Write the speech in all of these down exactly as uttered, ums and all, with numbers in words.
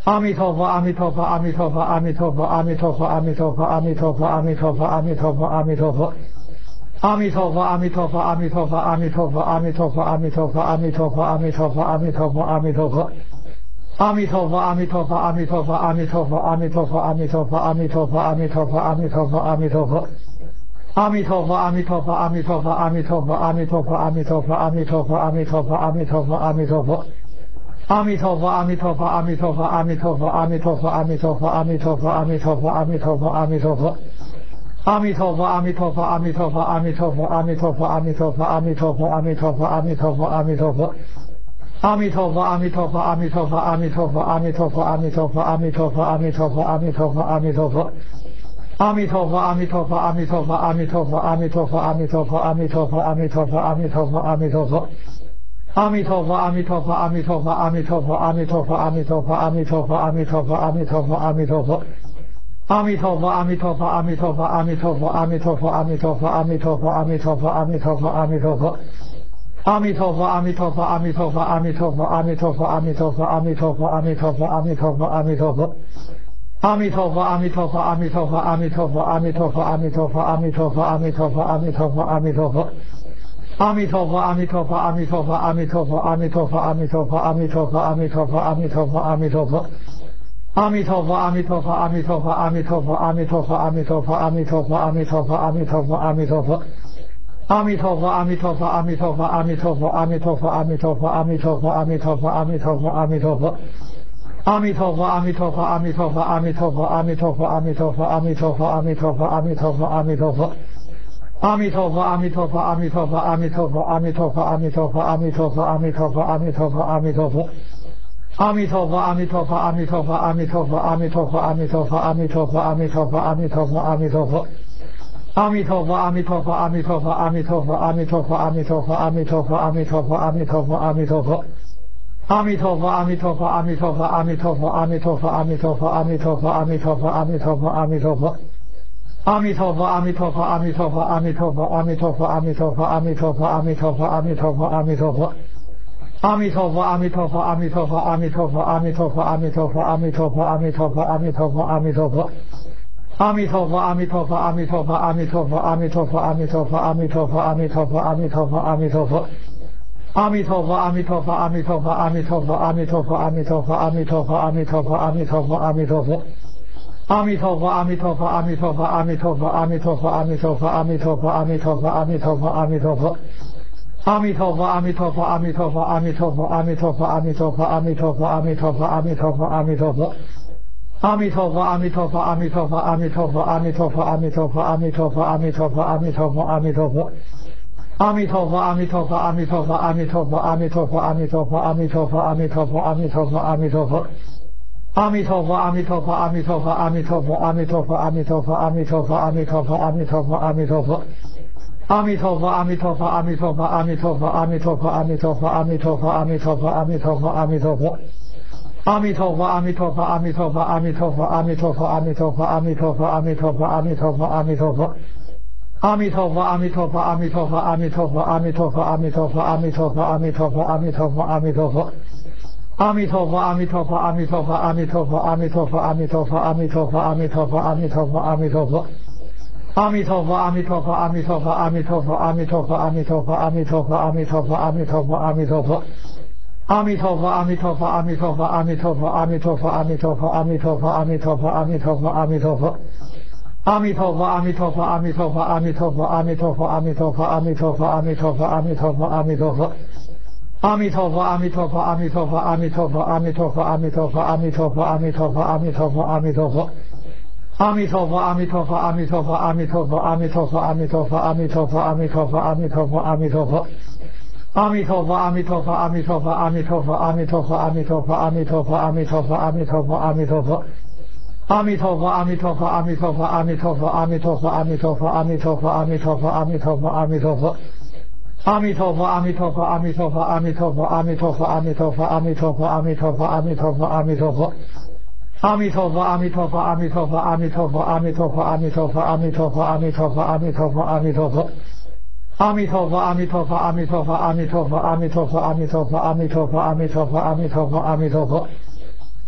阿弥陀佛，阿弥陀佛，阿弥陀佛，阿弥陀佛，阿弥陀佛，阿弥陀佛，阿弥陀佛，阿弥陀佛，阿弥陀佛，阿弥陀佛。阿弥陀佛，阿弥陀佛，阿弥陀佛，阿弥陀佛，阿弥陀佛，阿弥陀佛，阿弥陀佛，阿弥陀佛，阿弥陀佛，阿弥陀佛。阿弥陀佛，阿弥陀佛，阿弥陀佛，阿弥陀佛，阿弥陀佛，阿弥陀佛，阿弥陀佛，阿弥陀佛，阿弥陀佛，阿弥陀佛。阿弥陀佛，阿弥陀佛，阿弥陀佛，阿弥陀佛，阿弥陀佛，阿弥陀佛，阿弥陀佛，阿弥陀佛，阿弥陀佛，阿弥陀佛。阿弥陀佛，阿弥陀佛，阿弥陀佛，阿弥陀佛，阿弥陀佛，阿弥陀佛，阿弥陀佛，阿弥陀佛，阿弥陀佛，阿弥陀佛。阿弥陀佛，阿弥陀佛，阿弥陀佛，阿弥陀佛，阿弥陀佛，阿弥陀佛，阿弥陀佛，阿弥陀佛，阿弥陀佛，阿弥陀佛。阿弥陀佛，阿弥陀佛，阿弥陀佛，阿弥陀佛，阿弥陀佛，阿弥陀佛，阿弥陀佛，阿弥陀佛，阿弥陀佛，阿弥陀佛。阿弥陀佛，阿弥陀佛，阿弥陀佛，阿弥陀佛，阿弥陀佛，阿弥陀佛，阿弥陀佛，阿弥陀佛，阿弥陀佛，阿弥陀佛。阿弥陀佛，阿弥陀佛，阿弥陀佛，阿弥陀佛，阿弥陀佛，阿弥陀佛，阿弥陀佛，阿弥陀佛，阿弥陀佛，阿弥陀佛。阿弥陀佛，阿弥陀佛，阿弥陀佛，阿弥陀佛，阿弥陀佛，阿弥陀佛，阿弥陀佛，阿弥陀佛，阿弥陀佛，阿弥陀佛。阿弥陀佛，阿弥陀佛，阿弥陀佛，阿弥陀佛，阿弥陀佛，阿弥陀佛，阿弥陀佛，阿弥陀佛，阿弥陀佛，阿弥陀佛。阿弥陀佛，阿弥陀佛，阿弥陀佛，阿弥陀佛，阿弥陀佛，阿弥陀佛，阿弥陀佛，阿弥陀佛，阿弥陀佛，阿弥陀佛。阿弥陀佛，阿弥陀佛，阿弥陀佛，阿弥陀佛，阿弥陀佛，阿弥陀佛，阿弥陀佛，阿弥陀佛，阿弥陀佛，阿弥陀佛。阿弥陀佛，阿弥陀佛，阿弥陀佛，阿弥陀佛，阿弥陀佛，阿弥陀佛，阿弥陀佛，阿弥陀佛，阿弥陀佛，阿弥陀佛。阿弥陀佛，阿弥陀佛，阿弥陀佛，阿弥陀佛，阿弥陀佛，阿弥陀佛，阿弥陀佛，阿弥陀佛，阿弥陀佛，阿弥陀佛。阿弥陀佛，阿弥陀佛，阿弥陀佛，阿弥陀佛，阿弥陀佛，阿弥陀佛，阿弥陀佛，阿弥陀佛，阿弥陀佛，阿弥陀佛。阿弥陀佛，阿弥陀佛，阿弥陀佛，阿弥陀佛，阿弥陀佛，阿弥陀佛，阿弥陀佛，阿弥陀佛，阿弥陀佛，阿弥陀佛。阿弥陀佛，阿弥陀佛，阿弥陀佛，阿弥陀佛，阿弥陀佛，阿弥陀佛，阿弥陀佛，阿弥陀佛，阿弥陀佛，阿弥陀佛。阿弥陀佛，阿弥陀佛，阿弥陀佛，阿弥陀佛，阿弥陀佛，阿弥陀佛，阿弥陀佛，阿弥陀佛，阿弥陀佛，阿弥陀佛。阿弥陀佛，阿弥陀佛，阿弥陀佛，阿弥陀佛，阿弥陀佛，阿弥陀佛，阿弥陀佛，阿弥陀佛，阿弥陀佛，阿弥陀佛。阿弥陀佛，阿弥陀佛，阿弥陀佛，阿弥陀佛，阿弥陀佛，阿弥陀佛，阿弥陀佛，阿弥陀佛，阿弥陀佛，阿弥陀佛。阿弥陀佛，阿弥陀佛，阿弥陀佛，阿弥陀佛，阿弥陀佛，阿弥陀佛，阿弥陀佛，阿弥陀佛，阿弥陀佛，阿弥陀佛。阿弥陀佛，阿弥陀佛，阿弥陀佛，阿弥陀佛，阿弥陀佛，阿弥陀佛，阿弥陀佛，阿弥陀佛，阿弥陀佛，阿弥陀佛。阿弥陀佛，阿弥陀佛，阿弥陀佛，阿弥陀佛，阿弥陀佛，阿弥陀佛，阿弥陀佛，阿弥陀佛，阿弥陀佛，阿弥陀佛。阿弥陀佛，阿弥陀佛，阿弥陀佛，阿弥陀佛，阿弥陀佛，阿弥陀佛，阿弥陀佛，阿弥陀佛，阿弥陀佛，阿弥陀佛。阿弥陀佛，阿弥陀佛，阿弥陀佛，阿弥陀佛，阿弥陀佛，阿弥陀佛，阿弥陀佛，阿弥陀佛，阿弥陀佛，阿弥陀佛。阿弥陀佛，阿弥陀佛，阿弥陀佛，阿弥陀佛，阿弥陀佛，阿弥陀佛，阿弥陀佛，阿弥陀佛，阿弥陀佛，阿弥陀佛。阿弥陀佛，阿弥陀佛，阿弥陀佛，阿弥陀佛，阿弥陀佛，阿弥陀佛，阿弥陀佛，阿弥陀佛，阿弥陀佛，阿弥陀佛。阿弥陀佛，阿弥陀佛，阿弥陀佛，阿弥陀佛，阿弥陀佛，阿弥陀佛，阿弥陀佛，阿弥陀佛，阿弥陀佛，阿弥陀佛。阿弥陀佛，阿弥陀佛，阿弥陀佛，阿弥陀佛，阿弥陀佛，阿弥陀佛，阿弥陀佛，阿弥陀佛，阿弥陀佛，阿弥陀佛。阿弥陀佛，阿弥陀佛，阿弥陀佛，阿弥陀佛，阿弥陀佛，阿弥陀佛，阿弥陀佛，阿弥陀佛，阿弥陀佛，阿弥陀佛。阿弥陀佛，阿弥陀佛，阿弥陀佛，阿弥陀佛，阿弥陀佛，阿弥陀佛，阿弥陀佛，阿弥陀佛，阿弥陀佛，阿弥陀佛。阿弥陀佛，阿弥陀佛，阿弥陀佛，阿弥陀佛，阿弥陀佛，阿弥陀佛，阿弥陀佛，阿弥陀佛，阿弥陀佛，阿弥陀佛。阿弥陀佛，阿弥陀佛，阿弥陀佛，阿弥陀佛，阿弥陀佛，阿弥陀佛，阿弥陀佛，阿弥陀佛，阿弥陀佛，阿弥陀佛。阿弥陀佛，阿弥陀佛，阿弥陀佛，阿弥陀佛，阿弥陀佛，阿弥陀佛，阿弥陀佛，阿弥陀佛，阿弥陀佛，阿弥陀佛。阿弥陀佛，阿弥陀佛，阿弥陀佛，阿弥陀佛，阿弥陀佛，阿弥陀佛，阿弥陀佛，阿弥陀佛，阿弥陀佛，阿弥陀佛。阿弥陀佛，阿弥陀佛，阿弥陀佛，阿弥陀佛，阿弥陀佛，阿弥陀佛，阿弥陀佛，阿弥陀佛，阿弥陀佛，阿弥陀佛。阿弥陀佛，阿弥陀佛，阿弥陀佛，阿弥陀佛，阿弥陀佛，阿弥陀佛，阿弥陀佛，阿弥陀佛，阿弥陀佛，阿弥陀佛。阿弥陀佛，阿弥陀佛，阿弥陀佛，阿弥陀佛，阿弥陀佛，阿弥陀佛，阿弥陀佛，阿弥陀佛，阿弥陀佛，阿弥陀佛。阿弥陀佛，阿弥陀佛，阿弥陀佛，阿弥陀佛，阿弥陀佛，阿弥陀佛，阿弥陀佛，阿弥陀佛，阿弥陀佛，阿弥陀佛。阿弥陀佛，阿弥陀佛，阿弥陀佛，阿弥陀佛，阿弥陀佛，阿弥陀佛，阿弥陀佛，阿弥陀佛，阿弥陀佛，阿弥陀佛。阿弥陀佛，阿弥陀佛，阿弥陀佛，阿弥陀佛，阿弥陀佛，阿弥陀佛，阿弥陀佛，阿弥陀佛，阿弥陀佛，阿弥陀佛。阿弥陀佛，阿弥陀佛，阿弥陀佛，阿弥陀佛，阿弥陀佛，阿弥陀佛，阿弥陀佛，阿弥陀佛，阿弥陀佛，阿弥陀佛。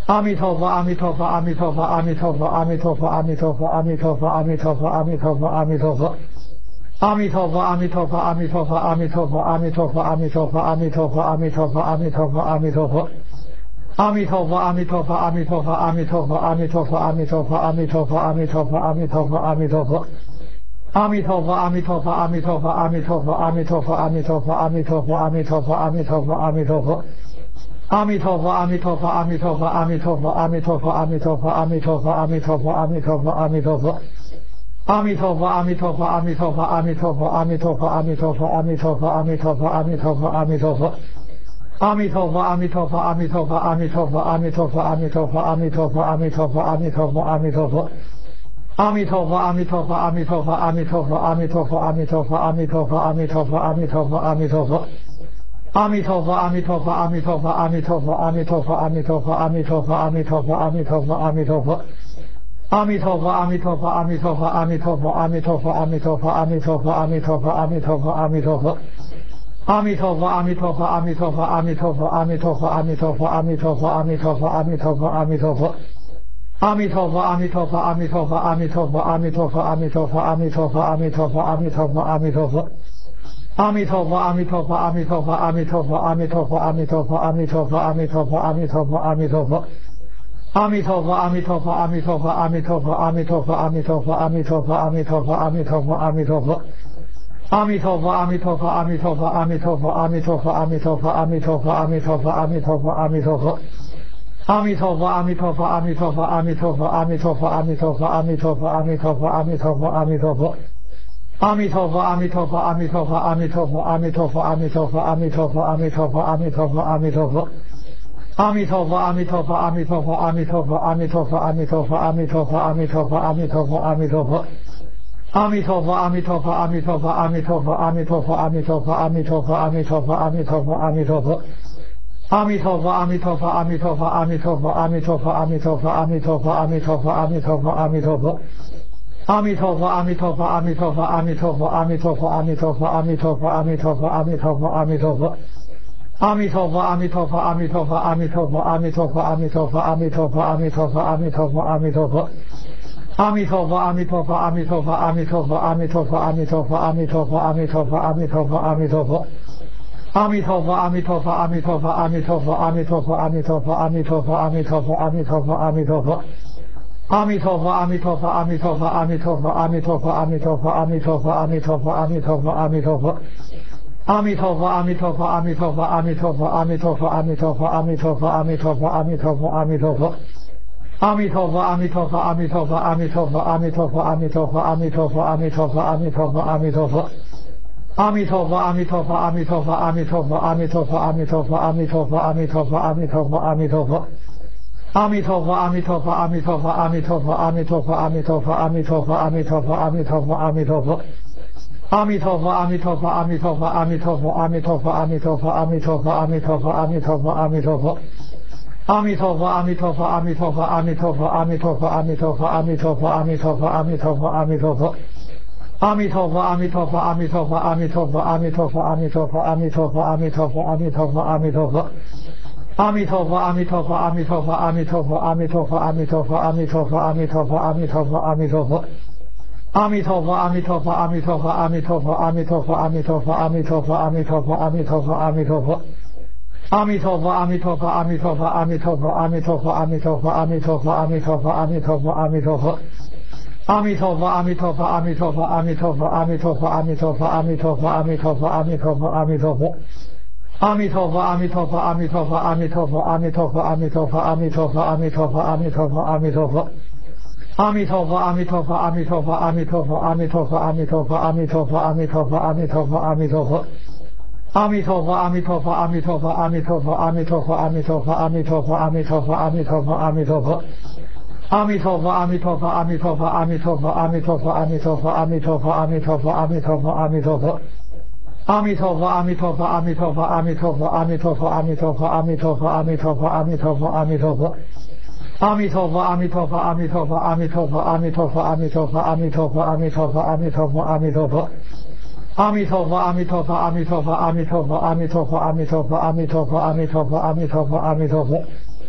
阿弥陀佛，阿弥陀佛，阿弥陀佛，阿弥陀佛，阿弥陀佛，阿弥陀佛，阿弥陀佛，阿弥陀佛，阿弥陀佛，阿弥陀佛。阿弥陀佛，阿弥陀佛，阿弥陀佛，阿弥陀佛，阿弥陀佛，阿弥陀佛，阿弥陀佛，阿弥陀佛，阿弥陀佛，阿弥陀佛。阿弥陀佛，阿弥陀佛，阿弥陀佛，阿弥陀佛，阿弥陀佛，阿弥陀佛，阿弥陀佛，阿弥陀佛，阿弥陀佛，阿弥陀佛。阿弥陀佛，阿弥陀佛，阿弥陀佛，阿弥陀佛，阿弥陀佛，阿弥陀佛，阿弥陀佛，阿弥陀佛，阿弥陀佛，阿弥陀佛。阿弥陀佛，阿弥陀佛，阿弥陀佛，阿弥陀佛，阿弥陀佛，阿弥陀佛，阿弥陀佛，阿弥陀佛，阿弥陀佛，阿弥陀佛。阿弥陀佛，阿弥陀佛，阿弥陀佛，阿弥陀佛，阿弥陀佛，阿弥陀佛，阿弥陀佛，阿弥陀佛，阿弥陀佛，阿弥陀佛。阿弥陀佛，阿弥陀佛，阿弥陀佛，阿弥陀佛，阿弥陀佛，阿弥陀佛，阿弥陀佛，阿弥陀佛，阿弥陀佛，阿弥陀佛。阿弥陀佛，阿弥陀佛，阿弥陀佛，阿弥陀佛，阿弥陀佛，阿弥陀佛，阿弥陀佛，阿弥陀佛，阿弥陀佛，阿弥陀佛。阿弥陀佛，阿弥陀佛，阿弥陀佛，阿弥陀佛，阿弥陀佛，阿弥陀佛，阿弥陀佛，阿弥陀佛，阿弥陀佛，阿弥陀佛。阿弥陀佛，阿弥陀佛，阿弥陀佛，阿弥陀佛，阿弥陀佛，阿弥陀佛，阿弥陀佛，阿弥陀佛，阿弥陀佛，阿弥陀佛。阿弥陀佛，阿弥陀佛，阿弥陀佛，阿弥陀佛，阿弥陀佛，阿弥陀佛，阿弥陀佛，阿弥陀佛，阿弥陀佛，阿弥陀佛。阿弥陀佛，阿弥陀佛，阿弥陀佛，阿弥陀佛，阿弥陀佛，阿弥陀佛，阿弥陀佛，阿弥陀佛，阿弥陀佛，阿弥陀佛。阿弥陀佛，阿弥陀佛，阿弥陀佛，阿弥陀佛，阿弥陀佛，阿弥陀佛，阿弥陀佛，阿弥陀佛，阿弥陀佛，阿弥陀佛。阿弥陀佛，阿弥陀佛，阿弥陀佛，阿弥陀佛，阿弥陀佛，阿弥陀佛，阿弥陀佛，阿弥陀佛，阿弥陀佛，阿弥陀佛。阿弥陀佛，阿弥陀佛，阿弥陀佛，阿弥陀佛，阿弥陀佛，阿弥陀佛，阿弥陀佛，阿弥陀佛，阿弥陀佛，阿弥陀佛。阿弥陀佛，阿弥陀佛，阿弥陀佛，阿弥陀佛，阿弥陀佛，阿弥陀佛，阿弥陀佛，阿弥陀佛，阿弥陀佛，阿弥陀佛。阿弥陀佛，阿弥陀佛，阿弥陀佛，阿弥陀佛，阿弥陀佛，阿弥陀佛，阿弥陀佛，阿弥陀佛，阿弥陀佛，阿弥陀佛。阿弥陀佛，阿弥陀佛，阿弥陀佛，阿弥陀佛，阿弥陀佛，阿弥陀佛，阿弥陀佛，阿弥陀佛，阿弥陀佛，阿弥陀佛。阿弥陀佛，阿弥陀佛，阿弥陀佛，阿弥陀佛，阿弥陀佛，阿弥陀佛，阿弥陀佛，阿弥陀佛，阿弥陀佛，阿弥陀佛。阿弥陀佛，阿弥陀佛，阿弥陀佛，阿弥陀佛，阿弥陀佛，阿弥陀佛，阿弥陀佛，阿弥陀佛，阿弥陀佛，阿弥陀佛。阿弥陀佛，阿弥陀佛，阿弥陀佛，阿弥陀佛，阿弥陀佛，阿弥陀佛，阿弥陀佛，阿弥陀佛，阿弥陀佛，阿弥陀佛。阿弥陀佛，阿弥陀佛，阿弥陀佛，阿弥陀佛，阿弥陀佛，阿弥陀佛，阿弥陀佛，阿弥陀佛，阿弥陀佛，阿弥陀佛。阿弥陀佛，阿弥陀佛，阿弥陀佛，阿弥陀佛，阿弥陀佛，阿弥陀佛，阿弥陀佛，阿弥陀佛，阿弥陀佛，阿弥陀佛。阿弥陀佛，阿弥陀佛，阿弥陀佛，阿弥陀佛，阿弥陀佛，阿弥陀佛，阿弥陀佛，阿弥陀佛，阿弥陀佛，阿弥陀佛。阿弥陀佛，阿弥陀佛，阿弥陀佛，阿弥陀佛，阿弥陀佛，阿弥陀佛，阿弥陀佛，阿弥陀佛，阿弥陀佛，阿弥陀佛。阿弥陀佛，阿弥陀佛，阿弥陀佛，阿弥陀佛，阿弥陀佛，阿弥陀佛，阿弥陀佛，阿弥陀佛，阿弥陀佛，阿弥陀佛。阿弥陀佛，阿弥陀佛，阿弥陀佛，阿弥陀佛，阿弥陀佛，阿弥陀佛，阿弥陀佛，阿弥陀佛，阿弥陀佛，阿弥陀佛。阿弥陀佛，阿弥陀佛，阿弥陀佛，阿弥陀佛，阿弥陀佛，阿弥陀佛，阿弥陀佛，阿弥陀佛，阿弥陀佛，阿弥陀佛。阿弥陀佛，阿弥陀佛，阿弥陀佛，阿弥陀佛，阿弥陀佛，阿弥陀佛，阿弥陀佛，阿弥陀佛，阿弥陀佛，阿弥陀佛。阿弥陀佛，阿弥陀佛，阿弥陀佛，阿弥陀佛，阿弥陀佛，阿弥陀佛，阿弥陀佛，阿弥陀佛，阿弥陀佛，阿弥陀佛。阿弥陀佛，阿弥陀佛，阿弥陀佛，阿弥陀佛，阿弥陀佛，阿弥陀佛，阿弥陀佛，阿弥陀佛，阿弥陀佛，阿弥陀佛。阿弥陀佛，阿弥陀佛，阿弥陀佛，阿弥陀佛，阿弥陀佛，阿弥陀佛，阿弥陀佛，阿弥陀佛，阿弥陀佛，阿弥陀佛。阿弥陀佛，阿弥陀佛，阿弥陀佛，阿弥陀佛，阿弥陀佛，阿弥陀佛，阿弥陀佛，阿弥陀佛，阿弥陀佛，阿弥陀佛。阿弥陀佛，阿弥陀佛，阿弥陀佛，阿弥陀佛，阿弥陀佛，阿弥陀佛，阿弥陀佛，阿弥陀佛，阿弥陀佛，阿弥陀佛。阿弥陀佛，阿弥陀佛，阿弥陀佛，阿弥陀佛，阿弥陀佛，阿弥陀佛，阿弥陀佛，阿弥陀佛，阿弥陀佛，阿弥陀佛。阿弥陀佛，阿弥陀佛，阿弥陀佛，阿弥陀佛，阿弥陀佛，阿弥陀佛，阿弥陀佛，阿弥陀佛，阿弥陀佛，阿弥陀佛。阿弥陀佛，阿弥陀佛，阿弥陀佛，阿弥陀佛，阿弥陀佛，阿弥陀佛，阿弥陀佛，阿弥陀佛，阿弥陀佛，阿弥陀佛。阿弥陀佛，阿弥陀佛，阿弥陀佛，阿弥陀佛，阿弥陀佛，阿弥陀佛，阿弥陀佛，阿弥陀佛，阿弥陀佛，阿弥陀佛。阿弥陀佛，阿弥陀佛，阿弥陀佛，阿弥陀佛，阿弥陀佛，阿弥陀佛，阿弥陀佛，阿弥陀佛，阿弥陀佛，阿弥陀佛。阿弥陀佛，阿弥陀佛，阿弥陀佛，阿弥陀佛，阿弥陀佛，阿弥陀佛，阿弥陀佛，阿弥陀佛，阿弥陀佛，阿弥陀佛。阿弥陀佛，阿弥陀佛，阿弥陀佛，阿弥陀佛，阿弥陀佛，阿弥陀佛，阿弥陀佛，阿弥陀佛，阿弥陀佛，阿弥陀佛。阿弥陀佛，阿弥陀佛，阿弥陀佛，阿弥陀佛，阿弥陀佛，阿弥陀佛，阿弥陀佛，阿弥陀佛，阿弥陀佛，阿弥陀佛。阿弥陀佛，阿弥陀佛，阿弥陀佛，阿弥陀佛，阿弥陀佛，阿弥陀佛，阿弥陀佛，阿弥陀佛，阿弥陀佛，阿弥陀佛。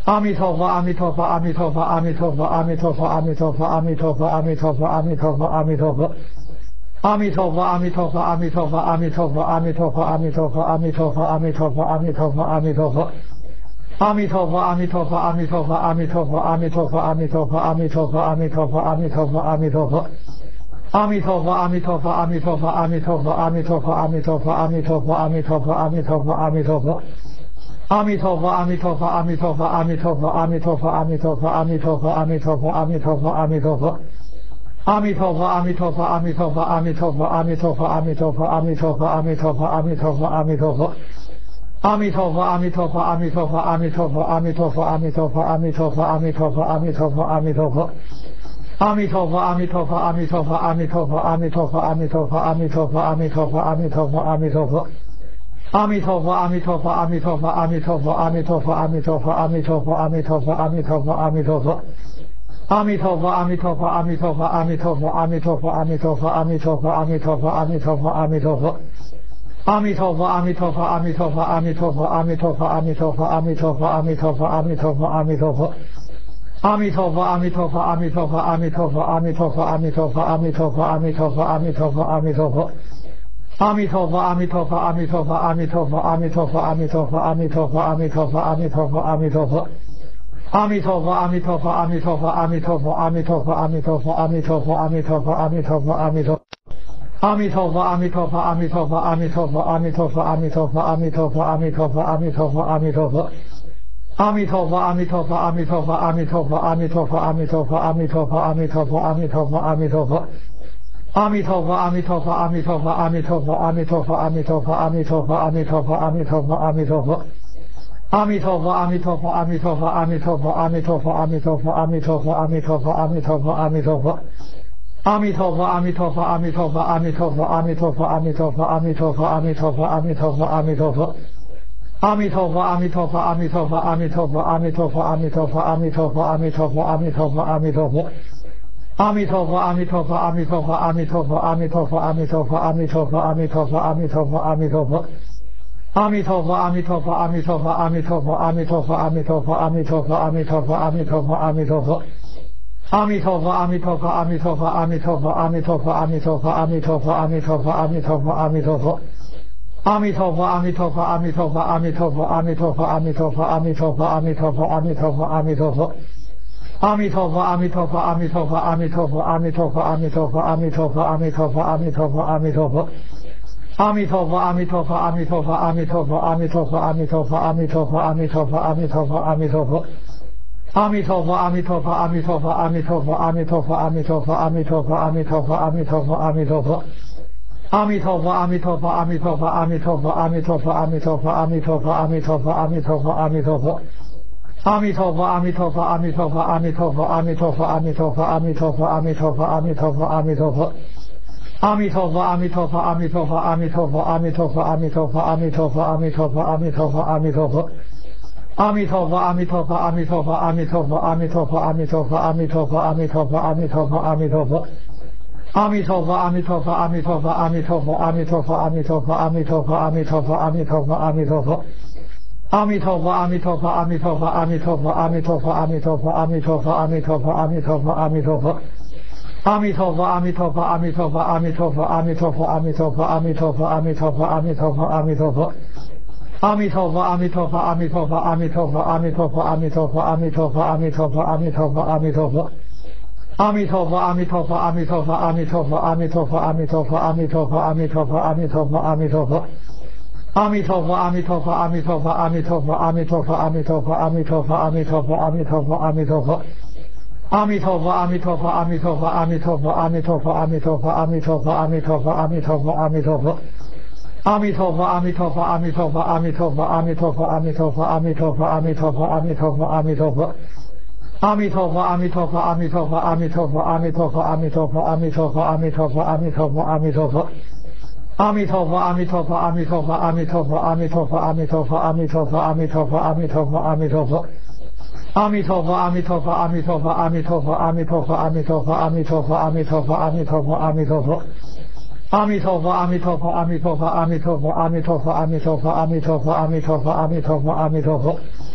阿弥陀佛，阿弥陀佛，阿弥陀佛，阿弥陀佛，阿弥陀佛，阿弥陀佛，阿弥陀佛，阿弥陀佛，阿弥陀佛，阿弥陀佛。阿弥陀佛，阿弥陀佛，阿弥陀佛，阿弥陀佛，阿弥陀佛，阿弥陀佛，阿弥陀佛，阿弥陀佛，阿弥陀佛，阿弥陀佛。阿弥陀佛，阿弥陀佛，阿弥陀佛，阿弥陀佛，阿弥陀佛，阿弥陀佛，阿弥陀佛，阿弥陀佛，阿弥陀佛，阿弥陀佛。阿弥陀佛，阿弥陀佛，阿弥陀佛，阿弥陀佛，阿弥陀佛，阿弥陀佛，阿弥陀佛，阿弥陀佛，阿弥陀佛，阿弥陀佛。阿弥陀佛，阿弥陀佛，阿弥陀佛，阿弥陀佛，阿弥陀佛，阿弥陀佛，阿弥陀佛，阿弥陀佛，阿弥陀佛，阿弥陀佛。阿弥陀佛，阿弥陀佛，阿弥陀佛，阿弥陀佛，阿弥陀佛，阿弥陀佛，阿弥陀佛，阿弥陀佛，阿弥陀佛，阿弥陀佛。阿弥陀佛，阿弥陀佛，阿弥陀佛，阿弥陀佛，阿弥陀佛，阿弥陀佛，阿弥陀佛，阿弥陀佛，阿弥陀佛，阿弥陀佛。阿弥陀佛，阿弥陀佛，阿弥陀佛，阿弥陀佛，阿弥陀佛，阿弥陀佛，阿弥陀佛，阿弥陀佛，阿弥陀佛，阿弥陀佛。阿弥陀佛，阿弥陀佛，阿弥陀佛，阿弥陀佛，阿弥陀佛，阿弥陀佛，阿弥陀佛，阿弥陀佛，阿弥陀佛，阿弥陀佛。阿弥陀佛，阿弥陀佛，阿弥陀佛，阿弥陀佛，阿弥陀佛，阿弥陀佛，阿弥陀佛，阿弥陀佛，阿弥陀佛，阿弥陀佛。阿弥陀佛，阿弥陀佛，阿弥陀佛，阿弥陀佛，阿弥陀佛，阿弥陀佛，阿弥陀佛，阿弥陀佛，阿弥陀佛，阿弥陀佛。阿弥陀佛，阿弥陀佛，阿弥陀佛，阿弥陀佛，阿弥陀佛，阿弥陀佛，阿弥陀佛，阿弥陀佛，阿弥陀佛，阿弥陀佛。阿弥陀佛，阿弥陀佛，阿弥陀佛，阿弥陀佛，阿弥陀佛，阿弥陀佛，阿弥陀佛，阿弥陀佛，阿弥陀佛，阿弥陀佛。阿弥陀佛，阿弥陀佛，阿弥陀佛，阿弥陀佛，阿弥陀佛，阿弥陀佛，阿弥陀佛，阿弥陀佛，阿弥陀佛，阿弥陀。阿弥陀佛，阿弥陀佛，阿弥陀佛，阿弥陀佛，阿弥陀佛，阿弥陀佛，阿弥陀佛，阿弥陀佛，阿弥陀佛，阿弥陀佛。阿弥陀佛，阿弥陀佛，阿弥陀佛，阿弥陀佛，阿弥陀佛，阿弥陀佛，阿弥陀佛，阿弥陀佛，阿弥陀佛，阿弥陀佛。阿弥陀佛，阿弥陀佛，阿弥陀佛，阿弥陀佛，阿弥陀佛，阿弥陀佛，阿弥陀佛，阿弥陀佛，阿弥陀佛，阿弥陀佛。阿弥陀佛，阿弥陀佛，阿弥陀佛，阿弥陀佛，阿弥陀佛，阿弥陀佛，阿弥陀佛，阿弥陀佛，阿弥陀佛，阿弥陀佛。阿弥陀佛，阿弥陀佛，阿弥陀佛，阿弥陀佛，阿弥陀佛，阿弥陀佛，阿弥陀佛，阿弥陀佛，阿弥陀佛，阿弥陀佛。阿弥陀佛，阿弥陀佛，阿弥陀佛，阿弥陀佛，阿弥陀佛，阿弥陀佛，阿弥陀佛，阿弥陀佛，阿弥陀佛，阿弥陀佛。阿弥陀佛，阿弥陀佛，阿弥陀佛，阿弥陀佛，阿弥陀佛，阿弥陀佛，阿弥陀佛，阿弥陀佛，阿弥陀佛，阿弥陀佛。阿弥陀佛，阿弥陀佛，阿弥陀佛，阿弥陀佛，阿弥陀佛，阿弥陀佛，阿弥陀佛，阿弥陀佛，阿弥陀佛，阿弥陀佛。阿弥陀佛，阿弥陀佛，阿弥陀佛，阿弥陀佛，阿弥陀佛，阿弥陀佛，阿弥陀佛，阿弥陀佛，阿弥陀佛，阿弥陀佛。阿弥陀佛，阿弥陀佛，阿弥陀佛，阿弥陀佛，阿弥陀佛，阿弥陀佛，阿弥陀佛，阿弥陀佛，阿弥陀佛，阿弥陀佛。阿弥陀佛，阿弥陀佛，阿弥陀佛，阿弥陀佛，阿弥陀佛，阿弥陀佛，阿弥陀佛，阿弥陀佛，阿弥陀佛，阿弥陀佛。阿弥陀佛，阿弥陀佛，阿弥陀佛，阿弥陀佛，阿弥陀佛，阿弥陀佛，阿弥陀佛，阿弥陀佛，阿弥陀佛，阿弥陀佛。阿弥陀佛，阿弥陀佛，阿弥陀佛，阿弥陀佛，阿弥陀佛，阿弥陀佛，阿弥陀佛，阿弥陀佛，阿弥陀佛，阿弥陀佛。阿弥陀佛，阿弥陀佛，阿弥陀佛，阿弥陀佛，阿弥陀佛，阿弥陀佛，阿弥陀佛，阿弥陀佛，阿弥陀佛，阿弥陀佛。阿弥陀佛，阿弥陀佛，阿弥陀佛，阿弥陀佛，阿弥陀佛，阿弥陀佛，阿弥陀佛，阿弥陀佛，阿弥陀佛，阿弥陀佛。阿弥陀佛，阿弥陀佛，阿弥陀佛，阿弥陀佛，阿弥陀佛，阿弥陀佛，阿弥陀佛，阿弥陀佛，阿弥陀佛，阿弥陀佛。阿弥陀佛，阿弥陀佛，阿弥陀佛，阿弥陀佛，阿弥陀佛，阿弥陀佛，阿弥陀佛，阿弥陀佛，阿弥陀佛，阿弥陀佛。阿弥陀佛，阿弥陀佛，阿弥陀佛，阿弥陀佛，阿弥陀佛，阿弥陀佛，阿弥陀佛，阿弥陀佛，阿弥陀佛，阿弥陀佛。阿弥陀佛，阿弥陀佛，阿弥陀佛，阿弥陀佛，阿弥陀佛，阿弥陀佛，阿弥陀佛，阿弥陀佛，阿弥陀佛，阿弥陀佛。阿弥陀佛，阿弥陀佛，阿弥陀佛，阿弥陀佛，阿弥陀佛，阿弥陀佛，阿弥陀佛，阿弥陀佛，阿弥陀佛，阿弥陀佛。阿弥陀佛，阿弥陀佛，阿弥陀佛，阿弥陀佛，阿弥陀佛，阿弥陀佛，阿弥陀佛，阿弥陀佛，阿弥陀佛，阿弥陀佛。阿弥陀佛，阿弥陀佛，阿弥陀佛，阿弥陀佛，阿弥陀佛，阿弥陀佛，阿弥陀佛，阿弥陀佛，阿弥陀佛，阿弥陀佛。阿弥陀佛，阿弥陀佛，阿弥陀佛，阿弥陀佛，阿弥陀佛，阿弥陀佛，阿弥陀佛，阿弥陀佛，阿弥陀佛，阿弥陀佛。阿弥陀佛，阿弥陀佛，阿弥陀佛，阿弥陀佛，阿弥陀佛，阿弥陀佛，阿弥陀佛，阿弥陀佛，阿弥陀佛，阿弥陀佛。阿弥陀佛，阿弥陀佛，阿弥陀佛，阿弥陀佛，阿弥陀佛，阿弥陀佛，阿弥陀佛，阿弥陀佛，阿弥陀佛，阿弥陀佛。阿弥陀佛，阿弥陀佛，阿弥陀佛，阿弥陀佛，阿弥陀佛，阿弥陀佛，阿弥陀佛，阿弥陀佛，阿弥陀佛，阿弥陀佛。阿弥陀佛，阿弥陀佛，阿弥陀佛，阿弥陀佛，阿弥陀佛，阿弥陀佛，阿弥陀佛，阿弥陀佛，阿弥陀佛，阿弥陀佛。阿弥陀佛，阿弥陀佛，阿弥陀佛，阿弥陀佛，阿弥陀佛，阿弥陀佛，阿弥陀佛，阿弥陀佛，阿弥陀佛，阿弥陀佛。阿弥陀佛，阿弥陀佛，阿弥陀佛，阿弥陀佛，阿弥陀佛，阿弥陀佛，阿弥陀佛，阿弥陀佛，阿弥陀佛，阿弥陀佛。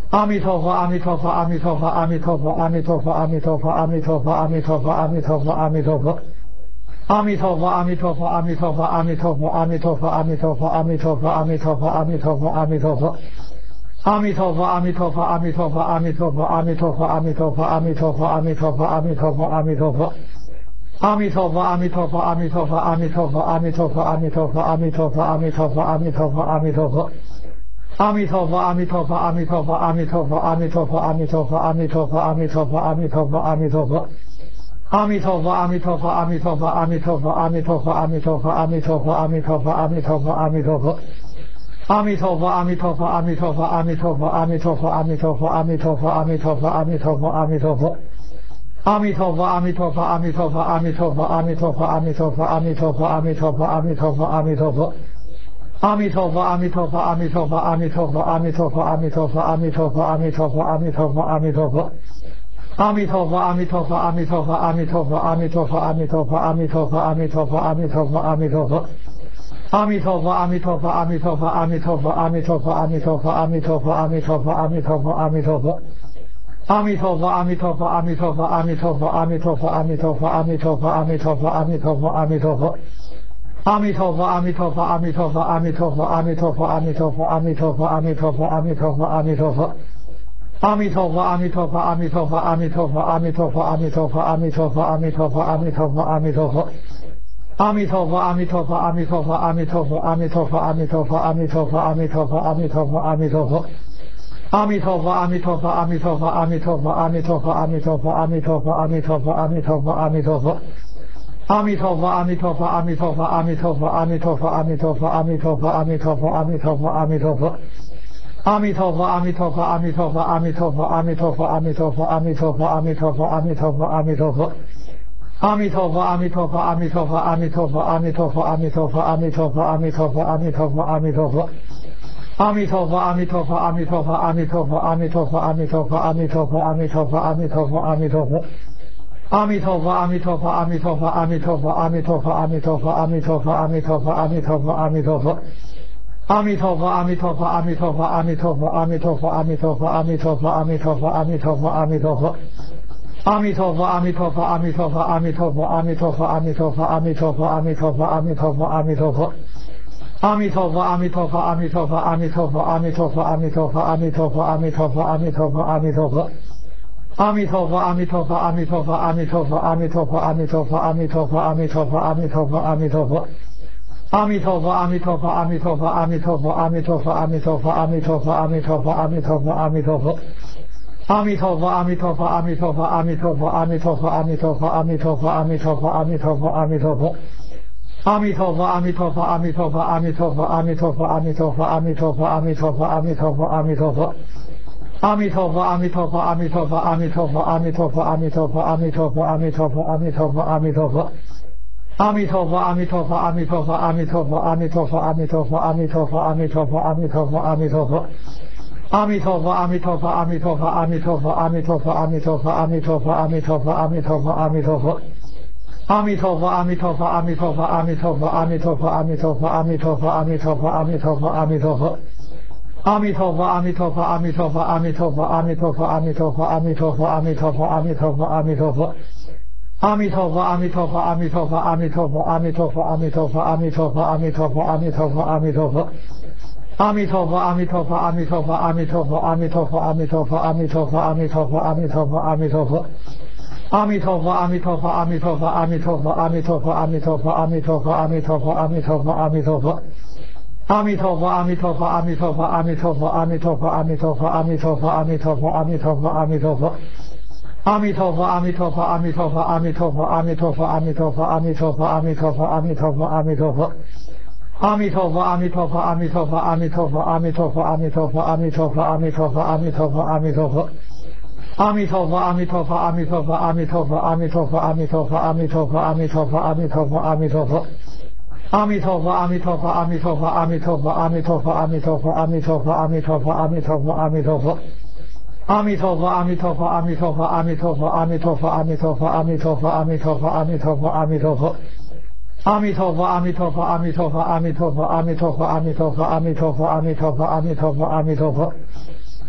阿弥陀佛，阿弥陀佛，阿弥陀佛，阿弥陀佛，阿弥陀佛，阿弥陀佛，阿弥陀佛，阿弥陀佛，阿弥陀佛，阿弥陀佛。阿弥陀佛，阿弥陀佛，阿弥陀佛，阿弥陀佛，阿弥陀佛，阿弥陀佛，阿弥陀佛，阿弥陀佛，阿弥陀佛，阿弥陀佛。阿弥陀佛，阿弥陀佛，阿弥陀佛，阿弥陀佛，阿弥陀佛，阿弥陀佛，阿弥陀佛，阿弥陀佛，阿弥陀佛，阿弥陀佛。阿弥陀佛，阿弥陀佛，阿弥陀佛，阿弥陀佛，阿弥陀佛，阿弥陀佛，阿弥陀佛，阿弥陀佛，阿弥陀佛，阿弥陀佛。阿弥陀佛，阿弥陀佛，阿弥陀佛，阿弥陀佛，阿弥陀佛，阿弥陀佛，阿弥陀佛，阿弥陀佛，阿弥陀佛，阿弥陀佛。阿弥陀佛，阿弥陀佛，阿弥陀佛，阿弥陀佛，阿弥陀佛，阿弥陀佛，阿弥陀佛，阿弥陀佛，阿弥陀佛，阿弥陀佛。阿弥陀佛，阿弥陀佛，阿弥陀佛，阿弥陀佛，阿弥陀佛，阿弥陀佛，阿弥陀佛，阿弥陀佛，阿弥陀佛，阿弥陀佛。阿弥陀佛，阿弥陀佛，阿弥陀佛，阿弥陀佛，阿弥陀佛，阿弥陀佛，阿弥陀佛，阿弥陀佛，阿弥陀佛，阿弥陀佛。阿弥陀佛，阿弥陀佛，阿弥陀佛，阿弥陀佛，阿弥陀佛，阿弥陀佛，阿弥陀佛，阿弥陀佛，阿弥陀佛，阿弥陀佛。阿弥陀佛，阿弥陀佛，阿弥陀佛，阿弥陀佛，阿弥陀佛，阿弥陀佛，阿弥陀佛，阿弥陀佛，阿弥陀佛，阿弥陀佛。阿弥陀佛，阿弥陀佛，阿弥陀佛，阿弥陀佛，阿弥陀佛，阿弥陀佛，阿弥陀佛，阿弥陀佛，阿弥陀佛，阿弥陀佛。阿弥陀佛，阿弥陀佛，阿弥陀佛，阿弥陀佛，阿弥陀佛，阿弥陀佛，阿弥陀佛，阿弥陀佛，阿弥陀佛，阿弥陀佛。阿弥陀佛，阿弥陀佛，阿弥陀佛，阿弥陀佛，阿弥陀佛，阿弥陀佛，阿弥陀佛，阿弥陀佛，阿弥陀佛，阿弥陀佛。阿弥陀佛，阿弥陀佛，阿弥陀佛，阿弥陀佛，阿弥陀佛，阿弥陀佛，阿弥陀佛，阿弥陀佛，阿弥陀佛，阿弥陀佛。阿弥陀佛，阿弥陀佛，阿弥陀佛，阿弥陀佛，阿弥陀佛，阿弥陀佛，阿弥陀佛，阿弥陀佛，阿弥陀佛，阿弥陀佛。阿弥陀佛，阿弥陀佛，阿弥陀佛，阿弥陀佛，阿弥陀佛，阿弥陀佛，阿弥陀佛，阿弥陀佛，阿弥陀佛，阿弥陀佛。阿弥陀佛，阿弥陀佛，阿弥陀佛，阿弥陀佛，阿弥陀佛，阿弥陀佛，阿弥陀佛，阿弥陀佛，阿弥陀佛，阿弥陀佛。阿弥陀佛，阿弥陀佛，阿弥陀佛，阿弥陀佛，阿弥陀佛，阿弥陀佛，阿弥陀佛，阿弥陀佛，阿弥陀佛，阿弥陀佛。阿弥陀佛，阿弥陀佛，阿弥陀佛，阿弥陀佛，阿弥陀佛，阿弥陀佛，阿弥陀佛，阿弥陀佛，阿弥陀佛，阿弥陀佛。阿弥陀佛，阿弥陀佛，阿弥陀佛，阿弥陀佛，阿弥陀佛，阿弥陀佛，阿弥陀佛，阿弥陀佛，阿弥陀佛，阿弥陀佛。阿弥陀佛，阿弥陀佛，阿弥陀佛，阿弥陀佛，阿弥陀佛，阿弥陀佛，阿弥陀佛，阿弥陀佛，阿弥陀佛，阿弥陀佛。阿弥陀佛，阿弥陀佛，阿弥陀佛，阿弥陀佛，阿弥陀佛，阿弥陀佛，阿弥陀佛，阿弥陀佛，阿弥陀佛，阿弥陀佛。阿弥陀佛，阿弥陀佛，阿弥陀佛，阿弥陀佛，阿弥陀佛，阿弥陀佛，阿弥陀佛，阿弥陀佛，阿弥陀佛，阿弥陀佛。阿弥陀佛，阿弥陀佛，阿弥陀佛，阿弥陀佛，阿弥陀佛，阿弥陀佛，阿弥陀佛，阿弥陀佛，阿弥陀佛，阿弥陀佛。阿弥陀佛，阿弥陀佛，阿弥陀佛，阿弥陀佛，阿弥陀佛，阿弥陀佛，阿弥陀佛，阿弥陀佛，阿弥陀佛，阿弥陀佛。阿弥陀佛，阿弥陀佛，阿弥陀佛，阿弥陀佛，阿弥陀佛，阿弥陀佛，阿弥陀佛，阿弥陀佛，阿弥陀佛，阿弥陀佛。阿弥陀佛，阿弥陀佛，阿弥陀佛，阿弥陀佛，阿弥陀佛，阿弥陀佛，阿弥陀佛，阿弥陀佛，阿弥陀佛，阿弥陀佛。阿弥陀佛，阿弥陀佛，阿弥陀佛，阿弥陀佛，阿弥陀佛，阿弥陀佛，阿弥陀佛，阿弥陀佛，阿弥陀佛，阿弥陀佛。阿弥陀佛，阿弥陀佛，阿弥陀佛，阿弥陀佛，阿弥陀佛，阿弥陀佛，阿弥陀佛，阿弥陀佛，阿弥陀佛，阿弥陀佛。阿弥陀佛，阿弥陀佛，阿弥陀佛，阿弥陀佛，阿弥陀佛，阿弥陀佛，阿弥陀佛，阿弥陀佛，阿弥陀佛，阿弥陀佛。阿弥陀佛，阿弥陀佛，阿弥陀佛，阿弥陀佛，阿弥陀佛，阿弥陀佛，阿弥陀佛，阿弥陀佛，阿弥陀佛，阿弥陀佛。阿弥陀佛，阿弥陀佛，阿弥陀佛，阿弥陀佛，阿弥陀佛，阿弥陀佛，阿弥陀佛，阿弥陀佛，阿弥陀佛，阿弥陀佛。阿弥陀佛，阿弥陀佛，阿弥陀佛，阿弥陀佛，阿弥陀佛，阿弥陀佛，阿弥陀佛，阿弥陀佛，阿弥陀佛，阿弥陀佛。阿弥陀佛，阿弥陀佛，阿弥陀佛，阿弥陀佛，阿弥陀佛，阿弥陀佛，阿弥陀佛，阿弥陀佛，阿弥陀佛，阿弥陀佛。阿弥陀佛，阿弥陀佛，阿弥陀佛，阿弥陀佛，阿弥陀佛，阿弥陀佛，阿弥陀佛，阿弥陀佛，阿弥陀佛，阿弥陀佛。阿弥陀佛，阿弥陀佛，阿弥陀佛，阿弥陀佛，阿弥陀佛，阿弥陀佛，阿弥陀佛，阿弥陀佛，阿弥陀佛，阿弥陀佛。阿弥陀佛，阿弥陀佛，阿弥陀佛，阿弥陀佛，阿弥陀佛，阿弥陀佛，阿弥陀佛，阿弥陀佛，阿弥陀佛，阿弥陀佛。阿弥陀佛，阿弥陀佛，阿弥陀佛，阿弥陀佛，阿弥陀佛，阿弥陀佛，阿弥陀佛，阿弥陀佛，阿弥陀佛，阿弥陀佛。阿弥陀佛，阿弥陀佛，阿弥陀佛，阿弥陀佛，阿弥陀佛，阿弥陀佛，阿弥陀佛，阿弥陀佛，阿弥陀佛，阿弥陀佛。阿弥陀佛，阿弥陀佛，阿弥陀佛，阿弥陀佛，阿弥陀佛，阿弥陀佛，阿弥陀佛，阿弥陀佛，阿弥陀佛，阿弥陀佛。阿弥陀佛，阿弥陀佛，阿弥陀佛，阿弥陀佛，阿弥陀佛，阿弥陀佛，阿弥陀佛，阿弥陀佛，阿弥陀佛，阿弥陀佛。阿弥陀佛，阿弥陀佛，阿弥陀佛，阿弥陀佛，阿弥陀佛，阿弥陀佛，阿弥陀佛，阿弥陀佛，阿弥陀佛，阿弥陀佛。阿弥陀佛，阿弥陀佛，阿弥陀佛，阿弥陀佛，阿弥陀佛，阿弥陀佛，阿弥陀佛，阿弥陀佛，阿弥陀佛，阿弥陀佛。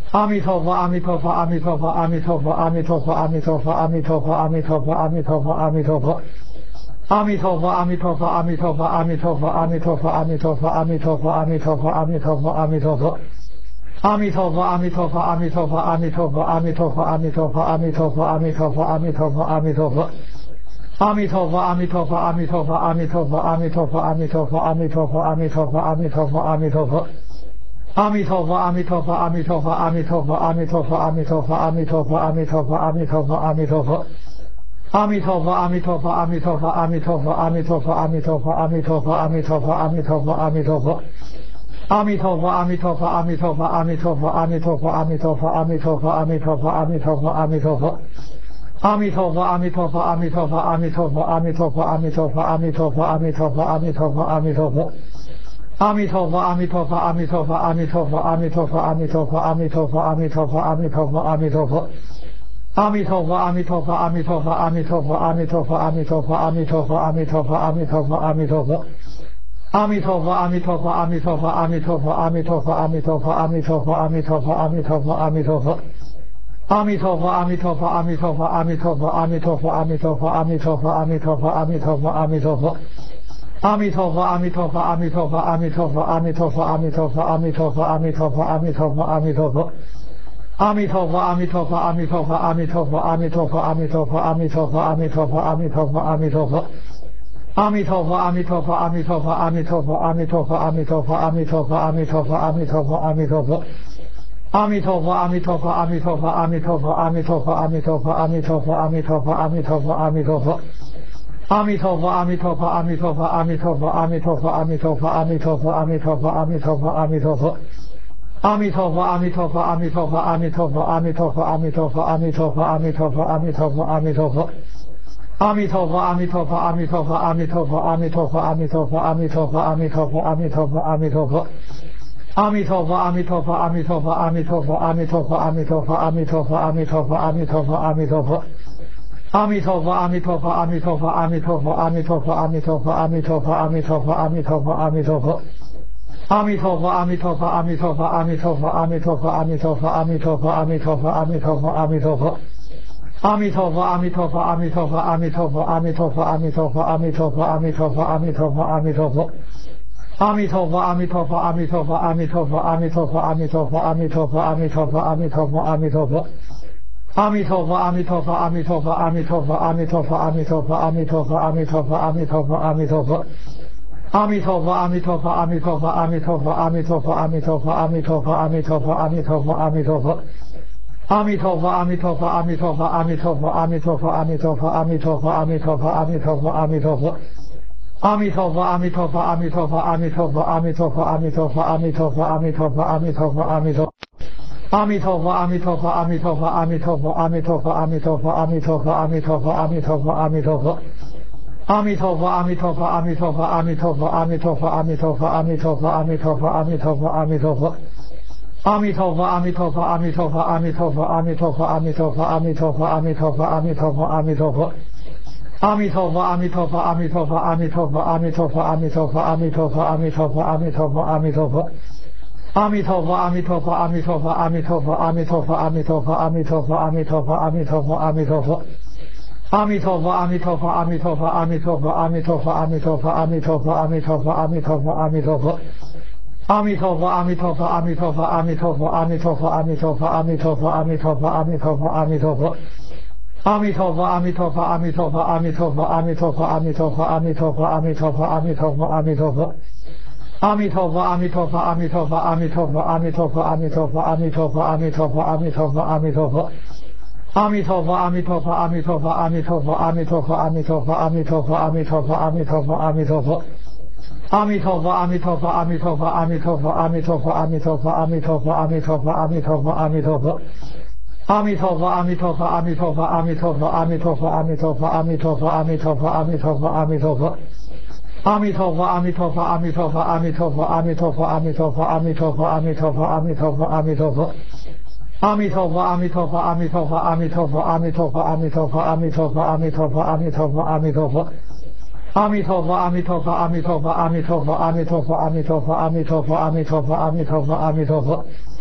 阿弥陀佛，阿弥陀佛，阿弥陀佛，阿弥陀佛，阿弥陀佛，阿弥陀佛，阿弥陀佛，阿弥陀佛，阿弥陀佛，阿弥陀佛。阿弥陀佛，阿弥陀佛，阿弥陀佛，阿弥陀佛，阿弥陀佛，阿弥陀佛，阿弥陀佛，阿弥陀佛，阿弥陀佛，阿弥陀佛。阿弥陀佛，阿弥陀佛，阿弥陀佛，阿弥陀佛，阿弥陀佛，阿弥陀佛，阿弥陀佛，阿弥陀佛，阿弥陀佛，阿弥陀佛。阿弥陀佛，阿弥陀佛，阿弥陀佛，阿弥陀佛，阿弥陀佛，阿弥陀佛，阿弥陀佛，阿弥陀佛，阿弥陀佛，阿弥陀佛。阿弥陀佛，阿弥陀佛，阿弥陀佛，阿弥陀佛，阿弥陀佛，阿弥陀佛，阿弥陀佛，阿弥陀佛，阿弥陀佛，阿弥陀佛。阿弥陀佛，阿弥陀佛，阿弥陀佛，阿弥陀佛，阿弥陀佛，阿弥陀佛，阿弥陀佛，阿弥陀佛，阿弥陀佛，阿弥陀佛。阿弥陀佛，阿弥陀佛，阿弥陀佛，阿弥陀佛，阿弥陀佛，阿弥陀佛，阿弥陀佛，阿弥陀佛，阿弥陀佛，阿弥陀佛。阿弥陀佛，阿弥陀佛，阿弥陀佛，阿弥陀佛，阿弥陀佛，阿弥陀佛，阿弥陀佛，阿弥陀佛，阿弥陀佛，阿弥陀佛。阿弥陀佛，阿弥陀佛，阿弥陀佛，阿弥陀佛，阿弥陀佛，阿弥陀佛，阿弥陀佛，阿弥陀佛，阿弥陀佛，阿弥陀佛。阿弥陀佛，阿弥陀佛，阿弥陀佛，阿弥陀佛，阿弥陀佛，阿弥陀佛，阿弥陀佛，阿弥陀佛，阿弥陀佛，阿弥陀佛。阿弥陀佛，阿弥陀佛，阿弥陀佛，阿弥陀佛，阿弥陀佛，阿弥陀佛，阿弥陀佛，阿弥陀佛，阿弥陀佛，阿弥陀佛。阿弥陀佛，阿弥陀佛，阿弥陀佛，阿弥陀佛，阿弥陀佛，阿弥陀佛，阿弥陀佛，阿弥陀佛，阿弥陀佛，阿弥陀佛。阿弥陀佛，阿弥陀佛，阿弥陀佛，阿弥陀佛，阿弥陀佛，阿弥陀佛，阿弥陀佛，阿弥陀佛，阿弥陀佛，阿弥陀佛。阿弥陀佛，阿弥陀佛，阿弥陀佛，阿弥陀佛，阿弥陀佛，阿弥陀佛，阿弥陀佛，阿弥陀佛，阿弥陀佛，阿弥陀佛。阿弥陀佛，阿弥陀佛，阿弥陀佛，阿弥陀佛，阿弥陀佛，阿弥陀佛，阿弥陀佛，阿弥陀佛，阿弥陀佛，阿弥陀佛。阿弥陀佛，阿弥陀佛，阿弥陀佛，阿弥陀佛，阿弥陀佛，阿弥陀佛，阿弥陀佛，阿弥陀佛，阿弥陀佛，阿弥陀佛。阿弥陀佛，阿弥陀佛，阿弥陀佛，阿弥陀佛，阿弥陀佛，阿弥陀佛，阿弥陀佛，阿弥陀佛，阿弥陀佛，阿弥陀佛。阿弥陀佛，阿弥陀佛，阿弥陀佛，阿弥陀佛，阿弥陀佛，阿弥陀佛，阿弥陀佛，阿弥陀佛，阿弥陀佛，阿弥陀佛。阿弥陀佛，阿弥陀佛，阿弥陀佛，阿弥陀佛，阿弥陀佛，阿弥陀佛，阿弥陀佛，阿弥陀佛，阿弥陀佛，阿弥陀佛。阿弥陀佛，阿弥陀佛，阿弥陀佛，阿弥陀佛，阿弥陀佛，阿弥陀佛，阿弥陀佛，阿弥陀佛，阿弥陀佛，阿弥陀佛。阿弥陀佛，阿弥陀佛，阿弥陀佛，阿弥陀佛，阿弥陀佛，阿弥陀佛，阿弥陀佛，阿弥陀佛，阿弥陀佛，阿弥陀佛。阿弥陀佛，阿弥陀佛，阿弥陀佛，阿弥陀佛，阿弥陀佛，阿弥陀佛，阿弥陀佛，阿弥陀佛，阿弥陀佛，阿弥陀佛。阿弥陀佛，阿弥陀佛，阿弥陀佛，阿弥陀佛，阿弥陀佛，阿弥陀佛，阿弥陀佛，阿弥陀佛，阿弥陀佛，阿弥陀佛。阿弥陀佛，阿弥陀佛，阿弥陀佛，阿弥陀佛，阿弥陀佛，阿弥陀佛，阿弥陀佛，阿弥陀佛，阿弥陀佛，阿弥陀佛。阿弥陀佛，阿弥陀佛，阿弥陀佛，阿弥陀佛，阿弥陀佛，阿弥陀佛，阿弥陀佛，阿弥陀佛，阿弥陀佛，阿弥陀佛。阿弥陀佛，阿弥陀佛，阿弥陀佛，阿弥陀佛，阿弥陀佛，阿弥陀佛，阿弥陀佛，阿弥陀佛，阿弥陀佛，阿弥陀佛。阿弥陀佛，阿弥陀佛，阿弥陀佛，阿弥陀佛，阿弥陀佛，阿弥陀佛，阿弥陀佛，阿弥陀佛，阿弥陀佛，阿弥陀佛。阿弥陀佛，阿弥陀佛，阿弥陀佛，阿弥陀佛，阿弥陀佛，阿弥陀佛，阿弥陀佛，阿弥陀佛，阿弥陀佛，阿弥陀。阿弥陀佛，阿弥陀佛，阿弥陀佛，阿弥陀佛，阿弥陀佛，阿弥陀佛，阿弥陀佛，阿弥陀佛，阿弥陀佛，阿弥陀佛。阿弥陀佛，阿弥陀佛，阿弥陀佛，阿弥陀佛，阿弥陀佛，阿弥陀佛，阿弥陀佛，阿弥陀佛，阿弥陀佛，阿弥陀佛。阿弥陀佛，阿弥陀佛，阿弥陀佛，阿弥陀佛，阿弥陀佛，阿弥陀佛，阿弥陀佛，阿弥陀佛，阿弥陀佛，阿弥陀佛。阿弥陀佛，阿弥陀佛，阿弥陀佛，阿弥陀佛，阿弥陀佛，阿弥陀佛，阿弥陀佛，阿弥陀佛，阿弥陀佛，阿弥陀佛。阿弥陀佛，阿弥陀佛，阿弥陀佛，阿弥陀佛，阿弥陀佛，阿弥陀佛，阿弥陀佛，阿弥陀佛，阿弥陀佛，阿弥陀佛。阿弥陀佛，阿弥陀佛，阿弥陀佛，阿弥陀佛，阿弥陀佛，阿弥陀佛，阿弥陀佛，阿弥陀佛，阿弥陀佛，阿弥陀佛。阿弥陀佛，阿弥陀佛，阿弥陀佛，阿弥陀佛，阿弥陀佛，阿弥陀佛，阿弥陀佛，阿弥陀佛，阿弥陀佛，阿弥陀佛。阿弥陀佛，阿弥陀佛，阿弥陀佛，阿弥陀佛，阿弥陀佛，阿弥陀佛，阿弥陀佛，阿弥陀佛，阿弥陀佛，阿弥陀佛。阿弥陀佛，阿弥陀佛，阿弥陀佛，阿弥陀佛，阿弥陀佛，阿弥陀佛，阿弥陀佛，阿弥陀佛，阿弥陀佛，阿弥陀佛。阿弥陀佛，阿弥陀佛，阿弥陀佛，阿弥陀佛，阿弥陀佛，阿弥陀佛，阿弥陀佛，阿弥陀佛，阿弥陀佛，阿弥陀佛。阿弥陀佛，阿弥陀佛，阿弥陀佛，阿弥陀佛，阿弥陀佛，阿弥陀佛，阿弥陀佛，阿弥陀佛，阿弥陀佛，阿弥陀佛。阿弥陀佛，阿弥陀佛，阿弥陀佛，阿弥陀佛，阿弥陀佛，阿弥陀佛，阿弥陀佛，阿弥陀佛，阿弥陀佛，阿弥陀佛。阿弥陀佛，阿弥陀佛，阿弥陀佛，阿弥陀佛，阿弥陀佛，阿弥陀佛，阿弥陀佛，阿弥陀佛，阿弥陀佛，阿弥陀佛。阿弥陀佛，阿弥陀佛，阿弥陀佛，阿弥陀佛，阿弥陀佛，阿弥陀佛，阿弥陀佛，阿弥陀佛，阿弥陀佛，阿弥陀佛。阿弥陀佛，阿弥陀佛，阿弥陀佛，阿弥陀佛，阿弥陀佛，阿弥陀佛，阿弥陀佛，阿弥陀佛，阿弥陀佛，阿弥陀佛。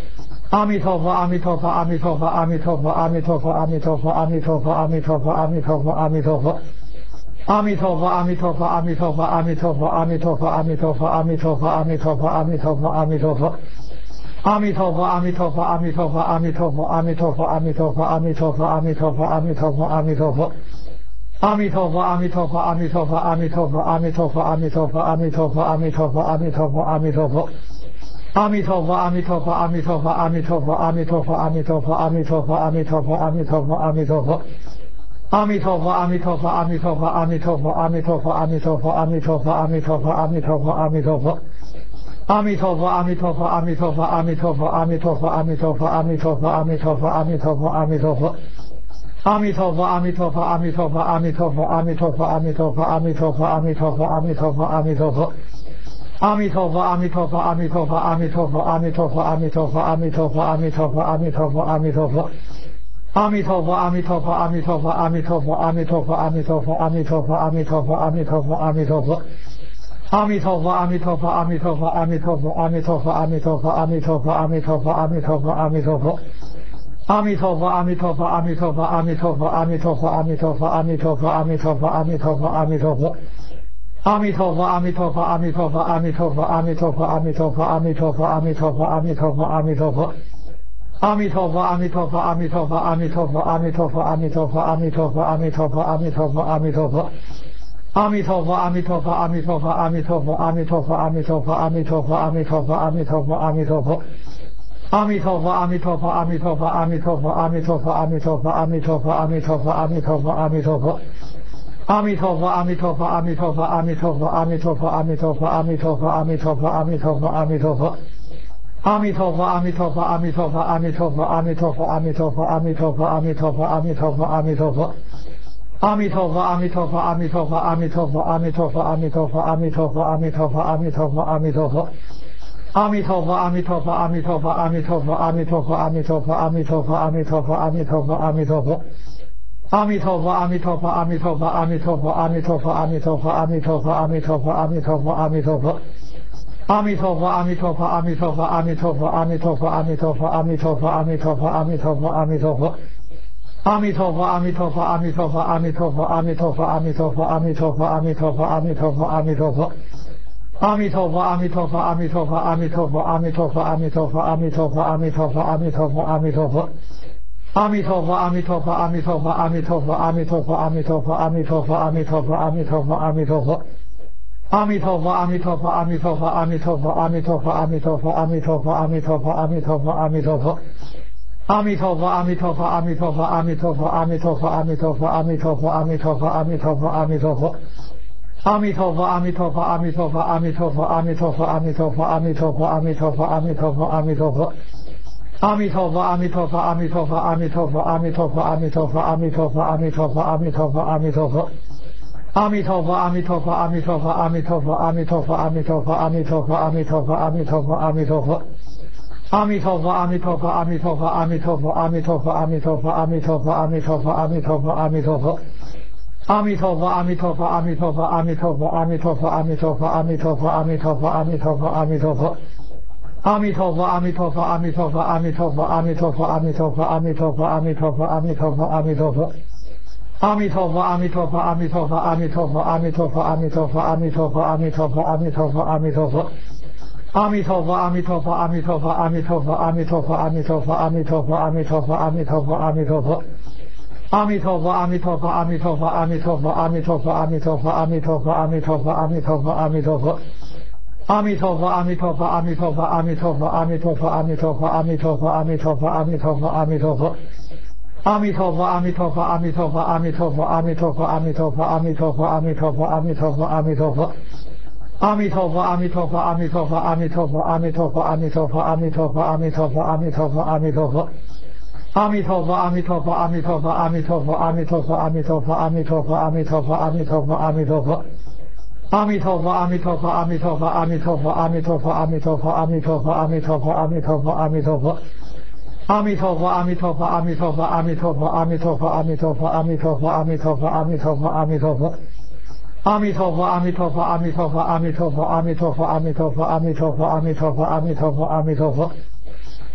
阿弥陀佛，阿弥陀佛，阿弥陀佛，阿弥陀佛，阿弥陀佛，阿弥陀佛，阿弥陀佛，阿弥陀佛，阿弥陀佛，阿弥陀佛。阿弥陀佛，阿弥陀佛，阿弥陀佛，阿弥陀佛，阿弥陀佛，阿弥陀佛，阿弥陀佛，阿弥陀佛，阿弥陀佛，阿弥陀佛。阿弥陀佛，阿弥陀佛，阿弥陀佛，阿弥陀佛，阿弥陀佛，阿弥陀佛，阿弥陀佛，阿弥陀佛，阿弥陀佛，阿弥陀佛。阿弥陀佛，阿弥陀佛，阿弥陀佛，阿弥陀佛，阿弥陀佛，阿弥陀佛，阿弥陀佛，阿弥陀佛，阿弥陀佛，阿弥陀佛。阿弥陀佛，阿弥陀佛，阿弥陀佛，阿弥陀佛，阿弥陀佛，阿弥陀佛，阿弥陀佛，阿弥陀佛，阿弥陀佛，阿弥陀佛。阿弥陀佛，阿弥陀佛，阿弥陀佛，阿弥陀佛，阿弥陀佛，阿弥陀佛，阿弥陀佛，阿弥陀佛，阿弥陀佛，阿弥陀佛。阿弥陀佛，阿弥陀佛，阿弥陀佛，阿弥陀佛，阿弥陀佛，阿弥陀佛，阿弥陀佛，阿弥陀佛，阿弥陀佛，阿弥陀佛。阿弥陀佛，阿弥陀佛，阿弥陀佛，阿弥陀佛，阿弥陀佛，阿弥陀佛，阿弥陀佛，阿弥陀佛，阿弥陀佛，阿弥陀佛。阿弥陀佛，阿弥陀佛，阿弥陀佛，阿弥陀佛，阿弥陀佛，阿弥陀佛，阿弥陀佛，阿弥陀佛，阿弥陀佛，阿弥陀佛。阿弥陀佛，阿弥陀佛，阿弥陀佛，阿弥陀佛，阿弥陀佛，阿弥陀佛，阿弥陀佛，阿弥陀佛，阿弥陀佛，阿弥陀佛。阿弥陀佛，阿弥陀佛，阿弥陀佛，阿弥陀佛，阿弥陀佛，阿弥陀佛，阿弥陀佛，阿弥陀佛，阿弥陀佛，阿弥陀佛。阿弥陀佛，阿弥陀佛，阿弥陀佛，阿弥陀佛，阿弥陀佛，阿弥陀佛，阿弥陀佛，阿弥陀佛，阿弥陀佛，阿弥陀佛。阿弥陀佛，阿弥陀佛，阿弥陀佛，阿弥陀佛，阿弥陀佛，阿弥陀佛，阿弥陀佛，阿弥陀佛，阿弥陀佛，阿弥陀佛。阿弥陀佛，阿弥陀佛，阿弥陀佛，阿弥陀佛，阿弥陀佛，阿弥陀佛，阿弥陀佛，阿弥陀佛，阿弥陀佛，阿弥陀佛。阿弥陀佛，阿弥陀佛，阿弥陀佛，阿弥陀佛，阿弥陀佛，阿弥陀佛，阿弥陀佛，阿弥陀佛，阿弥陀佛，阿弥陀佛。阿弥陀佛，阿弥陀佛，阿弥陀佛，阿弥陀佛，阿弥陀佛，阿弥陀佛，阿弥陀佛，阿弥陀佛，阿弥陀佛，阿弥陀佛。阿弥陀佛，阿弥陀佛，阿弥陀佛，阿弥陀佛，阿弥陀佛，阿弥陀佛，阿弥陀佛，阿弥陀佛，阿弥陀佛，阿弥陀佛。阿弥陀佛，阿弥陀佛，阿弥陀佛，阿弥陀佛，阿弥陀佛，阿弥陀佛，阿弥陀佛，阿弥陀佛，阿弥陀佛，阿弥陀佛。阿弥陀佛，阿弥陀佛，阿弥陀佛，阿弥陀佛，阿弥陀佛，阿弥陀佛，阿弥陀佛，阿弥陀佛，阿弥陀佛，阿弥陀佛。阿弥陀佛，阿弥陀佛，阿弥陀佛，阿弥陀佛，阿弥陀佛，阿弥陀佛，阿弥陀佛，阿弥陀佛，阿弥陀佛，阿弥陀佛。阿弥陀佛，阿弥陀佛，阿弥陀佛，阿弥陀佛，阿弥陀佛，阿弥陀佛，阿弥陀佛，阿弥陀佛，阿弥陀佛，阿弥陀佛。阿弥陀佛，阿弥陀佛，阿弥陀佛，阿弥陀佛，阿弥陀佛，阿弥陀佛，阿弥陀佛，阿弥陀佛，阿弥陀佛，阿弥陀佛。阿弥陀佛，阿弥陀佛，阿弥陀佛，阿弥陀佛，阿弥陀佛，阿弥陀佛，阿弥陀佛，阿弥陀佛，阿弥陀佛，阿弥陀佛。阿弥陀佛，阿弥陀佛，阿弥陀佛，阿弥陀佛，阿弥陀佛，阿弥陀佛，阿弥陀佛，阿弥陀佛，阿弥陀佛，阿弥陀佛。阿弥陀佛，阿弥陀佛，阿弥陀佛，阿弥陀佛，阿弥陀佛，阿弥陀佛，阿弥陀佛，阿弥陀佛，阿弥陀佛，阿弥陀佛。阿弥陀佛，阿弥陀佛，阿弥陀佛，阿弥陀佛，阿弥陀佛，阿弥陀佛，阿弥陀佛，阿弥陀佛，阿弥陀佛，阿弥陀佛。阿弥陀佛，阿弥陀佛，阿弥陀佛，阿弥陀佛，阿弥陀佛，阿弥陀佛，阿弥陀佛，阿弥陀佛，阿弥陀佛，阿弥陀佛。阿弥陀佛，阿弥陀佛，阿弥陀佛，阿弥陀佛，阿弥陀佛，阿弥陀佛，阿弥陀佛，阿弥陀佛，阿弥陀佛，阿弥陀佛。阿弥陀佛，阿弥陀佛，阿弥陀佛，阿弥陀佛，阿弥陀佛，阿弥陀佛，阿弥陀佛，阿弥陀佛，阿弥陀佛，阿弥陀佛。阿弥陀佛，阿弥陀佛，阿弥陀佛，阿弥陀佛，阿弥陀佛，阿弥陀佛，阿弥陀佛，阿弥陀佛，阿弥陀佛，阿弥陀佛。阿弥陀佛，阿弥陀佛，阿弥陀佛，阿弥陀佛，阿弥陀佛，阿弥陀佛，阿弥陀佛，阿弥陀佛，阿弥陀佛，阿弥陀佛。阿弥陀佛，阿弥陀佛，阿弥陀佛，阿弥陀佛，阿弥陀佛，阿弥陀佛，阿弥陀佛，阿弥陀佛，阿弥陀佛，阿弥陀佛。阿弥陀佛，阿弥陀佛，阿弥陀佛，阿弥陀佛，阿弥陀佛，阿弥陀佛，阿弥陀佛，阿弥陀佛，阿弥陀佛，阿弥陀佛。阿弥陀佛，阿弥陀佛，阿弥陀佛，阿弥陀佛，阿弥陀佛，阿弥陀佛，阿弥陀佛，阿弥陀佛，阿弥陀佛，阿弥陀佛。阿弥陀佛，阿弥陀佛，阿弥陀佛，阿弥陀佛，阿弥陀佛，阿弥陀佛，阿弥陀佛，阿弥陀佛，阿弥陀佛，阿弥陀佛。阿弥陀佛，阿弥陀佛，阿弥陀佛，阿弥陀佛，阿弥陀佛，阿弥陀佛，阿弥陀佛，阿弥陀佛，阿弥陀佛，阿弥陀佛。阿弥陀佛，阿弥陀佛，阿弥陀佛，阿弥陀佛，阿弥陀佛，阿弥陀佛，阿弥陀佛，阿弥陀佛，阿弥陀佛，阿弥陀佛。阿弥陀佛，阿弥陀佛，阿弥陀佛，阿弥陀佛，阿弥陀佛，阿弥陀佛，阿弥陀佛，阿弥陀佛，阿弥陀佛，阿弥陀佛。阿弥陀佛，阿弥陀佛，阿弥陀佛，阿弥陀佛，阿弥陀佛，阿弥陀佛，阿弥陀佛，阿弥陀佛，阿弥陀佛，阿弥陀佛。阿弥陀佛，阿弥陀佛，阿弥陀佛，阿弥陀佛，阿弥陀佛，阿弥陀佛，阿弥陀佛，阿弥陀佛，阿弥陀佛，阿弥陀佛。阿弥陀佛，阿弥陀佛，阿弥陀佛，阿弥陀佛，阿弥陀佛，阿弥陀佛，阿弥陀佛，阿弥陀佛，阿弥陀佛，阿弥陀佛。阿弥陀佛，阿弥陀佛，阿弥陀佛，阿弥陀佛，阿弥陀佛，阿弥陀佛，阿弥陀佛，阿弥陀佛，阿弥陀佛，阿弥陀佛。阿弥陀佛，阿弥陀佛，阿弥陀佛，阿弥陀佛，阿弥陀佛，阿弥陀佛，阿弥陀佛，阿弥陀佛，阿弥陀佛，阿弥陀佛。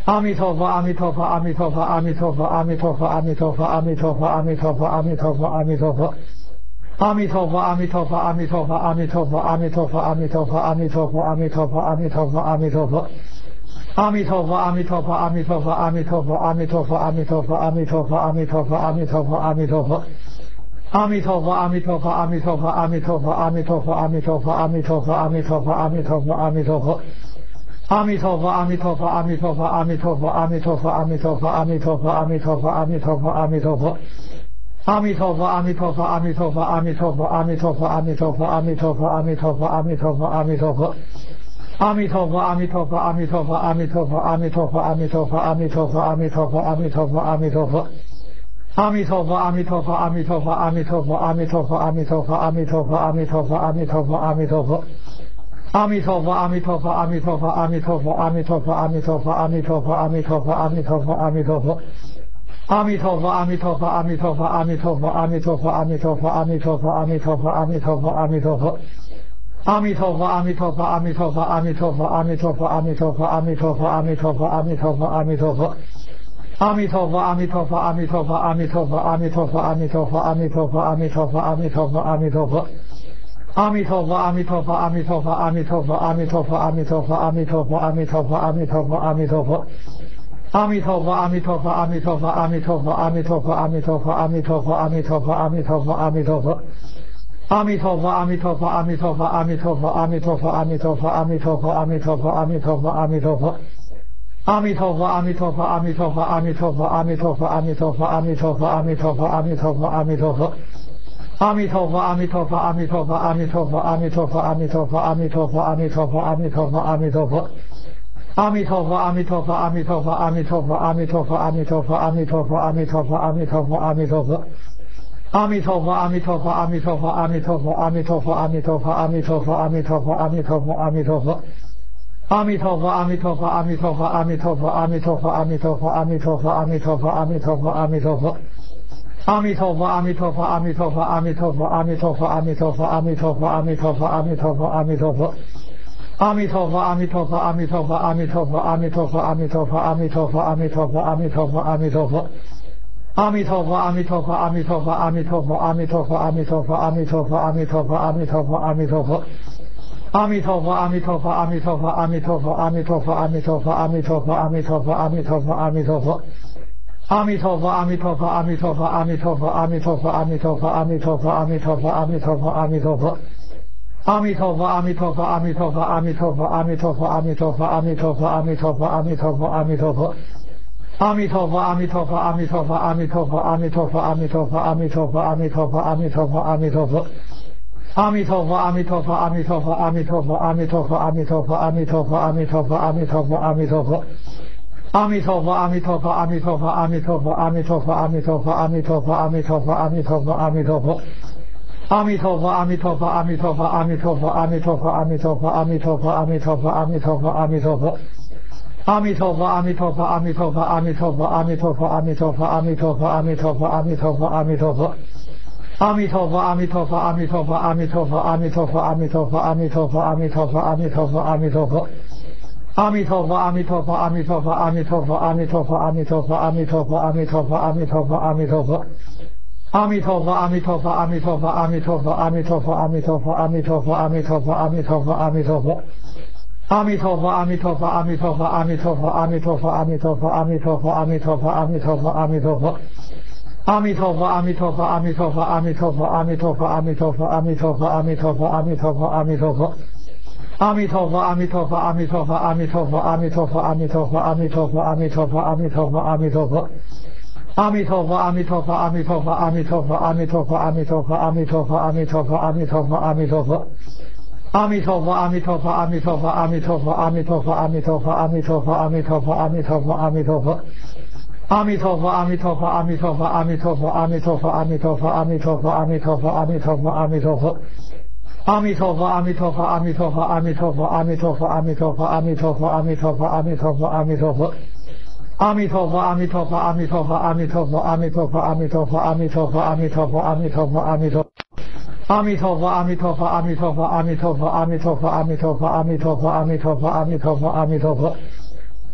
阿弥陀佛，阿弥陀佛，阿弥陀佛，阿弥陀佛，阿弥陀佛，阿弥陀佛，阿弥陀佛，阿弥陀佛，阿弥陀佛，阿弥陀佛。阿弥陀佛，阿弥陀佛，阿弥陀佛，阿弥陀佛，阿弥陀佛，阿弥陀佛，阿弥陀佛，阿弥陀佛，阿弥陀佛，阿弥陀佛。阿弥陀佛，阿弥陀佛，阿弥陀佛，阿弥陀佛，阿弥陀佛，阿弥陀佛，阿弥陀佛，阿弥陀佛，阿弥陀佛，阿弥陀佛。阿弥陀佛，阿弥陀佛，阿弥陀佛，阿弥陀佛，阿弥陀佛，阿弥陀佛，阿弥陀佛，阿弥陀佛，阿弥陀佛，阿弥陀佛。阿弥陀佛，阿弥陀佛，阿弥陀佛，阿弥陀佛，阿弥陀佛，阿弥陀佛，阿弥陀佛，阿弥陀佛，阿弥陀佛，阿弥陀佛。阿弥陀佛，阿弥陀佛，阿弥陀佛，阿弥陀佛，阿弥陀佛，阿弥陀佛，阿弥陀佛，阿弥陀佛，阿弥陀佛，阿弥陀佛。阿弥陀佛，阿弥陀佛，阿弥陀佛，阿弥陀佛，阿弥陀佛，阿弥陀佛，阿弥陀佛，阿弥陀佛，阿弥陀佛，阿弥陀佛。阿弥陀佛，阿弥陀佛，阿弥陀佛，阿弥陀佛，阿弥陀佛，阿弥陀佛，阿弥陀佛，阿弥陀佛，阿弥陀佛，阿弥陀佛。阿弥陀佛，阿弥陀佛，阿弥陀佛，阿弥陀佛，阿弥陀佛，阿弥陀佛，阿弥陀佛，阿弥陀佛，阿弥陀佛，阿弥陀佛。阿弥陀佛，阿弥陀佛，阿弥陀佛，阿弥陀佛，阿弥陀佛，阿弥陀佛，阿弥陀佛，阿弥陀佛，阿弥陀佛，阿弥陀佛。阿弥陀佛，阿弥陀佛，阿弥陀佛，阿弥陀佛，阿弥陀佛，阿弥陀佛，阿弥陀佛，阿弥陀佛，阿弥陀佛，阿弥陀佛。阿弥陀佛，阿弥陀佛，阿弥陀佛，阿弥陀佛，阿弥陀佛，阿弥陀佛，阿弥陀佛，阿弥陀佛，阿弥陀佛，阿弥陀佛。阿弥陀佛，阿弥陀佛，阿弥陀佛，阿弥陀佛，阿弥陀佛，阿弥陀佛，阿弥陀佛，阿弥陀佛，阿弥陀佛，阿弥陀佛。阿弥陀佛，阿弥陀佛，阿弥陀佛，阿弥陀佛，阿弥陀佛，阿弥陀佛，阿弥陀佛，阿弥陀佛，阿弥陀佛，阿弥陀佛。阿弥陀佛，阿弥陀佛，阿弥陀佛，阿弥陀佛，阿弥陀佛，阿弥陀佛，阿弥陀佛，阿弥陀佛，阿弥陀佛，阿弥陀佛。阿弥陀佛，阿弥陀佛，阿弥陀佛，阿弥陀佛，阿弥陀佛，阿弥陀佛，阿弥陀佛，阿弥陀佛，阿弥陀佛，阿弥陀佛。阿弥陀佛，阿弥陀佛，阿弥陀佛，阿弥陀佛，阿弥陀佛，阿弥陀佛，阿弥陀佛，阿弥陀佛，阿弥陀佛，阿弥陀佛。阿弥陀佛，阿弥陀佛，阿弥陀佛，阿弥陀佛，阿弥陀佛，阿弥陀佛，阿弥陀佛，阿弥陀佛，阿弥陀佛，阿弥陀佛。阿弥陀佛，阿弥陀佛，阿弥陀佛，阿弥陀佛，阿弥陀佛，阿弥陀佛，阿弥陀佛，阿弥陀佛，阿弥陀佛，阿弥陀佛。阿弥陀佛，阿弥陀佛，阿弥陀佛，阿弥陀佛，阿弥陀佛，阿弥陀佛，阿弥陀佛，阿弥陀佛，阿弥陀佛，阿弥陀佛。阿弥陀佛，阿弥陀佛，阿弥陀佛，阿弥陀佛，阿弥陀佛，阿弥陀佛，阿弥陀佛，阿弥陀佛，阿弥陀佛，阿弥陀佛。阿弥陀佛，阿弥陀佛，阿弥陀佛，阿弥陀佛，阿弥陀佛，阿弥陀佛，阿弥陀佛，阿弥陀佛，阿弥陀佛，阿弥陀佛。阿弥陀佛，阿弥陀佛，阿弥陀佛，阿弥陀佛，阿弥陀佛，阿弥陀佛，阿弥陀佛，阿弥陀佛，阿弥陀佛，阿弥陀佛。阿弥陀佛，阿弥陀佛，阿弥陀佛，阿弥陀佛，阿弥陀佛，阿弥陀佛，阿弥陀佛，阿弥陀佛，阿弥陀佛，阿弥陀佛。阿弥陀佛，阿弥陀佛，阿弥陀佛，阿弥陀佛，阿弥陀佛，阿弥陀佛，阿弥陀佛，阿弥陀佛，阿弥陀佛，阿弥陀佛。阿弥陀佛，阿弥陀佛，阿弥陀佛，阿弥陀佛，阿弥陀佛，阿弥陀佛，阿弥陀佛，阿弥陀佛，阿弥陀佛，阿弥陀佛。阿弥陀佛，阿弥陀佛，阿弥陀佛，阿弥陀佛，阿弥陀佛，阿弥陀佛，阿弥陀佛，阿弥陀佛，阿弥陀佛，阿弥陀佛。阿弥陀佛，阿弥陀佛，阿弥陀佛，阿弥陀佛，阿弥陀佛，阿弥陀佛，阿弥陀佛，阿弥陀佛，阿弥陀佛，阿弥陀佛。阿弥陀佛，阿弥陀佛，阿弥陀佛，阿弥陀佛，阿弥陀佛，阿弥陀佛，阿弥陀佛，阿弥陀佛，阿弥陀佛，阿弥陀佛。阿弥陀佛，阿弥陀佛，阿弥陀佛，阿弥陀佛，阿弥陀佛，阿弥陀佛，阿弥陀佛，阿弥陀佛，阿弥陀佛，阿弥陀佛。阿弥陀佛，阿弥陀佛，阿弥陀佛，阿弥陀佛，阿弥陀佛，阿弥陀佛，阿弥陀佛，阿弥陀佛，阿弥陀佛，阿弥陀佛。阿弥陀佛，阿弥陀佛，阿弥陀佛，阿弥陀佛，阿弥陀佛，阿弥陀佛，阿弥陀佛，阿弥陀佛，阿弥陀佛，阿弥陀佛。阿弥陀佛，阿弥陀佛，阿弥陀佛，阿弥陀佛，阿弥陀佛，阿弥陀佛，阿弥陀佛，阿弥陀佛，阿弥陀佛，阿弥陀佛。阿弥陀佛，阿弥陀佛，阿弥陀佛，阿弥陀佛，阿弥陀佛，阿弥陀佛，阿弥陀佛，阿弥陀佛，阿弥陀佛，阿弥陀佛。阿弥陀佛，阿弥陀佛，阿弥陀佛，阿弥陀佛，阿弥陀佛，阿弥陀佛，阿弥陀佛，阿弥陀佛，阿弥陀佛，阿弥陀佛。阿弥陀佛，阿弥陀佛，阿弥陀佛，阿弥陀佛，阿弥陀佛，阿弥陀佛，阿弥陀佛，阿弥陀佛，阿弥陀佛，阿弥陀佛。阿弥陀佛，阿弥陀佛，阿弥陀佛，阿弥陀佛，阿弥陀佛，阿弥陀佛，阿弥陀佛，阿弥陀佛，阿弥陀佛，阿弥陀佛。阿弥陀佛，阿弥陀佛，阿弥陀佛，阿弥陀佛，阿弥陀佛，阿弥陀佛，阿弥陀佛，阿弥陀佛，阿弥陀佛，阿弥陀佛。阿弥陀佛，阿弥陀佛，阿弥陀佛，阿弥陀佛，阿弥陀佛，阿弥陀佛，阿弥陀佛，阿弥陀佛，阿弥陀佛，阿弥陀佛。阿弥陀佛，阿弥陀佛，阿弥陀佛，阿弥陀佛，阿弥陀佛，阿弥陀佛，阿弥陀佛，阿弥陀佛，阿弥陀佛，阿弥陀佛。阿弥陀佛，阿弥陀佛，阿弥陀佛，阿弥陀佛，阿弥陀佛，阿弥陀佛，阿弥陀佛，阿弥陀佛，阿弥陀佛，阿弥陀佛。阿弥陀佛，阿弥陀佛，阿弥陀佛，阿弥陀佛，阿弥陀佛，阿弥陀佛，阿弥陀佛，阿弥陀佛，阿弥陀佛，阿弥陀。阿弥陀佛，阿弥陀佛，阿弥陀佛，阿弥陀佛，阿弥陀佛，阿弥陀佛，阿弥陀佛，阿弥陀佛，阿弥陀佛，阿弥陀佛。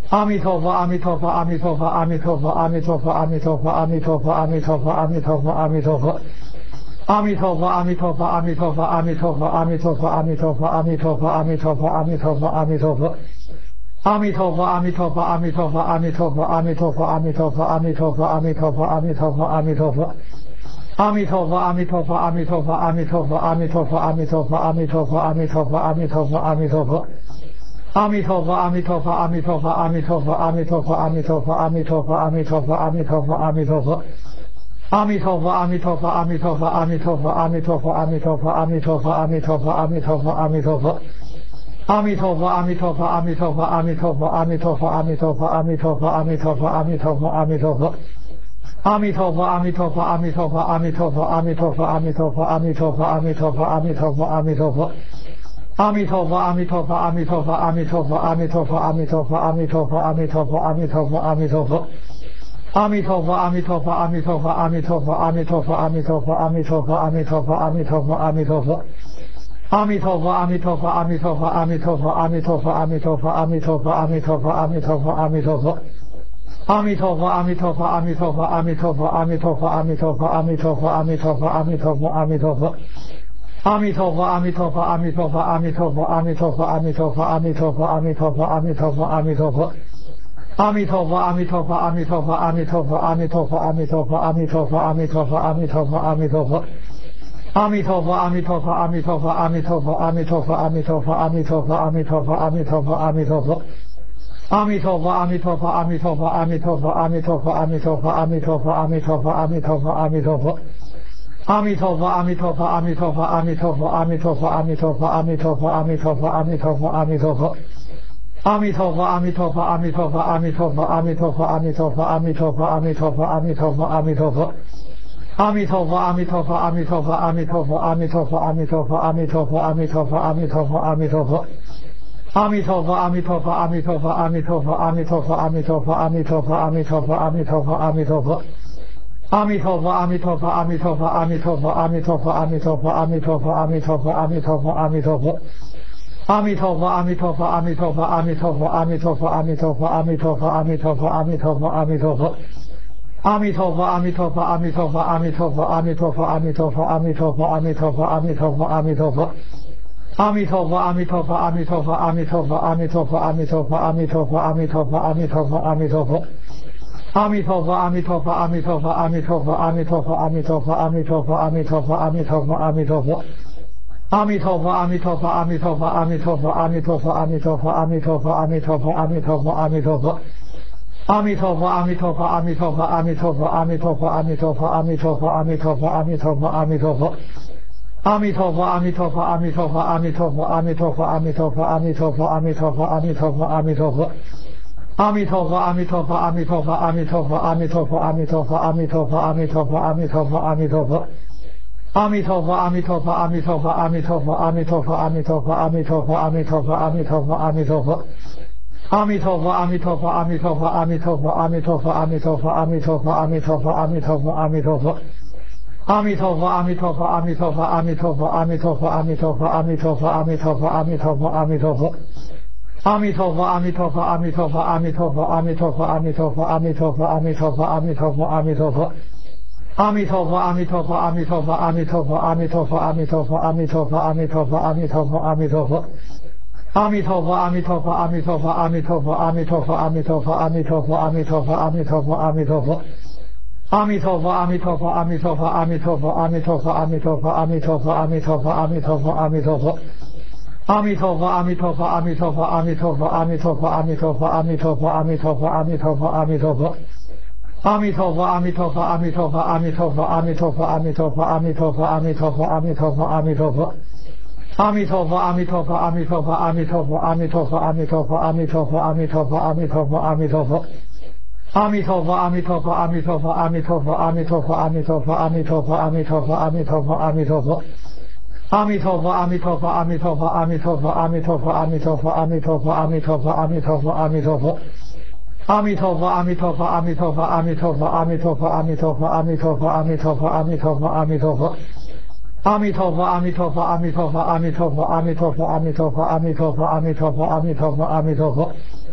阿弥陀佛，阿弥陀佛，阿弥陀佛，阿弥陀佛，阿弥陀佛，阿弥陀佛，阿弥陀佛，阿弥陀佛，阿弥陀佛，阿弥陀佛。阿弥陀佛，阿弥陀佛，阿弥陀佛，阿弥陀佛，阿弥陀佛，阿弥陀佛，阿弥陀佛，阿弥陀佛，阿弥陀佛，阿弥陀佛。阿弥陀佛，阿弥陀佛，阿弥陀佛，阿弥陀佛，阿弥陀佛，阿弥陀佛，阿弥陀佛，阿弥陀佛，阿弥陀佛，阿弥陀佛。阿弥陀佛，阿弥陀佛，阿弥陀佛，阿弥陀佛，阿弥陀佛，阿弥陀佛，阿弥陀佛，阿弥陀佛，阿弥陀佛，阿弥陀佛。阿弥陀佛，阿弥陀佛，阿弥陀佛，阿弥陀佛，阿弥陀佛，阿弥陀佛，阿弥陀佛，阿弥陀佛，阿弥陀佛，阿弥陀佛。阿弥陀佛，阿弥陀佛，阿弥陀佛，阿弥陀佛，阿弥陀佛，阿弥陀佛，阿弥陀佛，阿弥陀佛，阿弥陀佛，阿弥陀佛。阿弥陀佛，阿弥陀佛，阿弥陀佛，阿弥陀佛，阿弥陀佛，阿弥陀佛，阿弥陀佛，阿弥陀佛，阿弥陀佛，阿弥陀佛。阿弥陀佛，阿弥陀佛，阿弥陀佛，阿弥陀佛，阿弥陀佛，阿弥陀佛，阿弥陀佛，阿弥陀佛，阿弥陀佛，阿弥陀佛。阿弥陀佛，阿弥陀佛，阿弥陀佛，阿弥陀佛，阿弥陀佛，阿弥陀佛，阿弥陀佛，阿弥陀佛，阿弥陀佛，阿弥陀佛。阿弥陀佛，阿弥陀佛，阿弥陀佛，阿弥陀佛，阿弥陀佛，阿弥陀佛，阿弥陀佛，阿弥陀佛，阿弥陀佛，阿弥陀佛。阿弥陀佛，阿弥陀佛，阿弥陀佛，阿弥陀佛，阿弥陀佛，阿弥陀佛，阿弥陀佛，阿弥陀佛，阿弥陀佛，阿弥陀佛。阿弥陀佛，阿弥陀佛，阿弥陀佛，阿弥陀佛，阿弥陀佛，阿弥陀佛，阿弥陀佛，阿弥陀佛，阿弥陀佛，阿弥陀佛。阿弥陀佛，阿弥陀佛，阿弥陀佛，阿弥陀佛，阿弥陀佛，阿弥陀佛，阿弥陀佛，阿弥陀佛，阿弥陀佛，阿弥陀佛。阿弥陀佛，阿弥陀佛，阿弥陀佛，阿弥陀佛，阿弥陀佛，阿弥陀佛，阿弥陀佛，阿弥陀佛，阿弥陀佛，阿弥陀佛。阿弥陀佛，阿弥陀佛，阿弥陀佛，阿弥陀佛，阿弥陀佛，阿弥陀佛，阿弥陀佛，阿弥陀佛，阿弥陀佛，阿弥陀佛。阿弥陀佛，阿弥陀佛，阿弥陀佛，阿弥陀佛，阿弥陀佛，阿弥陀佛，阿弥陀佛，阿弥陀佛，阿弥陀佛，阿弥陀佛。阿弥陀佛，阿弥陀佛，阿弥陀佛，阿弥陀佛，阿弥陀佛，阿弥陀佛，阿弥陀佛，阿弥陀佛，阿弥陀佛，阿弥陀佛。阿弥陀佛，阿弥陀佛，阿弥陀佛，阿弥陀佛，阿弥陀佛，阿弥陀佛，阿弥陀佛，阿弥陀佛，阿弥陀佛，阿弥陀佛。阿弥陀佛，阿弥陀佛，阿弥陀佛，阿弥陀佛，阿弥陀佛，阿弥陀佛，阿弥陀佛，阿弥陀佛，阿弥陀佛，阿弥陀佛。阿弥陀佛，阿弥陀佛，阿弥陀佛，阿弥陀佛，阿弥陀佛，阿弥陀佛，阿弥陀佛，阿弥陀佛，阿弥陀佛，阿弥陀佛。阿弥陀佛，阿弥陀佛，阿弥陀佛，阿弥陀佛，阿弥陀佛，阿弥陀佛，阿弥陀佛，阿弥陀佛，阿弥陀佛，阿弥陀佛。阿弥陀佛，阿弥陀佛，阿弥陀佛，阿弥陀佛，阿弥陀佛，阿弥陀佛，阿弥陀佛，阿弥陀佛，阿弥陀佛，阿弥陀佛。阿弥陀佛，阿弥陀佛，阿弥陀佛，阿弥陀佛，阿弥陀佛，阿弥陀佛，阿弥陀佛，阿弥陀佛，阿弥陀佛，阿弥陀佛。阿弥陀佛，阿弥陀佛，阿弥陀佛，阿弥陀佛，阿弥陀佛，阿弥陀佛，阿弥陀佛，阿弥陀佛，阿弥陀佛，阿弥陀佛。阿弥陀佛，阿弥陀佛，阿弥陀佛，阿弥陀佛，阿弥陀佛，阿弥陀佛，阿弥陀佛，阿弥陀佛，阿弥陀佛，阿弥陀佛。阿弥陀佛，阿弥陀佛，阿弥陀佛，阿弥陀佛，阿弥陀佛，阿弥陀佛，阿弥陀佛，阿弥陀佛，阿弥陀佛，阿弥陀佛。阿弥陀佛，阿弥陀佛，阿弥陀佛，阿弥陀佛，阿弥陀佛，阿弥陀佛，阿弥陀佛，阿弥陀佛，阿弥陀佛，阿弥陀佛。阿弥陀佛，阿弥陀佛，阿弥陀佛，阿弥陀佛，阿弥陀佛，阿弥陀佛，阿弥陀佛，阿弥陀佛，阿弥陀佛，阿弥陀佛。阿弥陀佛，阿弥陀佛，阿弥陀佛，阿弥陀佛，阿弥陀佛，阿弥陀佛，阿弥陀佛，阿弥陀佛，阿弥陀佛，阿弥陀佛。阿弥陀佛，阿弥陀佛，阿弥陀佛，阿弥陀佛，阿弥陀佛，阿弥陀佛，阿弥陀佛，阿弥陀佛，阿弥陀佛，阿弥陀佛。阿弥陀佛，阿弥陀佛，阿弥陀佛，阿弥陀佛，阿弥陀佛，阿弥陀佛，阿弥陀佛，阿弥陀佛，阿弥陀佛，阿弥陀佛。阿弥陀佛，阿弥陀佛，阿弥陀佛，阿弥陀佛，阿弥陀佛，阿弥陀佛，阿弥陀佛，阿弥陀佛，阿弥陀佛，阿弥陀佛。阿弥陀佛，阿弥陀佛，阿弥陀佛，阿弥陀佛，阿弥陀佛，阿弥陀佛，阿弥陀佛，阿弥陀佛，阿弥陀佛，阿弥陀佛。阿弥陀佛，阿弥陀佛，阿弥陀佛，阿弥陀佛，阿弥陀佛，阿弥陀佛，阿弥陀佛，阿弥陀佛，阿弥陀佛，阿弥陀佛。阿弥陀佛，阿弥陀佛，阿弥陀佛，阿弥陀佛，阿弥陀佛，阿弥陀佛，阿弥陀佛，阿弥陀佛，阿弥陀佛，阿弥陀佛。阿弥陀佛，阿弥陀佛，阿弥陀佛，阿弥陀佛，阿弥陀佛，阿弥陀佛，阿弥陀佛，阿弥陀佛，阿弥陀佛，阿弥陀佛。阿弥陀佛，阿弥陀佛，阿弥陀佛，阿弥陀佛，阿弥陀佛，阿弥陀佛，阿弥陀佛，阿弥陀佛，阿弥陀佛，阿弥陀佛。阿弥陀佛，阿弥陀佛，阿弥陀佛，阿弥陀佛，阿弥陀佛，阿弥陀佛，阿弥陀佛，阿弥陀佛，阿弥陀佛，阿弥陀佛。阿弥陀佛，阿弥陀佛，阿弥陀佛，阿弥陀佛，阿弥陀佛，阿弥陀佛，阿弥陀佛，阿弥陀佛，阿弥陀佛，阿弥陀佛。阿弥陀佛，阿弥陀佛，阿弥陀佛，阿弥陀佛，阿弥陀佛，阿弥陀佛，阿弥陀佛，阿弥陀佛，阿弥陀佛，阿弥陀佛。阿弥陀佛，阿弥陀佛，阿弥陀佛，阿弥陀佛，阿弥陀佛，阿弥陀佛，阿弥陀佛，阿弥陀佛，阿弥陀佛，阿弥陀佛。阿弥陀佛，阿弥陀佛，阿弥陀佛，阿弥陀佛，阿弥陀佛，阿弥陀佛，阿弥陀佛，阿弥陀佛，阿弥陀佛，阿弥陀佛。阿弥陀佛，阿弥陀佛，阿弥陀佛，阿弥陀佛，阿弥陀佛，阿弥陀佛，阿弥陀佛，阿弥陀佛，阿弥陀佛，阿弥陀佛。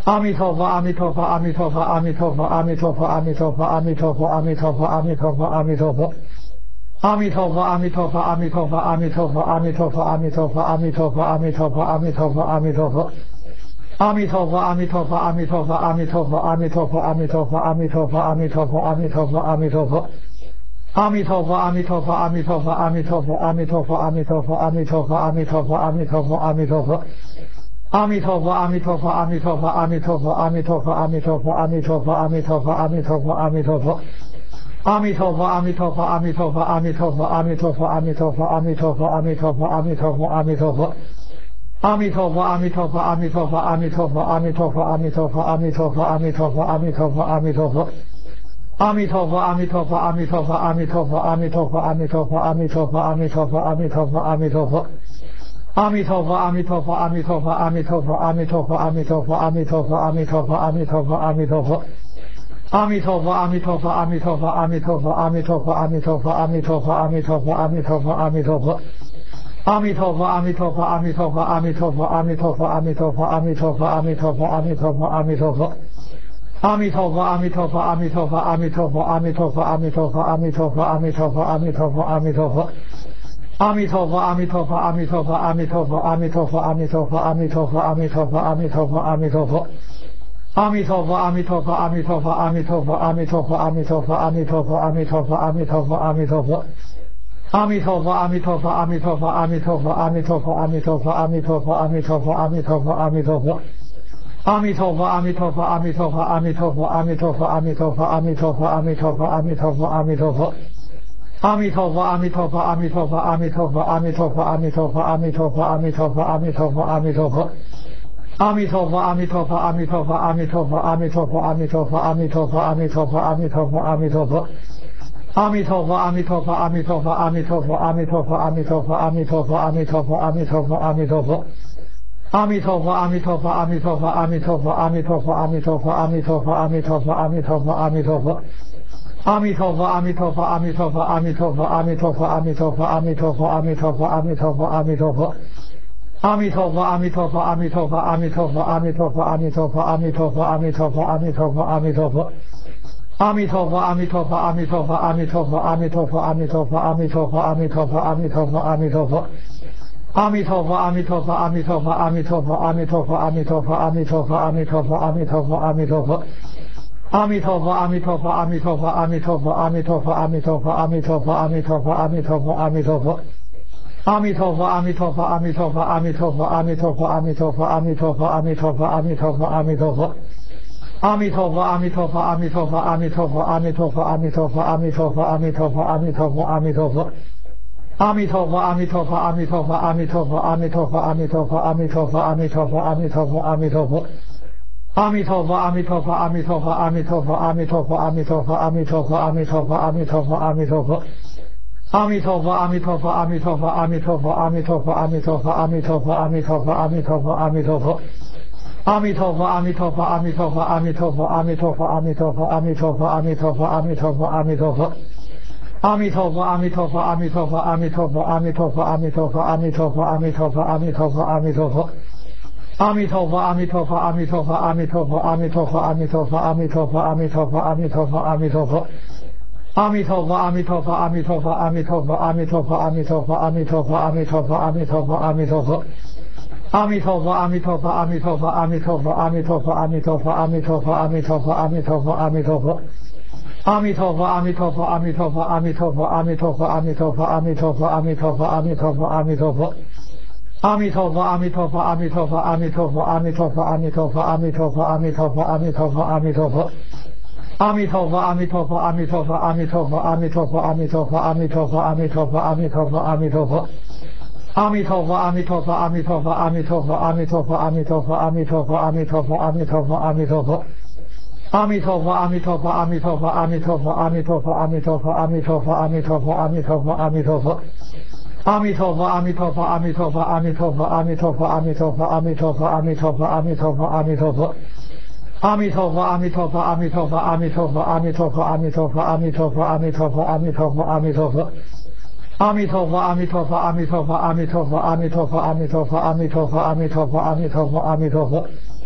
阿弥陀佛，阿弥陀佛，阿弥陀佛，阿弥陀佛，阿弥陀佛，阿弥陀佛，阿弥陀佛，阿弥陀佛，阿弥陀佛，阿弥陀佛。阿弥陀佛，阿弥陀佛，阿弥陀佛，阿弥陀佛，阿弥陀佛，阿弥陀佛，阿弥陀佛，阿弥陀佛，阿弥陀佛，阿弥陀佛。阿弥陀佛，阿弥陀佛，阿弥陀佛，阿弥陀佛，阿弥陀佛，阿弥陀佛，阿弥陀佛，阿弥陀佛，阿弥陀佛，阿弥陀佛。阿弥陀佛，阿弥陀佛，阿弥陀佛，阿弥陀佛，阿弥陀佛，阿弥陀佛，阿弥陀佛，阿弥陀佛，阿弥陀佛，阿弥陀佛。阿弥陀佛，阿弥陀佛，阿弥陀佛，阿弥陀佛，阿弥陀佛，阿弥陀佛，阿弥陀佛，阿弥陀佛，阿弥陀佛，阿弥陀佛。阿弥陀佛，阿弥陀佛，阿弥陀佛，阿弥陀佛，阿弥陀佛，阿弥陀佛，阿弥陀佛，阿弥陀佛，阿弥陀佛，阿弥陀佛。阿弥陀佛，阿弥陀佛，阿弥陀佛，阿弥陀佛，阿弥陀佛，阿弥陀佛，阿弥陀佛，阿弥陀佛，阿弥陀佛，阿弥陀佛。阿弥陀佛，阿弥陀佛，阿弥陀佛，阿弥陀佛，阿弥陀佛，阿弥陀佛，阿弥陀佛，阿弥陀佛，阿弥陀佛，阿弥陀佛。阿弥陀佛，阿弥陀佛，阿弥陀佛，阿弥陀佛，阿弥陀佛，阿弥陀佛，阿弥陀佛，阿弥陀佛，阿弥陀佛，阿弥陀佛。阿弥陀佛，阿弥陀佛，阿弥陀佛，阿弥陀佛，阿弥陀佛，阿弥陀佛，阿弥陀佛，阿弥陀佛，阿弥陀佛，阿弥陀佛。阿弥陀佛，阿弥陀佛，阿弥陀佛，阿弥陀佛，阿弥陀佛，阿弥陀佛，阿弥陀佛，阿弥陀佛，阿弥陀佛，阿弥陀佛。阿弥陀佛，阿弥陀佛，阿弥陀佛，阿弥陀佛，阿弥陀佛，阿弥陀佛，阿弥陀佛，阿弥陀佛，阿弥陀佛，阿弥陀佛。阿弥陀佛，阿弥陀佛，阿弥陀佛，阿弥陀佛，阿弥陀佛，阿弥陀佛，阿弥陀佛，阿弥陀佛，阿弥陀佛，阿弥陀佛。阿弥陀佛，阿弥陀佛，阿弥陀佛，阿弥陀佛，阿弥陀佛，阿弥陀佛，阿弥陀佛，阿弥陀佛，阿弥陀佛，阿弥陀佛。阿弥陀佛，阿弥陀佛，阿弥陀佛，阿弥陀佛，阿弥陀佛，阿弥陀佛，阿弥陀佛，阿弥陀佛，阿弥陀佛，阿弥陀佛。阿弥陀佛，阿弥陀佛，阿弥陀佛，阿弥陀佛，阿弥陀佛，阿弥陀佛，阿弥陀佛，阿弥陀佛，阿弥陀佛，阿弥陀佛。阿弥陀佛，阿弥陀佛，阿弥陀佛，阿弥陀佛，阿弥陀佛，阿弥陀佛，阿弥陀佛，阿弥陀佛，阿弥陀佛，阿弥陀佛。阿弥陀佛，阿弥陀佛，阿弥陀佛，阿弥陀佛，阿弥陀佛，阿弥陀佛，阿弥陀佛，阿弥陀佛，阿弥陀佛，阿弥陀佛。阿弥陀佛，阿弥陀佛，阿弥陀佛，阿弥陀佛，阿弥陀佛，阿弥陀佛，阿弥陀佛，阿弥陀佛，阿弥陀佛，阿弥陀佛。阿弥陀佛，阿弥陀佛，阿弥陀佛，阿弥陀佛，阿弥陀佛，阿弥陀佛，阿弥陀佛，阿弥陀佛，阿弥陀佛，阿弥陀佛。阿弥陀佛，阿弥陀佛，阿弥陀佛，阿弥陀佛，阿弥陀佛，阿弥陀佛，阿弥陀佛，阿弥陀佛，阿弥陀佛，阿弥陀佛。阿弥陀佛，阿弥陀佛，阿弥陀佛，阿弥陀佛，阿弥陀佛，阿弥陀佛，阿弥陀佛，阿弥陀佛，阿弥陀佛，阿弥陀佛。阿弥陀佛，阿弥陀佛，阿弥陀佛，阿弥陀佛，阿弥陀佛，阿弥陀佛，阿弥陀佛，阿弥陀佛，阿弥陀佛，阿弥陀佛。阿弥陀佛，阿弥陀佛，阿弥陀佛，阿弥陀佛，阿弥陀佛，阿弥陀佛，阿弥陀佛，阿弥陀佛，阿弥陀佛，阿弥陀佛。阿弥陀佛，阿弥陀佛，阿弥陀佛，阿弥陀佛，阿弥陀佛，阿弥陀佛，阿弥陀佛，阿弥陀佛，阿弥陀佛，阿弥陀佛。阿弥陀佛，阿弥陀佛，阿弥陀佛，阿弥陀佛，阿弥陀佛，阿弥陀佛，阿弥陀佛，阿弥陀佛，阿弥陀佛，阿弥陀佛。阿弥陀佛，阿弥陀佛，阿弥陀佛，阿弥陀佛，阿弥陀佛，阿弥陀佛，阿弥陀佛，阿弥陀佛，阿弥陀佛，阿弥陀佛。阿弥陀佛，阿弥陀佛，阿弥陀佛，阿弥陀佛，阿弥陀佛，阿弥陀佛，阿弥陀佛，阿弥陀佛，阿弥陀佛，阿弥陀佛。阿弥陀佛，阿弥陀佛，阿弥陀佛，阿弥陀佛，阿弥陀佛，阿弥陀佛，阿弥陀佛，阿弥陀佛，阿弥陀佛，阿弥陀佛。阿弥陀佛，阿弥陀佛，阿弥陀佛，阿弥陀佛，阿弥陀佛，阿弥陀佛，阿弥陀佛，阿弥陀佛，阿弥陀佛，阿弥陀佛。阿弥陀佛，阿弥陀佛，阿弥陀佛，阿弥陀佛，阿弥陀佛，阿弥陀佛，阿弥陀佛，阿弥陀佛，阿弥陀佛，阿弥陀佛。阿弥陀佛，阿弥陀佛，阿弥陀佛，阿弥陀佛，阿弥陀佛，阿弥陀佛，阿弥陀佛，阿弥陀佛，阿弥陀佛，阿弥陀佛。阿弥陀佛，阿弥陀佛，阿弥陀佛，阿弥陀佛，阿弥陀佛，阿弥陀佛，阿弥陀佛，阿弥陀佛，阿弥陀佛，阿弥陀佛。阿弥陀佛，阿弥陀佛，阿弥陀佛，阿弥陀佛，阿弥陀佛，阿弥陀佛，阿弥陀佛，阿弥陀佛，阿弥陀佛，阿弥陀佛。阿弥陀佛，阿弥陀佛，阿弥陀佛，阿弥陀佛，阿弥陀佛，阿弥陀佛，阿弥陀佛，阿弥陀佛，阿弥陀佛，阿弥陀佛。阿弥陀佛，阿弥陀佛，阿弥陀佛，阿弥陀佛，阿弥陀佛，阿弥陀佛，阿弥陀佛，阿弥陀佛，阿弥陀佛，阿弥陀佛。阿弥陀佛，阿弥陀佛，阿弥陀佛，阿弥陀佛，阿弥陀佛，阿弥陀佛，阿弥陀佛，阿弥陀佛，阿弥陀佛，阿弥陀佛。阿弥陀佛，阿弥陀佛，阿弥陀佛，阿弥陀佛，阿弥陀佛，阿弥陀佛，阿弥陀佛，阿弥陀佛，阿弥陀佛，阿弥陀佛。阿弥陀佛，阿弥陀佛，阿弥陀佛，阿弥陀佛，阿弥陀佛，阿弥陀佛，阿弥陀佛，阿弥陀佛，阿弥陀佛，阿弥陀佛。阿弥陀佛，阿弥陀佛，阿弥陀佛，阿弥陀佛，阿弥陀佛，阿弥陀佛，阿弥陀佛，阿弥陀佛，阿弥陀佛，阿弥陀佛。阿弥陀佛，阿弥陀佛，阿弥陀佛，阿弥陀佛，阿弥陀佛，阿弥陀佛，阿弥陀佛，阿弥陀佛，阿弥陀佛，阿弥陀佛。阿弥陀佛，阿弥陀佛，阿弥陀佛，阿弥陀佛，阿弥陀佛，阿弥陀佛，阿弥陀佛，阿弥陀佛，阿弥陀佛，阿弥陀佛。阿弥陀佛，阿弥陀佛，阿弥陀佛，阿弥陀佛，阿弥陀佛，阿弥陀佛，阿弥陀佛，阿弥陀佛，阿弥陀佛，阿弥陀佛。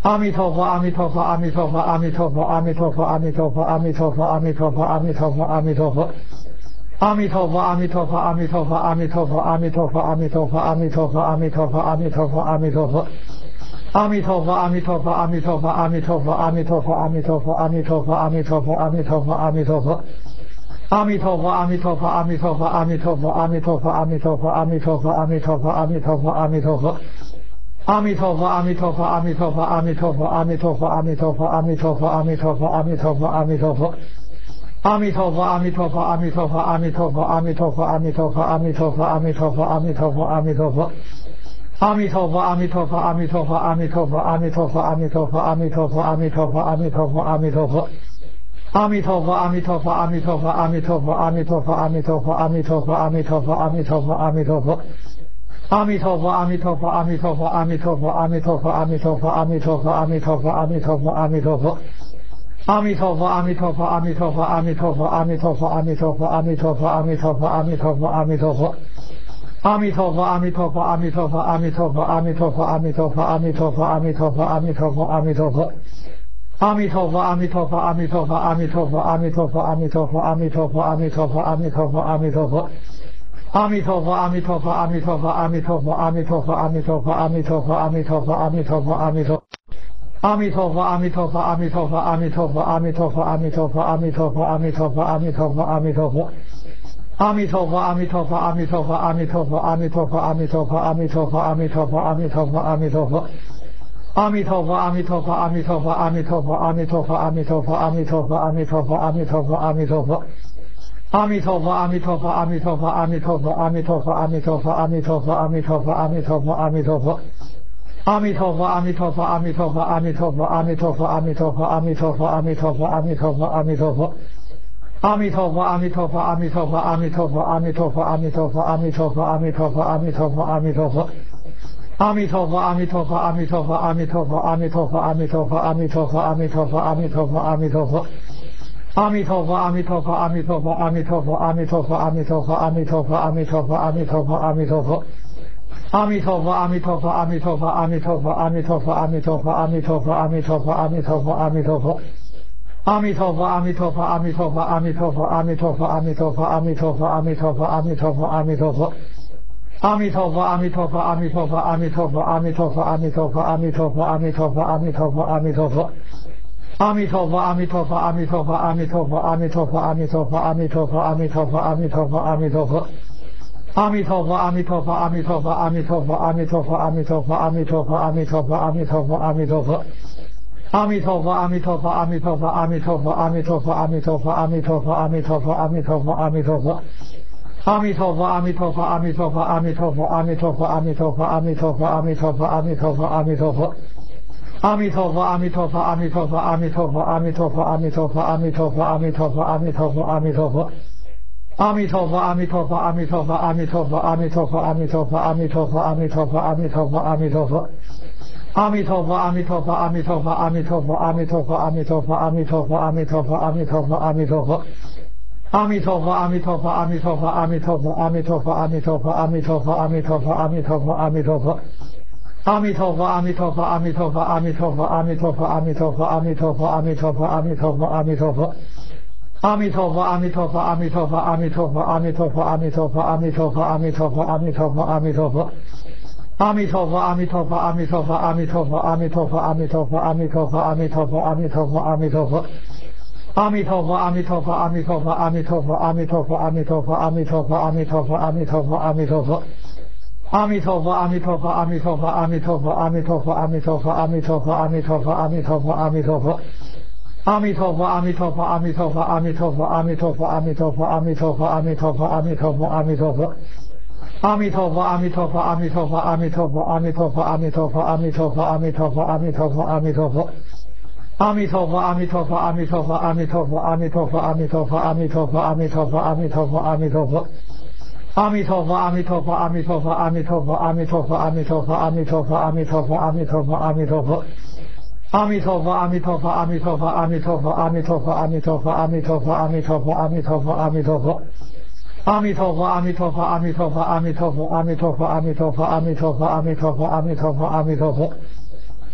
阿弥陀佛，阿弥陀佛，阿弥陀佛，阿弥陀佛，阿弥陀佛，阿弥陀佛，阿弥陀佛，阿弥陀佛，阿弥陀佛，阿弥陀佛。阿弥陀佛，阿弥陀佛，阿弥陀佛，阿弥陀佛，阿弥陀佛，阿弥陀佛，阿弥陀佛，阿弥陀佛，阿弥陀佛，阿弥陀佛。阿弥陀佛，阿弥陀佛，阿弥陀佛，阿弥陀佛，阿弥陀佛，阿弥陀佛，阿弥陀佛，阿弥陀佛，阿弥陀佛，阿弥陀佛。阿弥陀佛，阿弥陀佛，阿弥陀佛，阿弥陀佛，阿弥陀佛，阿弥陀佛，阿弥陀佛，阿弥陀佛，阿弥陀佛，阿弥陀佛。阿弥陀佛，阿弥陀佛，阿弥陀佛，阿弥陀佛，阿弥陀佛，阿弥陀佛，阿弥陀佛，阿弥陀佛，阿弥陀佛，阿弥陀佛。阿弥陀佛，阿弥陀佛，阿弥陀佛，阿弥陀佛，阿弥陀佛，阿弥陀佛，阿弥陀佛，阿弥陀佛，阿弥陀佛，阿弥陀佛。阿弥陀佛，阿弥陀佛，阿弥陀佛，阿弥陀佛，阿弥陀佛，阿弥陀佛，阿弥陀佛，阿弥陀佛，阿弥陀佛，阿弥陀佛。阿弥陀佛，阿弥陀佛，阿弥陀佛，阿弥陀佛，阿弥陀佛，阿弥陀佛，阿弥陀佛，阿弥陀佛，阿弥陀佛，阿弥陀佛。阿弥陀佛，阿弥陀佛，阿弥陀佛，阿弥陀佛，阿弥陀佛，阿弥陀佛，阿弥陀佛，阿弥陀佛，阿弥陀佛，阿弥陀佛。阿弥陀佛，阿弥陀佛，阿弥陀佛，阿弥陀佛，阿弥陀佛，阿弥陀佛，阿弥陀佛，阿弥陀佛，阿弥陀佛，阿弥陀佛。阿弥陀佛，阿弥陀佛，阿弥陀佛，阿弥陀佛，阿弥陀佛，阿弥陀佛，阿弥陀佛，阿弥陀佛，阿弥陀佛，阿弥陀佛。阿弥陀佛，阿弥陀佛，阿弥陀佛，阿弥陀佛，阿弥陀佛，阿弥陀佛，阿弥陀佛，阿弥陀佛，阿弥陀佛，阿弥陀佛。阿弥陀佛，阿弥陀佛，阿弥陀佛，阿弥陀佛，阿弥陀佛，阿弥陀佛，阿弥陀佛，阿弥陀佛，阿弥陀佛，阿弥陀。阿弥陀佛，阿弥陀佛，阿弥陀佛，阿弥陀佛，阿弥陀佛，阿弥陀佛，阿弥陀佛，阿弥陀佛，阿弥陀佛，阿弥陀佛。阿弥陀佛，阿弥陀佛，阿弥陀佛，阿弥陀佛，阿弥陀佛，阿弥陀佛，阿弥陀佛，阿弥陀佛，阿弥陀佛，阿弥陀佛。阿弥陀佛，阿弥陀佛，阿弥陀佛，阿弥陀佛，阿弥陀佛，阿弥陀佛，阿弥陀佛，阿弥陀佛，阿弥陀佛，阿弥陀佛。阿弥陀佛，阿弥陀佛，阿弥陀佛，阿弥陀佛，阿弥陀佛，阿弥陀佛，阿弥陀佛，阿弥陀佛，阿弥陀佛，阿弥陀佛。阿弥陀佛，阿弥陀佛，阿弥陀佛，阿弥陀佛，阿弥陀佛，阿弥陀佛，阿弥陀佛，阿弥陀佛，阿弥陀佛，阿弥陀佛。阿弥陀佛，阿弥陀佛，阿弥陀佛，阿弥陀佛，阿弥陀佛，阿弥陀佛，阿弥陀佛，阿弥陀佛，阿弥陀佛，阿弥陀佛。阿弥陀佛，阿弥陀佛，阿弥陀佛，阿弥陀佛，阿弥陀佛，阿弥陀佛，阿弥陀佛，阿弥陀佛，阿弥陀佛，阿弥陀佛。阿弥陀佛，阿弥陀佛，阿弥陀佛，阿弥陀佛，阿弥陀佛，阿弥陀佛，阿弥陀佛，阿弥陀佛，阿弥陀佛，阿弥陀佛。阿弥陀佛，阿弥陀佛，阿弥陀佛，阿弥陀佛，阿弥陀佛，阿弥陀佛，阿弥陀佛，阿弥陀佛，阿弥陀佛，阿弥陀佛。阿弥陀佛，阿弥陀佛，阿弥陀佛，阿弥陀佛，阿弥陀佛，阿弥陀佛，阿弥陀佛，阿弥陀佛，阿弥陀佛，阿弥陀佛。阿弥陀佛，阿弥陀佛，阿弥陀佛，阿弥陀佛，阿弥陀佛，阿弥陀佛，阿弥陀佛，阿弥陀佛，阿弥陀佛，阿弥陀佛。阿弥陀佛，阿弥陀佛，阿弥陀佛，阿弥陀佛，阿弥陀佛，阿弥陀佛，阿弥陀佛，阿弥陀佛，阿弥陀佛，阿弥陀佛。阿弥陀佛，阿弥陀佛，阿弥陀佛，阿弥陀佛，阿弥陀佛，阿弥陀佛，阿弥陀佛，阿弥陀佛，阿弥陀佛，阿弥陀佛。阿弥陀佛，阿弥陀佛，阿弥陀佛，阿弥陀佛，阿弥陀佛，阿弥陀佛，阿弥陀佛，阿弥陀佛，阿弥陀佛，阿弥陀佛。阿弥陀佛，阿弥陀佛，阿弥陀佛，阿弥陀佛，阿弥陀佛，阿弥陀佛，阿弥陀佛，阿弥陀佛，阿弥陀佛，阿弥陀佛。阿弥陀佛，阿弥陀佛，阿弥陀佛，阿弥陀佛，阿弥陀佛，阿弥陀佛，阿弥陀佛，阿弥陀佛，阿弥陀佛，阿弥陀佛。阿弥陀佛，阿弥陀佛，阿弥陀佛，阿弥陀佛，阿弥陀佛，阿弥陀佛，阿弥陀佛，阿弥陀佛，阿弥陀佛，阿弥陀佛。阿弥陀佛，阿弥陀佛，阿弥陀佛，阿弥陀佛，阿弥陀佛，阿弥陀佛，阿弥陀佛，阿弥陀佛，阿弥陀佛，阿弥陀佛。阿弥陀佛，阿弥陀佛，阿弥陀佛，阿弥陀佛，阿弥陀佛，阿弥陀佛，阿弥陀佛，阿弥陀佛，阿弥陀佛，阿弥陀佛。阿弥陀佛，阿弥陀佛，阿弥陀佛，阿弥陀佛，阿弥陀佛，阿弥陀佛，阿弥陀佛，阿弥陀佛，阿弥陀佛，阿弥陀佛。阿弥陀佛，阿弥陀佛，阿弥陀佛，阿弥陀佛，阿弥陀佛，阿弥陀佛，阿弥陀佛，阿弥陀佛，阿弥陀佛，阿弥陀佛。阿弥陀佛，阿弥陀佛，阿弥陀佛，阿弥陀佛，阿弥陀佛，阿弥陀佛，阿弥陀佛，阿弥陀佛，阿弥陀佛，阿弥陀佛。阿弥陀佛，阿弥陀佛，阿弥陀佛，阿弥陀佛，阿弥陀佛，阿弥陀佛，阿弥陀佛，阿弥陀佛，阿弥陀佛，阿弥陀佛。阿弥陀佛，阿弥陀佛，阿弥陀佛，阿弥陀佛，阿弥陀佛，阿弥陀佛，阿弥陀佛，阿弥陀佛，阿弥陀佛，阿弥陀佛。阿弥陀佛，阿弥陀佛，阿弥陀佛，阿弥陀佛，阿弥陀佛，阿弥陀佛，阿弥陀佛，阿弥陀佛，阿弥陀佛，阿弥陀佛。阿弥陀佛，阿弥陀佛，阿弥陀佛，阿弥陀佛，阿弥陀佛，阿弥陀佛，阿弥陀佛，阿弥陀佛，阿弥陀佛，阿弥陀佛。阿弥陀佛，阿弥陀佛，阿弥陀佛，阿弥陀佛，阿弥陀佛，阿弥陀佛，阿弥陀佛，阿弥陀佛，阿弥陀佛，阿弥陀佛。阿弥陀佛，阿弥陀佛，阿弥陀佛，阿弥陀佛，阿弥陀佛，阿弥陀佛，阿弥陀佛，阿弥陀佛，阿弥陀佛，阿弥陀佛。阿弥陀佛，阿弥陀佛，阿弥陀佛，阿弥陀佛，阿弥陀佛，阿弥陀佛，阿弥陀佛，阿弥陀佛，阿弥陀佛，阿弥陀佛。阿弥陀佛，阿弥陀佛，阿弥陀佛，阿弥陀佛，阿弥陀佛，阿弥陀佛，阿弥陀佛，阿弥陀佛，阿弥陀佛，阿弥陀佛。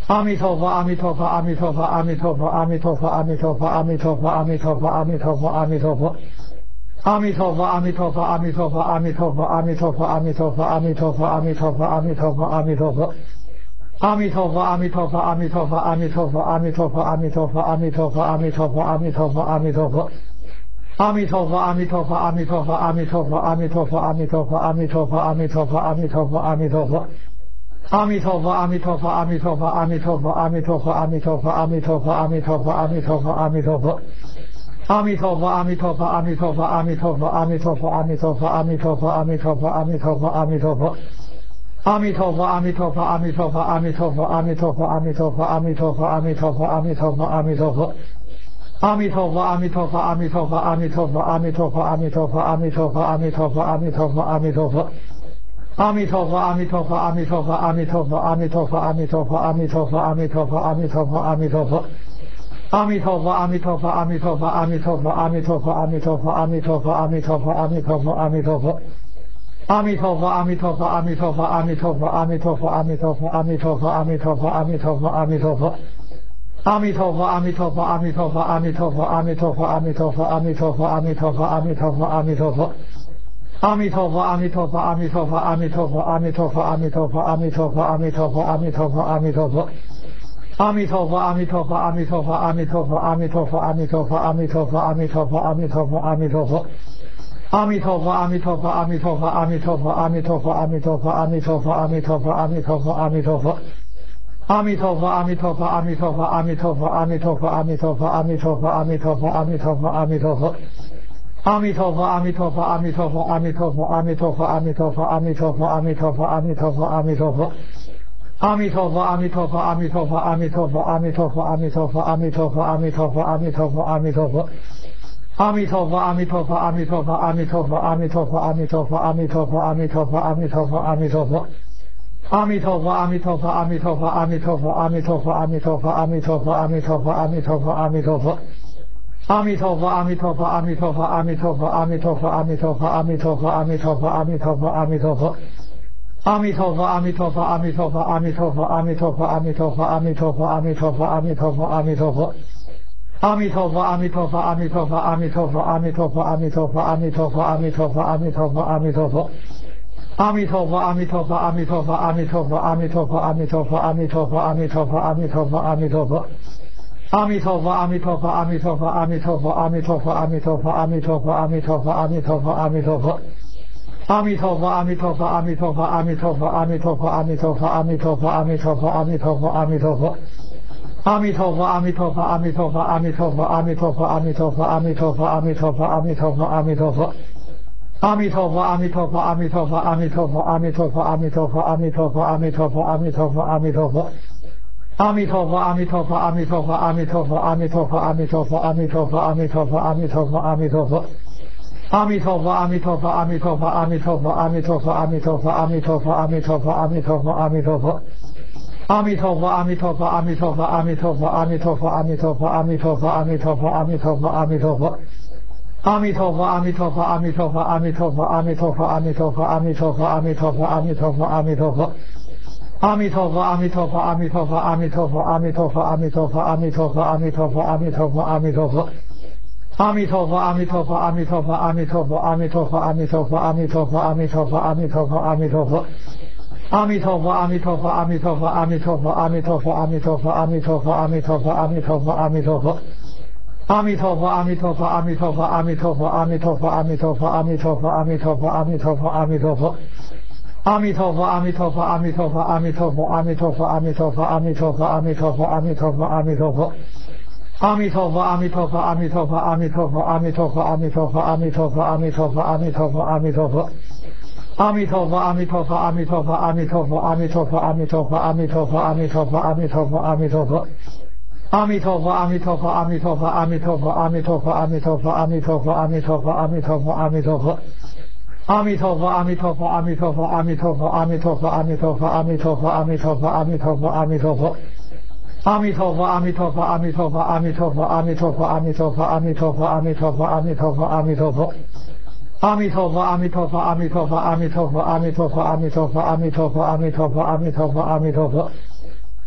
阿弥陀佛，阿弥陀佛，阿弥陀佛，阿弥陀佛，阿弥陀佛，阿弥陀佛，阿弥陀佛，阿弥陀佛，阿弥陀佛，阿弥陀佛。阿弥陀佛，阿弥陀佛，阿弥陀佛，阿弥陀佛，阿弥陀佛，阿弥陀佛，阿弥陀佛，阿弥陀佛，阿弥陀佛，阿弥陀佛。阿弥陀佛，阿弥陀佛，阿弥陀佛，阿弥陀佛，阿弥陀佛，阿弥陀佛，阿弥陀佛，阿弥陀佛，阿弥陀佛，阿弥陀佛。阿弥陀佛，阿弥陀佛，阿弥陀佛，阿弥陀佛，阿弥陀佛，阿弥陀佛，阿弥陀佛，阿弥陀佛，阿弥陀佛，阿弥陀佛。阿弥陀佛，阿弥陀佛，阿弥陀佛，阿弥陀佛，阿弥陀佛，阿弥陀佛，阿弥陀佛，阿弥陀佛，阿弥陀佛，阿弥陀佛。阿弥陀佛，阿弥陀佛，阿弥陀佛，阿弥陀佛，阿弥陀佛，阿弥陀佛，阿弥陀佛，阿弥陀佛，阿弥陀佛，阿弥陀佛。阿弥陀佛，阿弥陀佛，阿弥陀佛，阿弥陀佛，阿弥陀佛，阿弥陀佛，阿弥陀佛，阿弥陀佛，阿弥陀佛，阿弥陀佛。阿弥陀佛，阿弥陀佛，阿弥陀佛，阿弥陀佛，阿弥陀佛，阿弥陀佛，阿弥陀佛，阿弥陀佛，阿弥陀佛，阿弥陀佛。阿弥陀佛，阿弥陀佛，阿弥陀佛，阿弥陀佛，阿弥陀佛，阿弥陀佛，阿弥陀佛，阿弥陀佛，阿弥陀佛，阿弥陀佛。阿弥陀佛，阿弥陀佛，阿弥陀佛，阿弥陀佛，阿弥陀佛，阿弥陀佛，阿弥陀佛，阿弥陀佛，阿弥陀佛，阿弥陀佛。阿弥陀佛，阿弥陀佛，阿弥陀佛，阿弥陀佛，阿弥陀佛，阿弥陀佛，阿弥陀佛，阿弥陀佛，阿弥陀佛，阿弥陀佛。阿弥陀佛，阿弥陀佛，阿弥陀佛，阿弥陀佛，阿弥陀佛，阿弥陀佛，阿弥陀佛，阿弥陀佛，阿弥陀佛，阿弥陀佛。阿弥陀佛，阿弥陀佛，阿弥陀佛，阿弥陀佛，阿弥陀佛，阿弥陀佛，阿弥陀佛，阿弥陀佛，阿弥陀佛，阿弥陀佛。阿弥陀佛，阿弥陀佛，阿弥陀佛，阿弥陀佛，阿弥陀佛，阿弥陀佛，阿弥陀佛，阿弥陀佛，阿弥陀佛，阿弥陀佛。阿弥陀佛，阿弥陀佛，阿弥陀佛，阿弥陀佛，阿弥陀佛，阿弥陀佛，阿弥陀佛，阿弥陀佛，阿弥陀佛，阿弥陀佛。阿弥陀佛，阿弥陀佛，阿弥陀佛，阿弥陀佛，阿弥陀佛，阿弥陀佛，阿弥陀佛，阿弥陀佛，阿弥陀佛，阿弥陀佛。阿弥陀佛，阿弥陀佛，阿弥陀佛，阿弥陀佛，阿弥陀佛，阿弥陀佛，阿弥陀佛，阿弥陀佛，阿弥陀佛，阿弥陀佛。阿弥陀佛，阿弥陀佛，阿弥陀佛，阿弥陀佛，阿弥陀佛，阿弥陀佛，阿弥陀佛，阿弥陀佛，阿弥陀佛，阿弥陀佛。阿弥陀佛，阿弥陀佛，阿弥陀佛，阿弥陀佛，阿弥陀佛，阿弥陀佛，阿弥陀佛，阿弥陀佛，阿弥陀佛，阿弥陀佛。阿弥陀佛，阿弥陀佛，阿弥陀佛，阿弥陀佛，阿弥陀佛，阿弥陀佛，阿弥陀佛，阿弥陀佛，阿弥陀佛，阿弥陀佛。阿弥陀佛，阿弥陀佛，阿弥陀佛，阿弥陀佛，阿弥陀佛，阿弥陀佛，阿弥陀佛，阿弥陀佛，阿弥陀佛，阿弥陀佛。阿弥陀佛，阿弥陀佛，阿弥陀佛，阿弥陀佛，阿弥陀佛，阿弥陀佛，阿弥陀佛，阿弥陀佛，阿弥陀佛，阿弥陀佛。阿弥陀佛，阿弥陀佛，阿弥陀佛，阿弥陀佛，阿弥陀佛，阿弥陀佛，阿弥陀佛，阿弥陀佛，阿弥陀佛，阿弥陀佛。阿弥陀佛，阿弥陀佛，阿弥陀佛，阿弥陀佛，阿弥陀佛，阿弥陀佛，阿弥陀佛，阿弥陀佛，阿弥陀佛，阿弥陀佛。阿弥陀佛，阿弥陀佛，阿弥陀佛，阿弥陀佛，阿弥陀佛，阿弥陀佛，阿弥陀佛，阿弥陀佛，阿弥陀佛，阿弥陀佛。阿弥陀佛，阿弥陀佛，阿弥陀佛，阿弥陀佛，阿弥陀佛，阿弥陀佛，阿弥陀佛，阿弥陀佛，阿弥陀佛，阿弥陀佛。阿弥陀佛，阿弥陀佛，阿弥陀佛，阿弥陀佛，阿弥陀佛，阿弥陀佛，阿弥陀佛，阿弥陀佛，阿弥陀佛，阿弥陀佛。阿弥陀佛，阿弥陀佛，阿弥陀佛，阿弥陀佛，阿弥陀佛，阿弥陀佛，阿弥陀佛，阿弥陀佛，阿弥陀佛，阿弥陀佛。阿弥陀佛，阿弥陀佛，阿弥陀佛，阿弥陀佛，阿弥陀佛，阿弥陀佛，阿弥陀佛，阿弥陀佛，阿弥陀佛，阿弥陀佛。阿弥陀佛，阿弥陀佛，阿弥陀佛，阿弥陀佛，阿弥陀佛，阿弥陀佛，阿弥陀佛，阿弥陀佛，阿弥陀佛，阿弥陀佛。阿弥陀佛，阿弥陀佛，阿弥陀佛，阿弥陀佛，阿弥陀佛，阿弥陀佛，阿弥陀佛，阿弥陀佛，阿弥陀佛，阿弥陀佛。阿弥陀佛，阿弥陀佛，阿弥陀佛，阿弥陀佛，阿弥陀佛，阿弥陀佛，阿弥陀佛，阿弥陀佛，阿弥陀佛，阿弥陀佛。阿弥陀佛，阿弥陀佛，阿弥陀佛，阿弥陀佛，阿弥陀佛，阿弥陀佛，阿弥陀佛，阿弥陀佛，阿弥陀佛，阿弥陀佛。阿弥陀佛，阿弥陀佛，阿弥陀佛，阿弥陀佛，阿弥陀佛，阿弥陀佛，阿弥陀佛，阿弥陀佛，阿弥陀佛，阿弥陀佛。阿弥陀佛，阿弥陀佛，阿弥陀佛，阿弥陀佛，阿弥陀佛，阿弥陀佛，阿弥陀佛，阿弥陀佛，阿弥陀佛，阿弥陀佛。阿弥陀佛，阿弥陀佛，阿弥陀佛，阿弥陀佛，阿弥陀佛，阿弥陀佛，阿弥陀佛，阿弥陀佛，阿弥陀佛，阿弥陀佛。阿弥陀佛，阿弥陀佛，阿弥陀佛，阿弥陀佛，阿弥陀佛，阿弥陀佛，阿弥陀佛，阿弥陀佛，阿弥陀佛，阿弥陀佛。阿弥陀佛，阿弥陀佛，阿弥陀佛，阿弥陀佛，阿弥陀佛，阿弥陀佛，阿弥陀佛，阿弥陀佛，阿弥陀佛，阿弥陀佛。阿弥陀佛，阿弥陀佛，阿弥陀佛，阿弥陀佛，阿弥陀佛，阿弥陀佛，阿弥陀佛，阿弥陀佛，阿弥陀佛，阿弥陀佛。阿弥陀佛，阿弥陀佛，阿弥陀佛，阿弥陀佛，阿弥陀佛，阿弥陀佛，阿弥陀佛，阿弥陀佛，阿弥陀佛，阿弥陀佛。阿弥陀佛，阿弥陀佛，阿弥陀佛，阿弥陀佛，阿弥陀佛，阿弥陀佛，阿弥陀佛，阿弥陀佛，阿弥陀佛，阿弥陀佛。阿弥陀佛，阿弥陀佛，阿弥陀佛，阿弥陀佛，阿弥陀佛，阿弥陀佛，阿弥陀佛，阿弥陀佛，阿弥陀佛，阿弥陀佛。阿弥陀佛，阿弥陀佛，阿弥陀佛，阿弥陀佛，阿弥陀佛，阿弥陀佛，阿弥陀佛，阿弥陀佛，阿弥陀佛，阿弥陀佛。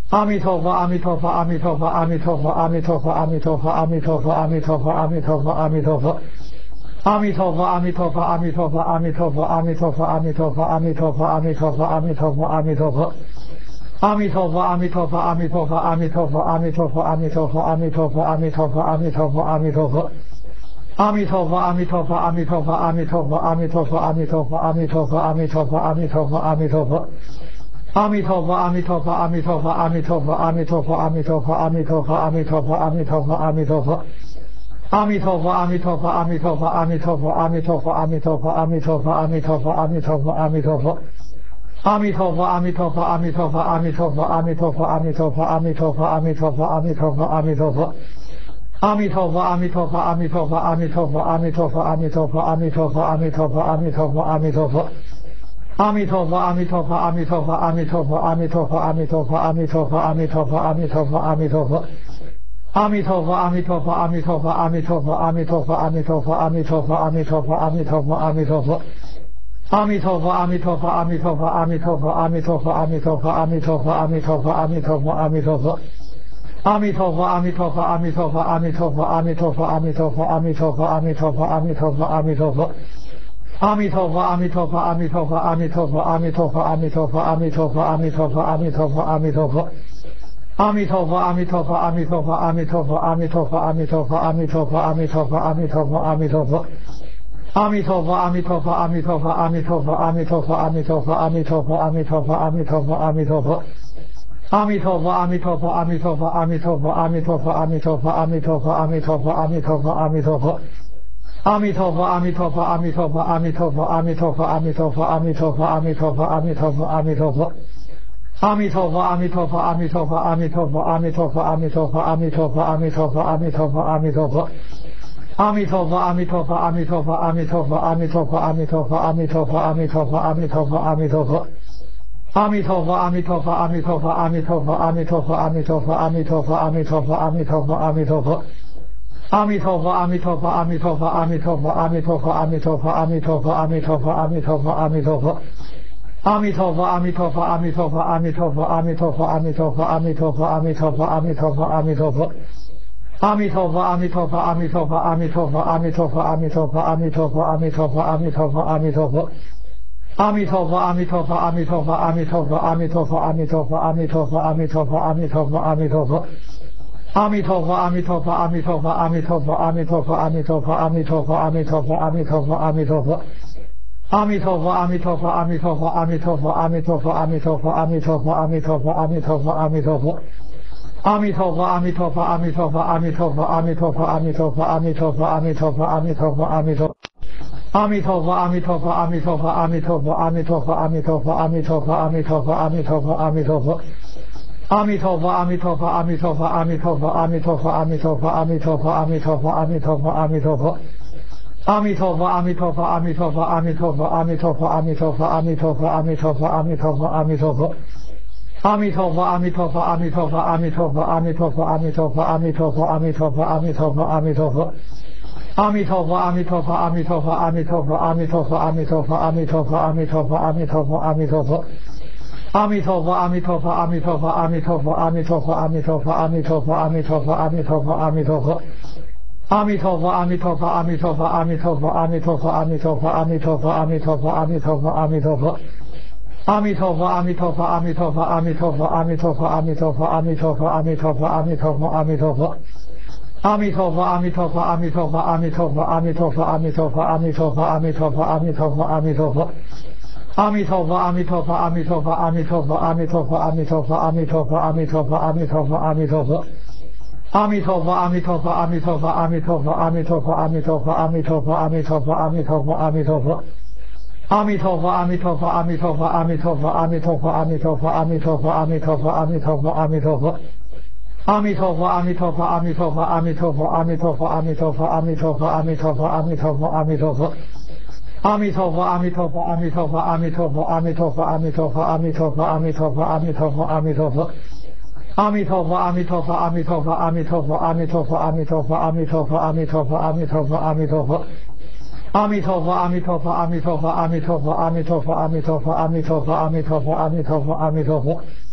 阿弥陀佛，阿弥陀佛，阿弥陀佛，阿弥陀佛，阿弥陀佛，阿弥陀佛，阿弥陀佛，阿弥陀佛，阿弥陀佛，阿弥陀佛。阿弥陀佛，阿弥陀佛，阿弥陀佛，阿弥陀佛，阿弥陀佛，阿弥陀佛，阿弥陀佛，阿弥陀佛，阿弥陀佛，阿弥陀佛。阿弥陀佛，阿弥陀佛，阿弥陀佛，阿弥陀佛，阿弥陀佛，阿弥陀佛，阿弥陀佛，阿弥陀佛，阿弥陀佛，阿弥陀佛。阿弥陀佛，阿弥陀佛，阿弥陀佛，阿弥陀佛，阿弥陀佛，阿弥陀佛，阿弥陀佛，阿弥陀佛，阿弥陀佛，阿弥陀佛。阿弥陀佛，阿弥陀佛，阿弥陀佛，阿弥陀佛，阿弥陀佛，阿弥陀佛，阿弥陀佛，阿弥陀佛，阿弥陀佛，阿弥陀佛。阿弥陀佛，阿弥陀佛，阿弥陀佛，阿弥陀佛，阿弥陀佛，阿弥陀佛，阿弥陀佛，阿弥陀佛，阿弥陀佛，阿弥陀佛。阿弥陀佛，阿弥陀佛，阿弥陀佛，阿弥陀佛，阿弥陀佛，阿弥陀佛，阿弥陀佛，阿弥陀佛，阿弥陀佛，阿弥陀佛。阿弥陀佛，阿弥陀佛，阿弥陀佛，阿弥陀佛，阿弥陀佛，阿弥陀佛，阿弥陀佛，阿弥陀佛，阿弥陀佛，阿弥陀佛。阿弥陀佛，阿弥陀佛，阿弥陀佛，阿弥陀佛，阿弥陀佛，阿弥陀佛，阿弥陀佛，阿弥陀佛，阿弥陀佛，阿弥陀佛。阿弥陀佛，阿弥陀佛，阿弥陀佛，阿弥陀佛，阿弥陀佛，阿弥陀佛，阿弥陀佛，阿弥陀佛，阿弥陀佛，阿弥陀佛。阿弥陀佛，阿弥陀佛，阿弥陀佛，阿弥陀佛，阿弥陀佛，阿弥陀佛，阿弥陀佛，阿弥陀佛，阿弥陀佛，阿弥陀佛。阿弥陀佛，阿弥陀佛，阿弥陀佛，阿弥陀佛，阿弥陀佛，阿弥陀佛，阿弥陀佛，阿弥陀佛，阿弥陀佛，阿弥陀佛。阿弥陀佛，阿弥陀佛，阿弥陀佛，阿弥陀佛，阿弥陀佛，阿弥陀佛，阿弥陀佛，阿弥陀佛，阿弥陀佛，阿弥陀佛。阿弥陀佛，阿弥陀佛，阿弥陀佛，阿弥陀佛，阿弥陀佛，阿弥陀佛，阿弥陀佛，阿弥陀佛，阿弥陀佛，阿弥陀佛。阿弥陀佛，阿弥陀佛，阿弥陀佛，阿弥陀佛，阿弥陀佛，阿弥陀佛，阿弥陀佛，阿弥陀佛，阿弥陀佛，阿弥陀佛。阿弥陀佛，阿弥陀佛，阿弥陀佛，阿弥陀佛，阿弥陀佛，阿弥陀佛，阿弥陀佛，阿弥陀佛，阿弥陀佛，阿弥陀佛。阿弥陀佛，阿弥陀佛，阿弥陀佛，阿弥陀佛，阿弥陀佛，阿弥陀佛，阿弥陀佛，阿弥陀佛，阿弥陀佛，阿弥陀佛。阿弥陀佛，阿弥陀佛，阿弥陀佛，阿弥陀佛，阿弥陀佛，阿弥陀佛，阿弥陀佛，阿弥陀佛，阿弥陀佛，阿弥陀佛。阿弥陀佛，阿弥陀佛，阿弥陀佛，阿弥陀佛，阿弥陀佛，阿弥陀佛，阿弥陀佛，阿弥陀佛，阿弥陀佛，阿弥陀佛。阿弥陀佛，阿弥陀佛，阿弥陀佛，阿弥陀佛，阿弥陀佛，阿弥陀佛，阿弥陀佛，阿弥陀佛，阿弥陀佛，阿弥陀佛。阿弥陀佛，阿弥陀佛，阿弥陀佛，阿弥陀佛，阿弥陀佛，阿弥陀佛，阿弥陀佛，阿弥陀佛，阿弥陀佛，阿弥陀佛。阿弥陀佛，阿弥陀佛，阿弥陀佛，阿弥陀佛，阿弥陀佛，阿弥陀佛，阿弥陀佛，阿弥陀佛，阿弥陀佛，阿弥陀佛。阿弥陀佛，阿弥陀佛，阿弥陀佛，阿弥陀佛，阿弥陀佛，阿弥陀佛，阿弥陀佛，阿弥陀佛，阿弥陀佛，阿弥陀佛。阿弥陀佛，阿弥陀佛，阿弥陀佛，阿弥陀佛，阿弥陀佛，阿弥陀佛，阿弥陀佛，阿弥陀佛，阿弥陀佛，阿弥陀佛。阿弥陀佛，阿弥陀佛，阿弥陀佛，阿弥陀佛，阿弥陀佛，阿弥陀佛，阿弥陀佛，阿弥陀佛，阿弥陀佛，阿弥陀佛。阿弥陀佛，阿弥陀佛，阿弥陀佛，阿弥陀佛，阿弥陀佛，阿弥陀佛，阿弥陀佛，阿弥陀佛，阿弥陀佛，阿弥陀佛。阿弥陀佛，阿弥陀佛，阿弥陀佛，阿弥陀佛，阿弥陀佛，阿弥陀佛，阿弥陀佛，阿弥陀佛，阿弥陀佛，阿弥陀。阿弥陀佛，阿弥陀佛，阿弥陀佛，阿弥陀佛，阿弥陀佛，阿弥陀佛，阿弥陀佛，阿弥陀佛，阿弥陀佛，阿弥陀佛。阿弥陀佛，阿弥陀佛，阿弥陀佛，阿弥陀佛，阿弥陀佛，阿弥陀佛，阿弥陀佛，阿弥陀佛，阿弥陀佛，阿弥陀佛。阿弥陀佛，阿弥陀佛，阿弥陀佛，阿弥陀佛，阿弥陀佛，阿弥陀佛，阿弥陀佛，阿弥陀佛，阿弥陀佛，阿弥陀佛。阿弥陀佛，阿弥陀佛，阿弥陀佛，阿弥陀佛，阿弥陀佛，阿弥陀佛，阿弥陀佛，阿弥陀佛，阿弥陀佛，阿弥陀佛。阿弥陀佛，阿弥陀佛，阿弥陀佛，阿弥陀佛，阿弥陀佛，阿弥陀佛，阿弥陀佛，阿弥陀佛，阿弥陀佛，阿弥陀佛。阿弥陀佛，阿弥陀佛，阿弥陀佛，阿弥陀佛，阿弥陀佛，阿弥陀佛，阿弥陀佛，阿弥陀佛，阿弥陀佛，阿弥陀佛。阿弥陀佛，阿弥陀佛，阿弥陀佛，阿弥陀佛，阿弥陀佛，阿弥陀佛，阿弥陀佛，阿弥陀佛，阿弥陀佛，阿弥陀佛。阿弥陀佛，阿弥陀佛，阿弥陀佛，阿弥陀佛，阿弥陀佛，阿弥陀佛，阿弥陀佛，阿弥陀佛，阿弥陀佛，阿弥陀佛。阿弥陀佛，阿弥陀佛，阿弥陀佛，阿弥陀佛，阿弥陀佛，阿弥陀佛，阿弥陀佛，阿弥陀佛，阿弥陀佛，阿弥陀佛。阿弥陀佛，阿弥陀佛，阿弥陀佛，阿弥陀佛，阿弥陀佛，阿弥陀佛，阿弥陀佛，阿弥陀佛，阿弥陀佛，阿弥陀佛。阿弥陀佛，阿弥陀佛，阿弥陀佛，阿弥陀佛，阿弥陀佛，阿弥陀佛，阿弥陀佛，阿弥陀佛，阿弥陀佛，阿弥陀佛。阿弥陀佛，阿弥陀佛，阿弥陀佛，阿弥陀佛，阿弥陀佛，阿弥陀佛，阿弥陀佛，阿弥陀佛，阿弥陀佛，阿弥陀佛。阿弥陀佛，阿弥陀佛，阿弥陀佛，阿弥陀佛，阿弥陀佛，阿弥陀佛，阿弥陀佛，阿弥陀佛，阿弥陀佛，阿弥陀佛。阿弥陀佛，阿弥陀佛，阿弥陀佛，阿弥陀佛，阿弥陀佛，阿弥陀佛，阿弥陀佛，阿弥陀佛，阿弥陀佛，阿弥陀佛。阿弥陀佛，阿弥陀佛，阿弥陀佛，阿弥陀佛，阿弥陀佛，阿弥陀佛，阿弥陀佛，阿弥陀佛，阿弥陀佛，阿弥陀佛。阿弥陀佛，阿弥陀佛，阿弥陀佛，阿弥陀佛，阿弥陀佛，阿弥陀佛，阿弥陀佛，阿弥陀佛，阿弥陀佛，阿弥陀佛。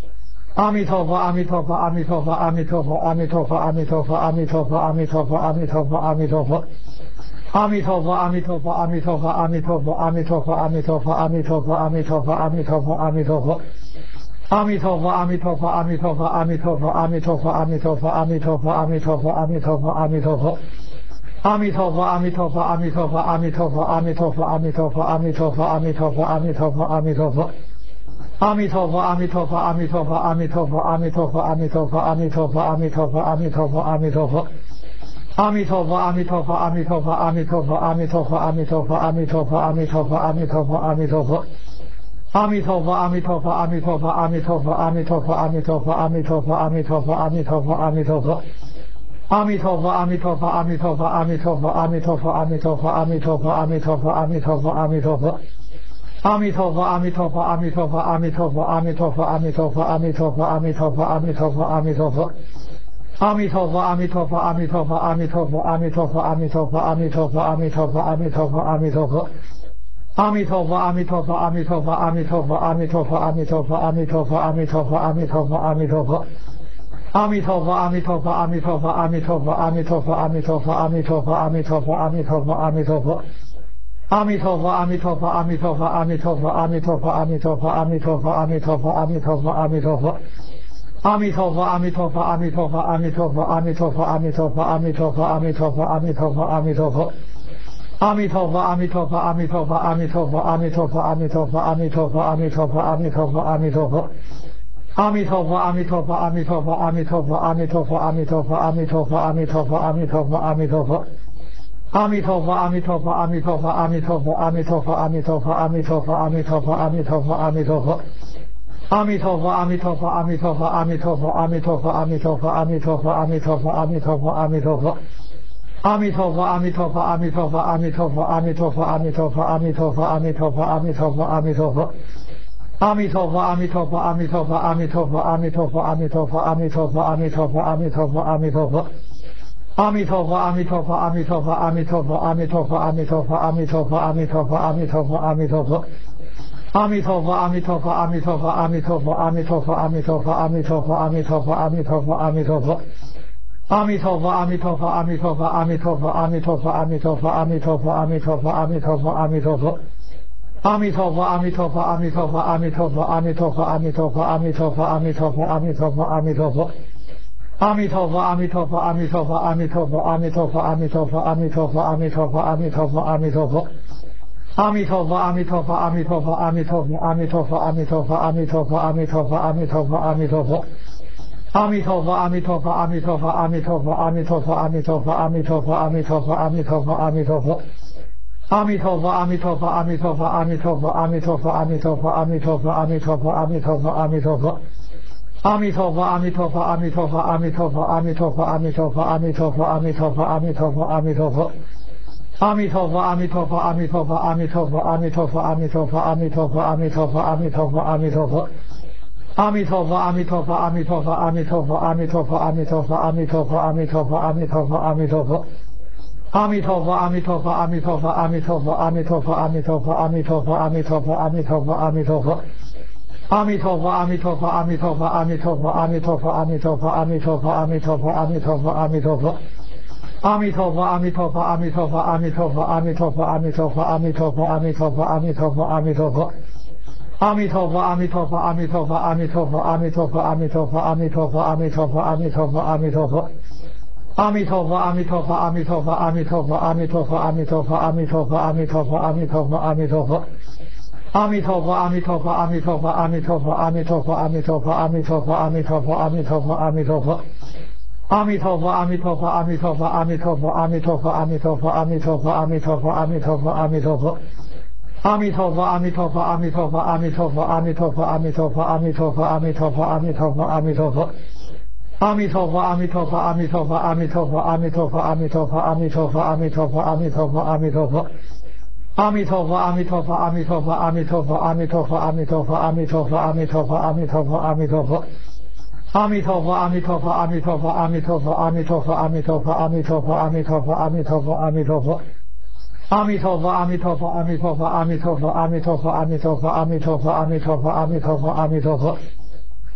阿弥陀佛，阿弥陀佛，阿弥陀佛，阿弥陀佛，阿弥陀佛，阿弥陀佛，阿弥陀佛，阿弥陀佛，阿弥陀佛，阿弥陀佛。阿弥陀佛，阿弥陀佛，阿弥陀佛，阿弥陀佛，阿弥陀佛，阿弥陀佛，阿弥陀佛，阿弥陀佛，阿弥陀佛，阿弥陀佛。阿弥陀佛，阿弥陀佛，阿弥陀佛，阿弥陀佛，阿弥陀佛，阿弥陀佛，阿弥陀佛，阿弥陀佛，阿弥陀佛，阿弥陀佛。阿弥陀佛，阿弥陀佛，阿弥陀佛，阿弥陀佛，阿弥陀佛，阿弥陀佛，阿弥陀佛，阿弥陀佛，阿弥陀佛，阿弥陀佛。阿弥陀佛，阿弥陀佛，阿弥陀佛，阿弥陀佛，阿弥陀佛，阿弥陀佛，阿弥陀佛，阿弥陀佛，阿弥陀佛，阿弥陀佛。阿弥陀佛，阿弥陀佛，阿弥陀佛，阿弥陀佛，阿弥陀佛，阿弥陀佛，阿弥陀佛，阿弥陀佛，阿弥陀佛，阿弥陀佛。阿弥陀佛，阿弥陀佛，阿弥陀佛，阿弥陀佛，阿弥陀佛，阿弥陀佛，阿弥陀佛，阿弥陀佛，阿弥陀佛，阿弥陀佛。阿弥陀佛，阿弥陀佛，阿弥陀佛，阿弥陀佛，阿弥陀佛，阿弥陀佛，阿弥陀佛，阿弥陀佛，阿弥陀佛，阿弥陀佛。阿弥陀佛，阿弥陀佛，阿弥陀佛，阿弥陀佛，阿弥陀佛，阿弥陀佛，阿弥陀佛，阿弥陀佛，阿弥陀佛，阿弥陀佛。阿弥陀佛，阿弥陀佛，阿弥陀佛，阿弥陀佛，阿弥陀佛，阿弥陀佛，阿弥陀佛，阿弥陀佛，阿弥陀佛，阿弥陀佛。阿弥陀佛，阿弥陀佛，阿弥陀佛，阿弥陀佛，阿弥陀佛，阿弥陀佛，阿弥陀佛，阿弥陀佛，阿弥陀佛，阿弥陀佛。阿弥陀佛，阿弥陀佛，阿弥陀佛，阿弥陀佛，阿弥陀佛，阿弥陀佛，阿弥陀佛，阿弥陀佛，阿弥陀佛，阿弥陀佛。阿弥陀佛，阿弥陀佛，阿弥陀佛，阿弥陀佛，阿弥陀佛，阿弥陀佛，阿弥陀佛，阿弥陀佛，阿弥陀佛，阿弥陀佛。阿弥陀佛，阿弥陀佛，阿弥陀佛，阿弥陀佛，阿弥陀佛，阿弥陀佛，阿弥陀佛，阿弥陀佛，阿弥陀佛，阿弥陀佛。阿弥陀佛，阿弥陀佛，阿弥陀佛，阿弥陀佛，阿弥陀佛，阿弥陀佛，阿弥陀佛，阿弥陀佛，阿弥陀佛，阿弥陀佛。阿弥陀佛，阿弥陀佛，阿弥陀佛，阿弥陀佛，阿弥陀佛，阿弥陀佛，阿弥陀佛，阿弥陀佛，阿弥陀佛，阿弥陀佛。阿弥陀佛，阿弥陀佛，阿弥陀佛，阿弥陀佛，阿弥陀佛，阿弥陀佛，阿弥陀佛，阿弥陀佛，阿弥陀佛，阿弥陀佛。阿弥陀佛，阿弥陀佛，阿弥陀佛，阿弥陀佛，阿弥陀佛，阿弥陀佛，阿弥陀佛，阿弥陀佛，阿弥陀佛，阿弥陀佛。阿弥陀佛，阿弥陀佛，阿弥陀佛，阿弥陀佛，阿弥陀佛，阿弥陀佛，阿弥陀佛，阿弥陀佛，阿弥陀佛，阿弥陀佛。阿弥陀佛，阿弥陀佛，阿弥陀佛，阿弥陀佛，阿弥陀佛，阿弥陀佛，阿弥陀佛，阿弥陀佛，阿弥陀佛，阿弥陀佛。阿弥陀佛，阿弥陀佛，阿弥陀佛，阿弥陀佛，阿弥陀佛，阿弥陀佛，阿弥陀佛，阿弥陀佛，阿弥陀佛，阿弥陀佛。阿弥陀佛，阿弥陀佛，阿弥陀佛，阿弥陀佛，阿弥陀佛，阿弥陀佛，阿弥陀佛，阿弥陀佛，阿弥陀佛，阿弥陀佛。阿弥陀佛，阿弥陀佛，阿弥陀佛，阿弥陀佛，阿弥陀佛，阿弥陀佛，阿弥陀佛，阿弥陀佛，阿弥陀佛，阿弥陀佛。阿弥陀佛，阿弥陀佛，阿弥陀佛，阿弥陀佛，阿弥陀佛，阿弥陀佛，阿弥陀佛，阿弥陀佛，阿弥陀佛，阿弥陀佛。阿弥陀佛，阿弥陀佛，阿弥陀佛，阿弥陀佛，阿弥陀佛，阿弥陀佛，阿弥陀佛，阿弥陀佛，阿弥陀佛，阿弥陀佛。阿弥陀佛，阿弥陀佛，阿弥陀佛，阿弥陀佛，阿弥陀佛，阿弥陀佛，阿弥陀佛，阿弥陀佛，阿弥陀佛，阿弥陀佛。阿弥陀佛，阿弥陀佛，阿弥陀佛，阿弥陀佛，阿弥陀佛，阿弥陀佛，阿弥陀佛，阿弥陀佛，阿弥陀佛，阿弥陀佛。阿弥陀佛，阿弥陀佛，阿弥陀佛，阿弥陀佛，阿弥陀佛，阿弥陀佛，阿弥陀佛，阿弥陀佛，阿弥陀佛，阿弥陀佛。阿弥陀佛，阿弥陀佛，阿弥陀佛，阿弥陀佛，阿弥陀佛，阿弥陀佛，阿弥陀佛，阿弥陀佛，阿弥陀佛，阿弥陀佛。阿弥陀佛，阿弥陀佛，阿弥陀佛，阿弥陀佛，阿弥陀佛，阿弥陀佛，阿弥陀佛，阿弥陀佛，阿弥陀佛，阿弥陀佛。阿弥陀佛，阿弥陀佛，阿弥陀佛，阿弥陀佛，阿弥陀佛，阿弥陀佛，阿弥陀佛，阿弥陀佛，阿弥陀佛，阿弥陀佛。阿弥陀佛，阿弥陀佛，阿弥陀佛，阿弥陀佛，阿弥陀佛，阿弥陀佛，阿弥陀佛，阿弥陀佛，阿弥陀佛，阿弥陀佛。阿弥陀佛，阿弥陀佛，阿弥陀佛，阿弥陀佛，阿弥陀佛，阿弥陀佛，阿弥陀佛，阿弥陀佛，阿弥陀佛，阿弥陀佛。阿弥陀佛，阿弥陀佛，阿弥陀佛，阿弥陀佛，阿弥陀佛，阿弥陀佛，阿弥陀佛，阿弥陀佛，阿弥陀佛，阿弥陀佛。阿弥陀佛，阿弥陀佛，阿弥陀佛，阿弥陀佛，阿弥陀佛，阿弥陀佛，阿弥陀佛，阿弥陀佛，阿弥陀佛，阿弥陀佛。阿弥陀佛，阿弥陀佛，阿弥陀佛，阿弥陀佛，阿弥陀佛，阿弥陀佛，阿弥陀佛，阿弥陀佛，阿弥陀佛，阿弥陀佛。阿弥陀佛，阿弥陀佛，阿弥陀佛，阿弥陀佛，阿弥陀佛，阿弥陀佛，阿弥陀佛，阿弥陀佛，阿弥陀佛，阿弥陀佛。阿弥陀佛，阿弥陀佛，阿弥陀佛，阿弥陀佛，阿弥陀佛，阿弥陀佛，阿弥陀佛，阿弥陀佛，阿弥陀佛，阿弥陀佛。阿弥陀佛，阿弥陀佛，阿弥陀佛，阿弥陀佛，阿弥陀佛，阿弥陀佛，阿弥陀佛，阿弥陀佛，阿弥陀佛，阿弥陀佛。阿弥陀佛，阿弥陀佛，阿弥陀佛，阿弥陀佛，阿弥陀佛，阿弥陀佛，阿弥陀佛，阿弥陀佛，阿弥陀佛，阿弥陀佛。阿弥陀佛，阿弥陀佛，阿弥陀佛，阿弥陀佛，阿弥陀佛，阿弥陀佛，阿弥陀佛，阿弥陀佛，阿弥陀佛，阿弥陀佛。阿弥陀佛，阿弥陀佛，阿弥陀佛，阿弥陀佛，阿弥陀佛，阿弥陀佛，阿弥陀佛，阿弥陀佛，阿弥陀佛，阿弥陀佛。阿弥陀佛，阿弥陀佛，阿弥陀佛，阿弥陀佛，阿弥陀佛，阿弥陀佛，阿弥陀佛，阿弥陀佛，阿弥陀佛，阿弥陀佛。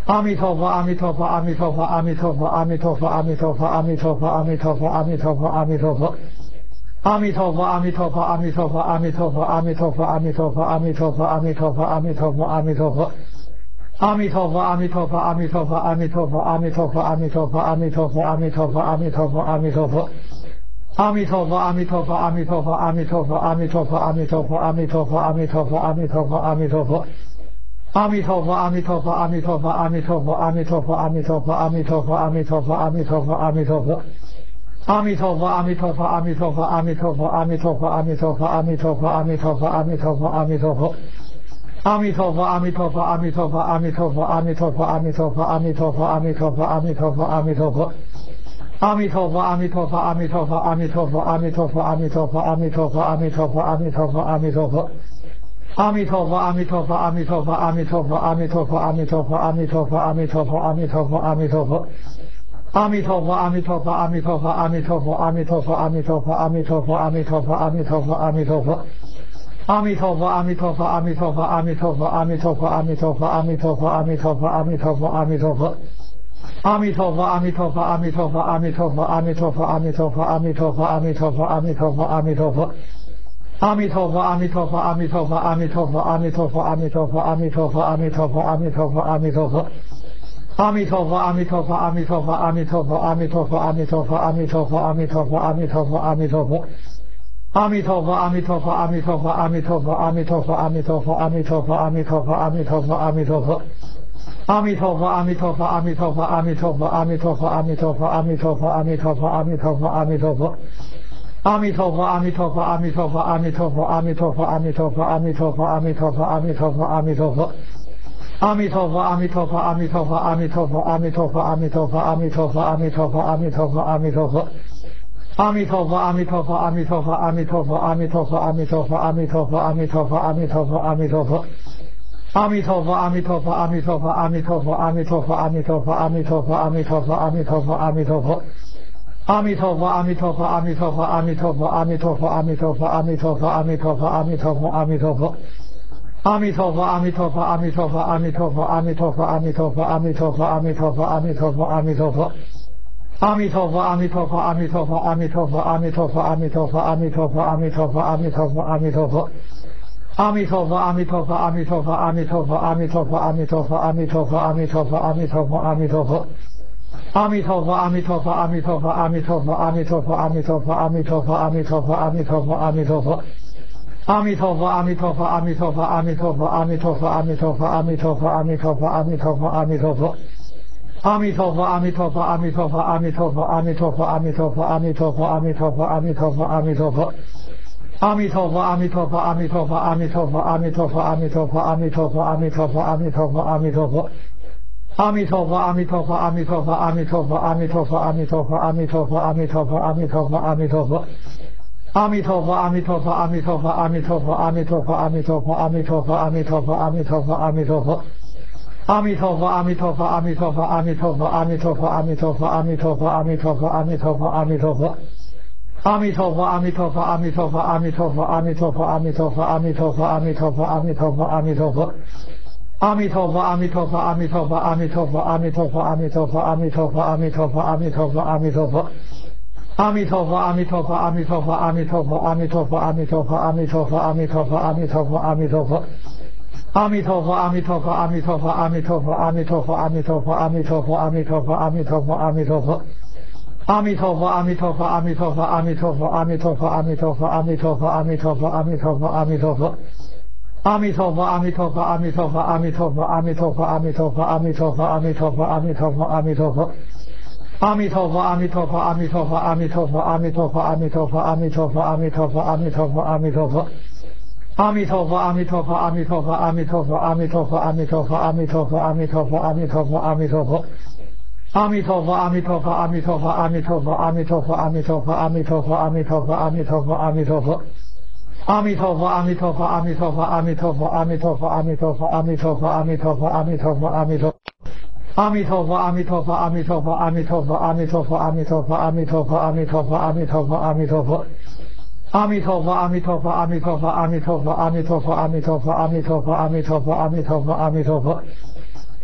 阿弥陀佛，阿弥陀佛，阿弥陀佛，阿弥陀佛，阿弥陀佛，阿弥陀佛，阿弥陀佛，阿弥陀佛，阿弥陀佛，阿弥陀佛。阿弥陀佛，阿弥陀佛，阿弥陀佛，阿弥陀佛，阿弥陀佛，阿弥陀佛，阿弥陀佛，阿弥陀佛，阿弥陀佛，阿弥陀佛。阿弥陀佛，阿弥陀佛，阿弥陀佛，阿弥陀佛，阿弥陀佛，阿弥陀佛，阿弥陀佛，阿弥陀佛，阿弥陀佛，阿弥陀佛。阿弥陀佛，阿弥陀佛，阿弥陀佛，阿弥陀佛，阿弥陀佛，阿弥陀佛，阿弥陀佛，阿弥陀佛，阿弥陀佛，阿弥陀佛。阿弥陀佛，阿弥陀佛，阿弥陀佛，阿弥陀佛，阿弥陀佛，阿弥陀佛，阿弥陀佛，阿弥陀佛，阿弥陀佛，阿弥陀佛。阿弥陀佛，阿弥陀佛，阿弥陀佛，阿弥陀佛，阿弥陀佛，阿弥陀佛，阿弥陀佛，阿弥陀佛，阿弥陀佛，阿弥陀佛。阿弥陀佛，阿弥陀佛，阿弥陀佛，阿弥陀佛，阿弥陀佛，阿弥陀佛，阿弥陀佛，阿弥陀佛，阿弥陀佛，阿弥陀佛。阿弥陀佛，阿弥陀佛，阿弥陀佛，阿弥陀佛，阿弥陀佛，阿弥陀佛，阿弥陀佛，阿弥陀佛，阿弥陀佛，阿弥陀佛。阿弥陀佛，阿弥陀佛，阿弥陀佛，阿弥陀佛，阿弥陀佛，阿弥陀佛，阿弥陀佛，阿弥陀佛，阿弥陀佛，阿弥陀佛。阿弥陀佛，阿弥陀佛，阿弥陀佛，阿弥陀佛，阿弥陀佛，阿弥陀佛，阿弥陀佛，阿弥陀佛，阿弥陀佛，阿弥陀佛。阿弥陀佛，阿弥陀佛，阿弥陀佛，阿弥陀佛，阿弥陀佛，阿弥陀佛，阿弥陀佛，阿弥陀佛，阿弥陀佛，阿弥陀佛。阿弥陀佛，阿弥陀佛，阿弥陀佛，阿弥陀佛，阿弥陀佛，阿弥陀佛，阿弥陀佛，阿弥陀佛，阿弥陀佛，阿弥陀佛。阿弥陀佛，阿弥陀佛，阿弥陀佛，阿弥陀佛，阿弥陀佛，阿弥陀佛，阿弥陀佛，阿弥陀佛，阿弥陀佛，阿弥陀佛。阿弥陀佛，阿弥陀佛，阿弥陀佛，阿弥陀佛，阿弥陀佛，阿弥陀佛，阿弥陀佛，阿弥陀佛，阿弥陀佛，阿弥陀佛。阿弥陀佛，阿弥陀佛，阿弥陀佛，阿弥陀佛，阿弥陀佛，阿弥陀佛，阿弥陀佛，阿弥陀佛，阿弥陀佛，阿弥陀佛。阿弥陀佛，阿弥陀佛，阿弥陀佛，阿弥陀佛，阿弥陀佛，阿弥陀佛，阿弥陀佛，阿弥陀佛，阿弥陀佛，阿弥陀佛。阿弥陀佛，阿弥陀佛，阿弥陀佛，阿弥陀佛，阿弥陀佛，阿弥陀佛，阿弥陀佛，阿弥陀佛，阿弥陀佛，阿弥陀佛。阿弥陀佛，阿弥陀佛，阿弥陀佛，阿弥陀佛，阿弥陀佛，阿弥陀佛，阿弥陀佛，阿弥陀佛，阿弥陀佛，阿弥陀佛。阿弥陀佛，阿弥陀佛，阿弥陀佛，阿弥陀佛，阿弥陀佛，阿弥陀佛，阿弥陀佛，阿弥陀佛，阿弥陀佛，阿弥陀佛。阿弥陀佛，阿弥陀佛，阿弥陀佛，阿弥陀佛，阿弥陀佛，阿弥陀佛，阿弥陀佛，阿弥陀佛，阿弥陀佛，阿弥陀佛。阿弥陀佛，阿弥陀佛，阿弥陀佛，阿弥陀佛，阿弥陀佛，阿弥陀佛，阿弥陀佛，阿弥陀佛，阿弥陀佛，阿弥陀佛。阿弥陀佛，阿弥陀佛，阿弥陀佛，阿弥陀佛，阿弥陀佛，阿弥陀佛，阿弥陀佛，阿弥陀佛，阿弥陀佛，阿弥陀佛。阿弥陀佛，阿弥陀佛，阿弥陀佛，阿弥陀佛，阿弥陀佛，阿弥陀佛，阿弥陀佛，阿弥陀佛，阿弥陀佛，阿弥陀佛。阿弥陀佛，阿弥陀佛，阿弥陀佛，阿弥陀佛，阿弥陀佛，阿弥陀佛，阿弥陀佛，阿弥陀佛，阿弥陀佛，阿弥陀佛。阿弥陀佛，阿弥陀佛，阿弥陀佛，阿弥陀佛，阿弥陀佛，阿弥陀佛，阿弥陀佛，阿弥陀佛，阿弥陀佛，阿弥陀佛。阿弥陀佛，阿弥陀佛，阿弥陀佛，阿弥陀佛，阿弥陀佛，阿弥陀佛，阿弥陀佛，阿弥陀佛，阿弥陀佛，阿弥陀佛。阿弥陀佛，阿弥陀佛，阿弥陀佛，阿弥陀佛，阿弥陀佛，阿弥陀佛，阿弥陀佛，阿弥陀佛，阿弥陀佛，阿弥陀佛。阿弥陀佛，阿弥陀佛，阿弥陀佛，阿弥陀佛，阿弥陀佛，阿弥陀佛，阿弥陀佛，阿弥陀佛，阿弥陀佛，阿弥陀佛。阿弥陀佛，阿弥陀佛，阿弥陀佛，阿弥陀佛，阿弥陀佛，阿弥陀佛，阿弥陀佛，阿弥陀佛，阿弥陀佛，阿弥陀佛。阿弥陀佛，阿弥陀佛，阿弥陀佛，阿弥陀佛，阿弥陀佛，阿弥陀佛，阿弥陀佛，阿弥陀佛，阿弥陀佛，阿弥陀佛。阿弥陀佛，阿弥陀佛，阿弥陀佛，阿弥陀佛，阿弥陀佛，阿弥陀佛，阿弥陀佛，阿弥陀佛，阿弥陀佛，阿弥陀佛。阿弥陀佛，阿弥陀佛，阿弥陀佛，阿弥陀佛，阿弥陀佛，阿弥陀佛，阿弥陀佛，阿弥陀佛，阿弥陀佛，阿弥陀佛。阿弥陀佛，阿弥陀佛，阿弥陀佛，阿弥陀佛，阿弥陀佛，阿弥陀佛，阿弥陀佛，阿弥陀佛，阿弥陀佛，阿弥陀佛。阿弥陀佛，阿弥陀佛，阿弥陀佛，阿弥陀佛，阿弥陀佛，阿弥陀佛，阿弥陀佛，阿弥陀佛，阿弥陀佛，阿弥陀佛。阿弥陀佛，阿弥陀佛，阿弥陀佛，阿弥陀佛，阿弥陀佛，阿弥陀佛，阿弥陀佛，阿弥陀佛，阿弥陀佛，阿弥陀佛。阿弥陀佛，阿弥陀佛，阿弥陀佛，阿弥陀佛，阿弥陀佛，阿弥陀佛，阿弥陀佛，阿弥陀佛，阿弥陀佛，阿弥陀佛。阿弥陀佛，阿弥陀佛，阿弥陀佛，阿弥陀佛，阿弥陀佛，阿弥陀佛，阿弥陀佛，阿弥陀佛，阿弥陀佛，阿弥陀佛。阿弥陀佛，阿弥陀佛，阿弥陀佛，阿弥陀佛，阿弥陀佛，阿弥陀佛，阿弥陀佛，阿弥陀佛，阿弥陀佛，阿弥陀佛。阿弥陀佛，阿弥陀佛，阿弥陀佛，阿弥陀佛，阿弥陀佛，阿弥陀佛，阿弥陀佛，阿弥陀佛，阿弥陀佛，阿弥陀佛。阿弥陀佛，阿弥陀佛，阿弥陀佛，阿弥陀佛，阿弥陀佛，阿弥陀佛，阿弥陀佛，阿弥陀佛，阿弥陀佛，阿弥陀佛。阿弥陀佛，阿弥陀佛，阿弥陀佛，阿弥陀佛，阿弥陀佛，阿弥陀佛，阿弥陀佛，阿弥陀佛，阿弥陀佛，阿弥陀。阿弥陀佛，阿弥陀佛，阿弥陀佛，阿弥陀佛，阿弥陀佛，阿弥陀佛，阿弥陀佛，阿弥陀佛，阿弥陀佛，阿弥陀佛。阿弥陀佛，阿弥陀佛，阿弥陀佛，阿弥陀佛，阿弥陀佛，阿弥陀佛，阿弥陀佛，阿弥陀佛，阿弥陀佛，阿弥陀佛。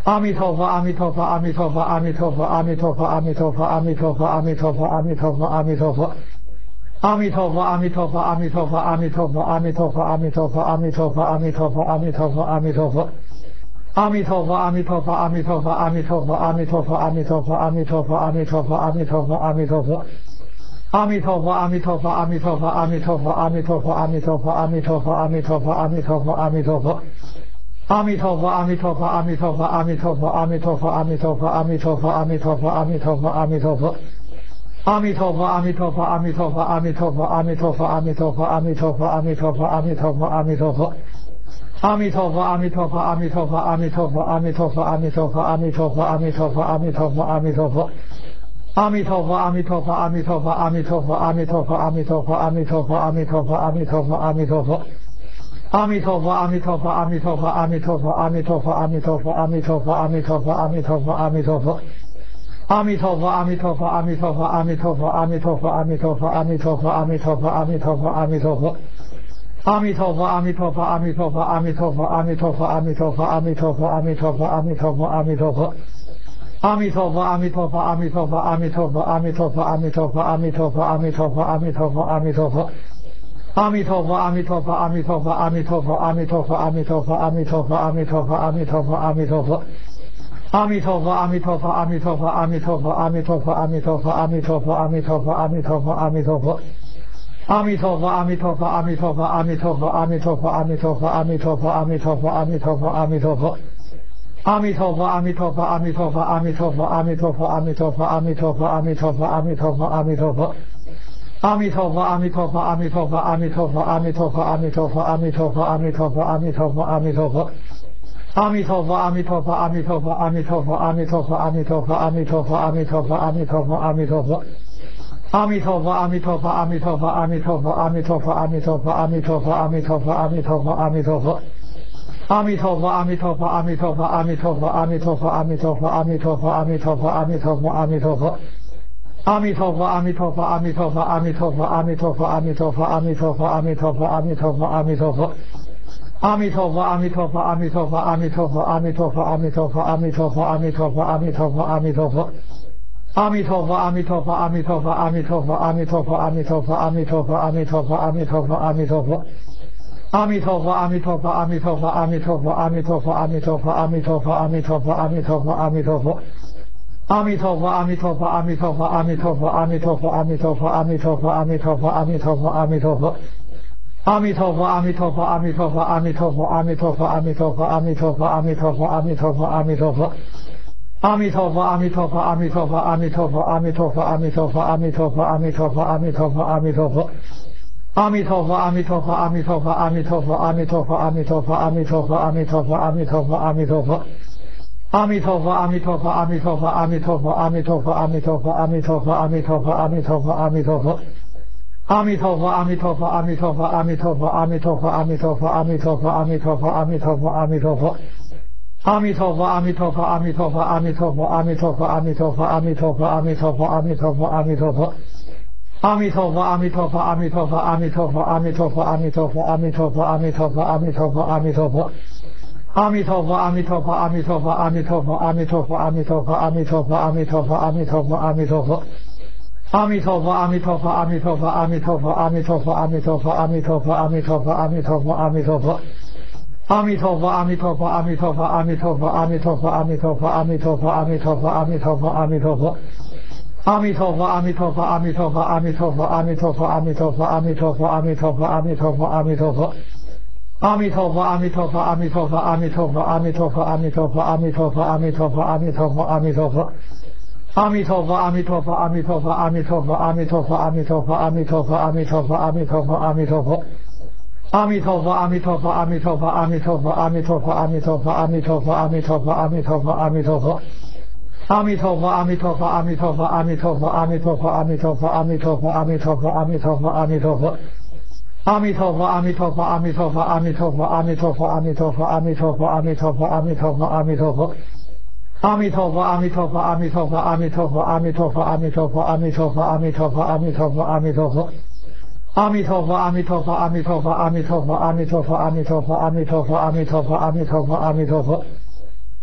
阿弥陀佛，阿弥陀佛，阿弥陀佛，阿弥陀佛，阿弥陀佛，阿弥陀佛，阿弥陀佛，阿弥陀佛，阿弥陀佛，阿弥陀佛。阿弥陀佛，阿弥陀佛，阿弥陀佛，阿弥陀佛，阿弥陀佛，阿弥陀佛，阿弥陀佛，阿弥陀佛，阿弥陀佛，阿弥陀佛。阿弥陀佛，阿弥陀佛，阿弥陀佛，阿弥陀佛，阿弥陀佛，阿弥陀佛，阿弥陀佛，阿弥陀佛，阿弥陀佛，阿弥陀佛。阿弥陀佛，阿弥陀佛，阿弥陀佛，阿弥陀佛，阿弥陀佛，阿弥陀佛，阿弥陀佛，阿弥陀佛，阿弥陀佛，阿弥陀佛。阿弥陀佛，阿弥陀佛，阿弥陀佛，阿弥陀佛，阿弥陀佛，阿弥陀佛，阿弥陀佛，阿弥陀佛，阿弥陀佛，阿弥陀佛。阿弥陀佛，阿弥陀佛，阿弥陀佛，阿弥陀佛，阿弥陀佛，阿弥陀佛，阿弥陀佛，阿弥陀佛，阿弥陀佛，阿弥陀佛。阿弥陀佛，阿弥陀佛，阿弥陀佛，阿弥陀佛，阿弥陀佛，阿弥陀佛，阿弥陀佛，阿弥陀佛，阿弥陀佛，阿弥陀佛。阿弥陀佛，阿弥陀佛，阿弥陀佛，阿弥陀佛，阿弥陀佛，阿弥陀佛，阿弥陀佛，阿弥陀佛，阿弥陀佛，阿弥陀佛。阿弥陀佛，阿弥陀佛，阿弥陀佛，阿弥陀佛，阿弥陀佛，阿弥陀佛，阿弥陀佛，阿弥陀佛，阿弥陀佛，阿弥陀佛。阿弥陀佛，阿弥陀佛，阿弥陀佛，阿弥陀佛，阿弥陀佛，阿弥陀佛，阿弥陀佛，阿弥陀佛，阿弥陀佛，阿弥陀佛。阿弥陀佛，阿弥陀佛，阿弥陀佛，阿弥陀佛，阿弥陀佛，阿弥陀佛，阿弥陀佛，阿弥陀佛，阿弥陀佛，阿弥陀佛。阿弥陀佛，阿弥陀佛，阿弥陀佛，阿弥陀佛，阿弥陀佛，阿弥陀佛，阿弥陀佛，阿弥陀佛，阿弥陀佛，阿弥陀佛。阿弥陀佛，阿弥陀佛，阿弥陀佛，阿弥陀佛，阿弥陀佛，阿弥陀佛，阿弥陀佛，阿弥陀佛，阿弥陀佛，阿弥陀佛。阿弥陀佛，阿弥陀佛，阿弥陀佛，阿弥陀佛，阿弥陀佛，阿弥陀佛，阿弥陀佛，阿弥陀佛，阿弥陀佛，阿弥陀佛。阿弥陀佛，阿弥陀佛，阿弥陀佛，阿弥陀佛，阿弥陀佛，阿弥陀佛，阿弥陀佛，阿弥陀佛，阿弥陀佛，阿弥陀佛。阿弥陀佛，阿弥陀佛，阿弥陀佛，阿弥陀佛，阿弥陀佛，阿弥陀佛，阿弥陀佛，阿弥陀佛，阿弥陀佛，阿弥陀佛。阿弥陀佛，阿弥陀佛，阿弥陀佛，阿弥陀佛，阿弥陀佛，阿弥陀佛，阿弥陀佛，阿弥陀佛，阿弥陀佛，阿弥陀佛。阿弥陀佛，阿弥陀佛，阿弥陀佛，阿弥陀佛，阿弥陀佛，阿弥陀佛，阿弥陀佛，阿弥陀佛，阿弥陀佛，阿弥陀佛。阿弥陀佛，阿弥陀佛，阿弥陀佛，阿弥陀佛，阿弥陀佛，阿弥陀佛，阿弥陀佛，阿弥陀佛，阿弥陀佛，阿弥陀佛。阿弥陀佛，阿弥陀佛，阿弥陀佛，阿弥陀佛，阿弥陀佛，阿弥陀佛，阿弥陀佛，阿弥陀佛，阿弥陀佛，阿弥陀佛。阿弥陀佛，阿弥陀佛，阿弥陀佛，阿弥陀佛，阿弥陀佛，阿弥陀佛，阿弥陀佛，阿弥陀佛，阿弥陀佛，阿弥陀佛。阿弥陀佛，阿弥陀佛，阿弥陀佛，阿弥陀佛，阿弥陀佛，阿弥陀佛，阿弥陀佛，阿弥陀佛，阿弥陀佛，阿弥陀佛。阿弥陀佛，阿弥陀佛，阿弥陀佛，阿弥陀佛，阿弥陀佛，阿弥陀佛，阿弥陀佛，阿弥陀佛，阿弥陀佛，阿弥陀佛。阿弥陀佛，阿弥陀佛，阿弥陀佛，阿弥陀佛，阿弥陀佛，阿弥陀佛，阿弥陀佛，阿弥陀佛，阿弥陀佛，阿弥陀佛。阿弥陀佛，阿弥陀佛，阿弥陀佛，阿弥陀佛，阿弥陀佛，阿弥陀佛，阿弥陀佛，阿弥陀佛，阿弥陀佛，阿弥陀佛。阿弥陀佛，阿弥陀佛，阿弥陀佛，阿弥陀佛，阿弥陀佛，阿弥陀佛，阿弥陀佛，阿弥陀佛，阿弥陀佛，阿弥陀佛。阿弥陀佛，阿弥陀佛，阿弥陀佛，阿弥陀佛，阿弥陀佛，阿弥陀佛，阿弥陀佛，阿弥陀佛，阿弥陀佛，阿弥陀佛。阿弥陀佛，阿弥陀佛，阿弥陀佛，阿弥陀佛，阿弥陀佛，阿弥陀佛，阿弥陀佛，阿弥陀佛，阿弥陀佛，阿弥陀佛。阿弥陀佛，阿弥陀佛，阿弥陀佛，阿弥陀佛，阿弥陀佛，阿弥陀佛，阿弥陀佛，阿弥陀佛，阿弥陀佛，阿弥陀佛。阿弥陀佛，阿弥陀佛，阿弥陀佛，阿弥陀佛，阿弥陀佛，阿弥陀佛，阿弥陀佛，阿弥陀佛，阿弥陀佛，阿弥陀佛。阿弥陀佛，阿弥陀佛，阿弥陀佛，阿弥陀佛，阿弥陀佛，阿弥陀佛，阿弥陀佛，阿弥陀佛，阿弥陀佛，阿弥陀佛。阿弥陀佛，阿弥陀佛，阿弥陀佛，阿弥陀佛，阿弥陀佛，阿弥陀佛，阿弥陀佛，阿弥陀佛，阿弥陀佛，阿弥陀佛。阿弥陀佛，阿弥陀佛，阿弥陀佛，阿弥陀佛，阿弥陀佛，阿弥陀佛，阿弥陀佛，阿弥陀佛，阿弥陀佛，阿弥陀佛。阿弥陀佛，阿弥陀佛，阿弥陀佛，阿弥陀佛，阿弥陀佛，阿弥陀佛，阿弥陀佛，阿弥陀佛，阿弥陀佛，阿弥陀佛。阿弥陀佛，阿弥陀佛，阿弥陀佛，阿弥陀佛，阿弥陀佛，阿弥陀佛，阿弥陀佛，阿弥陀佛，阿弥陀佛，阿弥陀佛。阿弥陀佛，阿弥陀佛，阿弥陀佛，阿弥陀佛，阿弥陀佛，阿弥陀佛，阿弥陀佛，阿弥陀佛，阿弥陀佛，阿弥陀佛。阿弥陀佛，阿弥陀佛，阿弥陀佛，阿弥陀佛，阿弥陀佛，阿弥陀佛，阿弥陀佛，阿弥陀佛，阿弥陀佛，阿弥陀佛。阿弥陀佛，阿弥陀佛，阿弥陀佛，阿弥陀佛，阿弥陀佛，阿弥陀佛，阿弥陀佛，阿弥陀佛，阿弥陀佛，阿弥陀佛。阿弥陀佛，阿弥陀佛，阿弥陀佛，阿弥陀佛，阿弥陀佛，阿弥陀佛，阿弥陀佛，阿弥陀佛，阿弥陀佛，阿弥陀佛。阿弥陀佛，阿弥陀佛，阿弥陀佛，阿弥陀佛，阿弥陀佛，阿弥陀佛，阿弥陀佛，阿弥陀佛，阿弥陀佛，阿弥陀佛。阿弥陀佛，阿弥陀佛，阿弥陀佛，阿弥陀佛，阿弥陀佛，阿弥陀佛，阿弥陀佛，阿弥陀佛，阿弥陀佛，阿弥陀佛。阿弥陀佛，阿弥陀佛，阿弥陀佛，阿弥陀佛，阿弥陀佛，阿弥陀佛，阿弥陀佛，阿弥陀佛，阿弥陀佛，阿弥陀佛。阿弥陀佛，阿弥陀佛，阿弥陀佛，阿弥陀佛，阿弥陀佛，阿弥陀佛，阿弥陀佛，阿弥陀佛，阿弥陀佛，阿弥陀佛。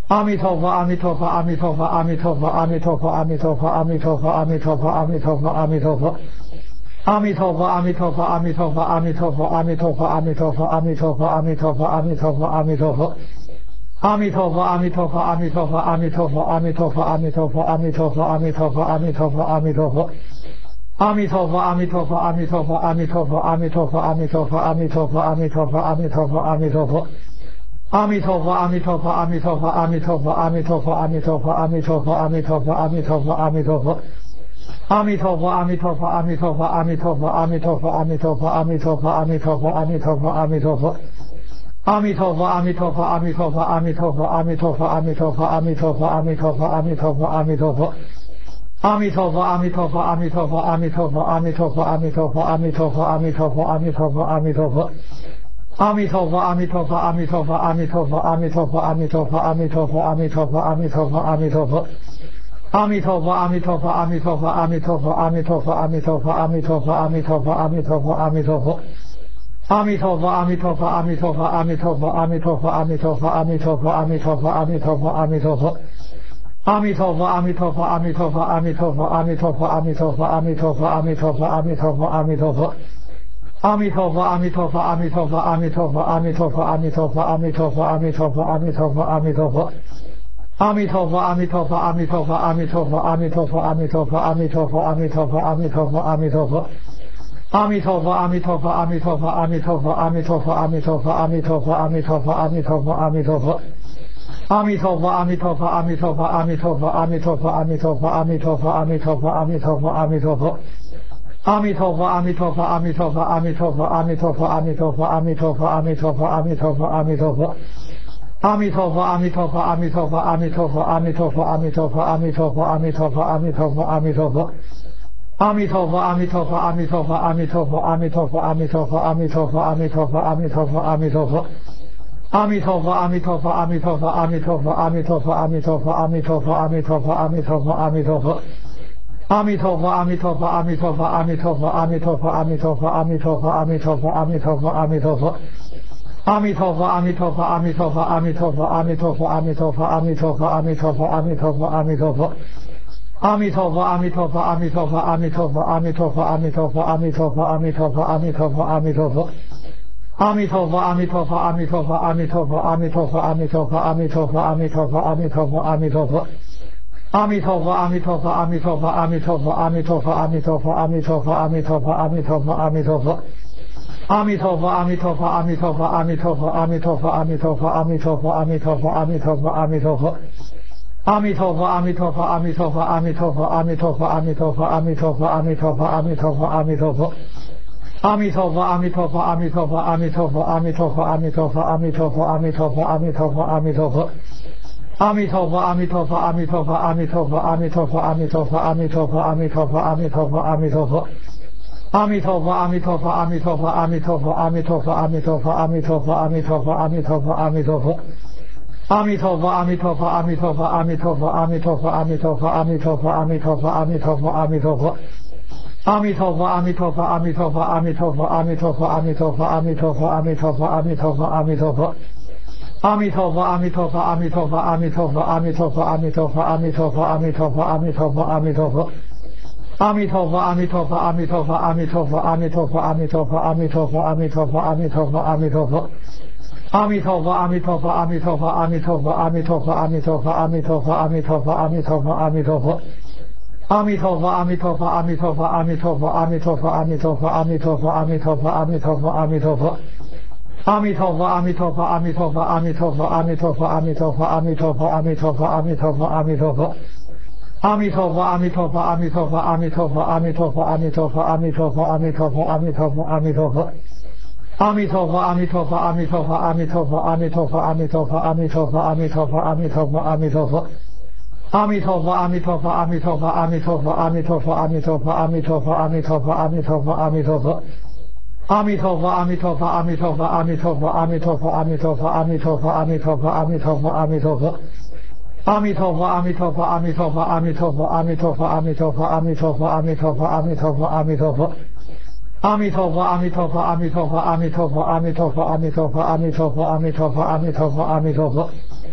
阿弥陀佛，阿弥陀佛，阿弥陀佛，阿弥陀佛，阿弥陀佛，阿弥陀佛，阿弥陀佛，阿弥陀佛，阿弥陀佛，阿弥陀佛。阿弥陀佛，阿弥陀佛，阿弥陀佛，阿弥陀佛，阿弥陀佛，阿弥陀佛，阿弥陀佛，阿弥陀佛，阿弥陀佛，阿弥陀佛。阿弥陀佛，阿弥陀佛，阿弥陀佛，阿弥陀佛，阿弥陀佛，阿弥陀佛，阿弥陀佛，阿弥陀佛，阿弥陀佛，阿弥陀佛。阿弥陀佛，阿弥陀佛，阿弥陀佛，阿弥陀佛，阿弥陀佛，阿弥陀佛，阿弥陀佛，阿弥陀佛，阿弥陀佛，阿弥陀佛。阿弥陀佛，阿弥陀佛，阿弥陀佛，阿弥陀佛，阿弥陀佛，阿弥陀佛，阿弥陀佛，阿弥陀佛，阿弥陀佛，阿弥陀佛。阿弥陀佛，阿弥陀佛，阿弥陀佛，阿弥陀佛，阿弥陀佛，阿弥陀佛，阿弥陀佛，阿弥陀佛，阿弥陀佛，阿弥陀佛。阿弥陀佛，阿弥陀佛，阿弥陀佛，阿弥陀佛，阿弥陀佛，阿弥陀佛，阿弥陀佛，阿弥陀佛，阿弥陀佛，阿弥陀佛。阿弥陀佛，阿弥陀佛，阿弥陀佛，阿弥陀佛，阿弥陀佛，阿弥陀佛，阿弥陀佛，阿弥陀佛，阿弥陀佛，阿弥陀佛。阿弥陀佛，阿弥陀佛，阿弥陀佛，阿弥陀佛，阿弥陀佛，阿弥陀佛，阿弥陀佛，阿弥陀佛，阿弥陀佛，阿弥陀佛。阿弥陀佛，阿弥陀佛，阿弥陀佛，阿弥陀佛，阿弥陀佛，阿弥陀佛，阿弥陀佛，阿弥陀佛，阿弥陀佛，阿弥陀佛。阿弥陀佛，阿弥陀佛，阿弥陀佛，阿弥陀佛，阿弥陀佛，阿弥陀佛，阿弥陀佛，阿弥陀佛，阿弥陀佛，阿弥陀佛。阿弥陀佛，阿弥陀佛，阿弥陀佛，阿弥陀佛，阿弥陀佛，阿弥陀佛，阿弥陀佛，阿弥陀佛，阿弥陀佛，阿弥陀佛。阿弥陀佛，阿弥陀佛，阿弥陀佛，阿弥陀佛，阿弥陀佛，阿弥陀佛，阿弥陀佛，阿弥陀佛，阿弥陀佛，阿弥陀佛。阿弥陀佛，阿弥陀佛，阿弥陀佛，阿弥陀佛，阿弥陀佛，阿弥陀佛，阿弥陀佛，阿弥陀佛，阿弥陀佛，阿弥陀佛。阿弥陀佛，阿弥陀佛，阿弥陀佛，阿弥陀佛，阿弥陀佛，阿弥陀佛，阿弥陀佛，阿弥陀佛，阿弥陀佛，阿弥陀佛。阿弥陀佛，阿弥陀佛，阿弥陀佛，阿弥陀佛，阿弥陀佛，阿弥陀佛，阿弥陀佛，阿弥陀佛，阿弥陀佛，阿弥陀佛。阿弥陀佛，阿弥陀佛，阿弥陀佛，阿弥陀佛，阿弥陀佛，阿弥陀佛，阿弥陀佛，阿弥陀佛，阿弥陀佛，阿弥陀佛。阿弥陀佛，阿弥陀佛，阿弥陀佛，阿弥陀佛，阿弥陀佛，阿弥陀佛，阿弥陀佛，阿弥陀佛，阿弥陀佛，阿弥陀佛。阿弥陀佛，阿弥陀佛，阿弥陀佛，阿弥陀佛，阿弥陀佛，阿弥陀佛，阿弥陀佛，阿弥陀佛，阿弥陀佛，阿弥陀佛。阿弥陀佛，阿弥陀佛，阿弥陀佛，阿弥陀佛，阿弥陀佛，阿弥陀佛，阿弥陀佛，阿弥陀佛，阿弥陀佛，阿弥陀佛。阿弥陀佛，阿弥陀佛，阿弥陀佛，阿弥陀佛，阿弥陀佛，阿弥陀佛，阿弥陀佛，阿弥陀佛，阿弥陀佛，阿弥陀佛。阿弥陀佛，阿弥陀佛，阿弥陀佛，阿弥陀佛，阿弥陀佛，阿弥陀佛，阿弥陀佛，阿弥陀佛，阿弥陀佛，阿弥陀佛。阿弥陀佛，阿弥陀佛，阿弥陀佛，阿弥陀佛，阿弥陀佛，阿弥陀佛，阿弥陀佛，阿弥陀佛，阿弥陀佛，阿弥陀佛。阿弥陀佛，阿弥陀佛，阿弥陀佛，阿弥陀佛，阿弥陀佛，阿弥陀佛，阿弥陀佛，阿弥陀佛，阿弥陀佛，阿弥陀佛。阿弥陀佛，阿弥陀佛，阿弥陀佛，阿弥陀佛，阿弥陀佛，阿弥陀佛，阿弥陀佛，阿弥陀佛，阿弥陀佛，阿弥陀佛。阿弥陀佛，阿弥陀佛，阿弥陀佛，阿弥陀佛，阿弥陀佛，阿弥陀佛，阿弥陀佛，阿弥陀佛，阿弥陀佛，阿弥陀佛。阿弥陀佛，阿弥陀佛，阿弥陀佛，阿弥陀佛，阿弥陀佛，阿弥陀佛，阿弥陀佛，阿弥陀佛，阿弥陀佛，阿弥陀佛。阿弥陀佛，阿弥陀佛，阿弥陀佛，阿弥陀佛，阿弥陀佛，阿弥陀佛，阿弥陀佛，阿弥陀佛，阿弥陀佛，阿弥陀佛。阿弥陀佛，阿弥陀佛，阿弥陀佛，阿弥陀佛，阿弥陀佛，阿弥陀佛，阿弥陀佛，阿弥陀佛，阿弥陀佛，阿弥陀佛。阿弥陀佛，阿弥陀佛，阿弥陀佛，阿弥陀佛，阿弥陀佛，阿弥陀佛，阿弥陀佛，阿弥陀佛，阿弥陀佛，阿弥陀佛。阿弥陀佛，阿弥陀佛，阿弥陀佛，阿弥陀佛，阿弥陀佛，阿弥陀佛，阿弥陀佛，阿弥陀佛，阿弥陀佛，阿弥陀佛。阿弥陀佛，阿弥陀佛，阿弥陀佛，阿弥陀佛，阿弥陀佛，阿弥陀佛，阿弥陀佛，阿弥陀佛，阿弥陀佛，阿弥陀佛。阿弥陀佛，阿弥陀佛，阿弥陀佛，阿弥陀佛，阿弥陀佛，阿弥陀佛，阿弥陀佛，阿弥陀佛，阿弥陀佛，阿弥陀佛。阿弥陀佛，阿弥陀佛，阿弥陀佛，阿弥陀佛，阿弥陀佛，阿弥陀佛，阿弥陀佛，阿弥陀佛，阿弥陀佛，阿弥陀佛。阿弥陀佛，阿弥陀佛，阿弥陀佛，阿弥陀佛，阿弥陀佛，阿弥陀佛，阿弥陀佛，阿弥陀佛，阿弥陀佛，阿弥陀佛。阿弥陀佛，阿弥陀佛，阿弥陀佛，阿弥陀佛，阿弥陀佛，阿弥陀佛，阿弥陀佛，阿弥陀佛，阿弥陀佛，阿弥陀佛。阿弥陀佛，阿弥陀佛，阿弥陀佛，阿弥陀佛，阿弥陀佛，阿弥陀佛，阿弥陀佛，阿弥陀佛，阿弥陀佛，阿弥陀佛。阿弥陀佛，阿弥陀佛，阿弥陀佛，阿弥陀佛，阿弥陀佛，阿弥陀佛，阿弥陀佛，阿弥陀佛，阿弥陀佛，阿弥陀佛。阿弥陀佛，阿弥陀佛，阿弥陀佛，阿弥陀佛，阿弥陀佛，阿弥陀佛，阿弥陀佛，阿弥陀佛，阿弥陀佛，阿弥陀佛。阿弥陀佛，阿弥陀佛，阿弥陀佛，阿弥陀佛，阿弥陀佛，阿弥陀佛，阿弥陀佛，阿弥陀佛，阿弥陀佛，阿弥陀佛。阿弥陀佛，阿弥陀佛，阿弥陀佛，阿弥陀佛，阿弥陀佛，阿弥陀佛，阿弥陀佛，阿弥陀佛，阿弥陀佛，阿弥陀佛。阿弥陀佛，阿弥陀佛，阿弥陀佛，阿弥陀佛，阿弥陀佛，阿弥陀佛，阿弥陀佛，阿弥陀佛，阿弥陀佛，阿弥陀佛。阿弥陀佛，阿弥陀佛，阿弥陀佛，阿弥陀佛，阿弥陀佛，阿弥陀佛，阿弥陀佛，阿弥陀佛，阿弥陀佛，阿弥陀佛。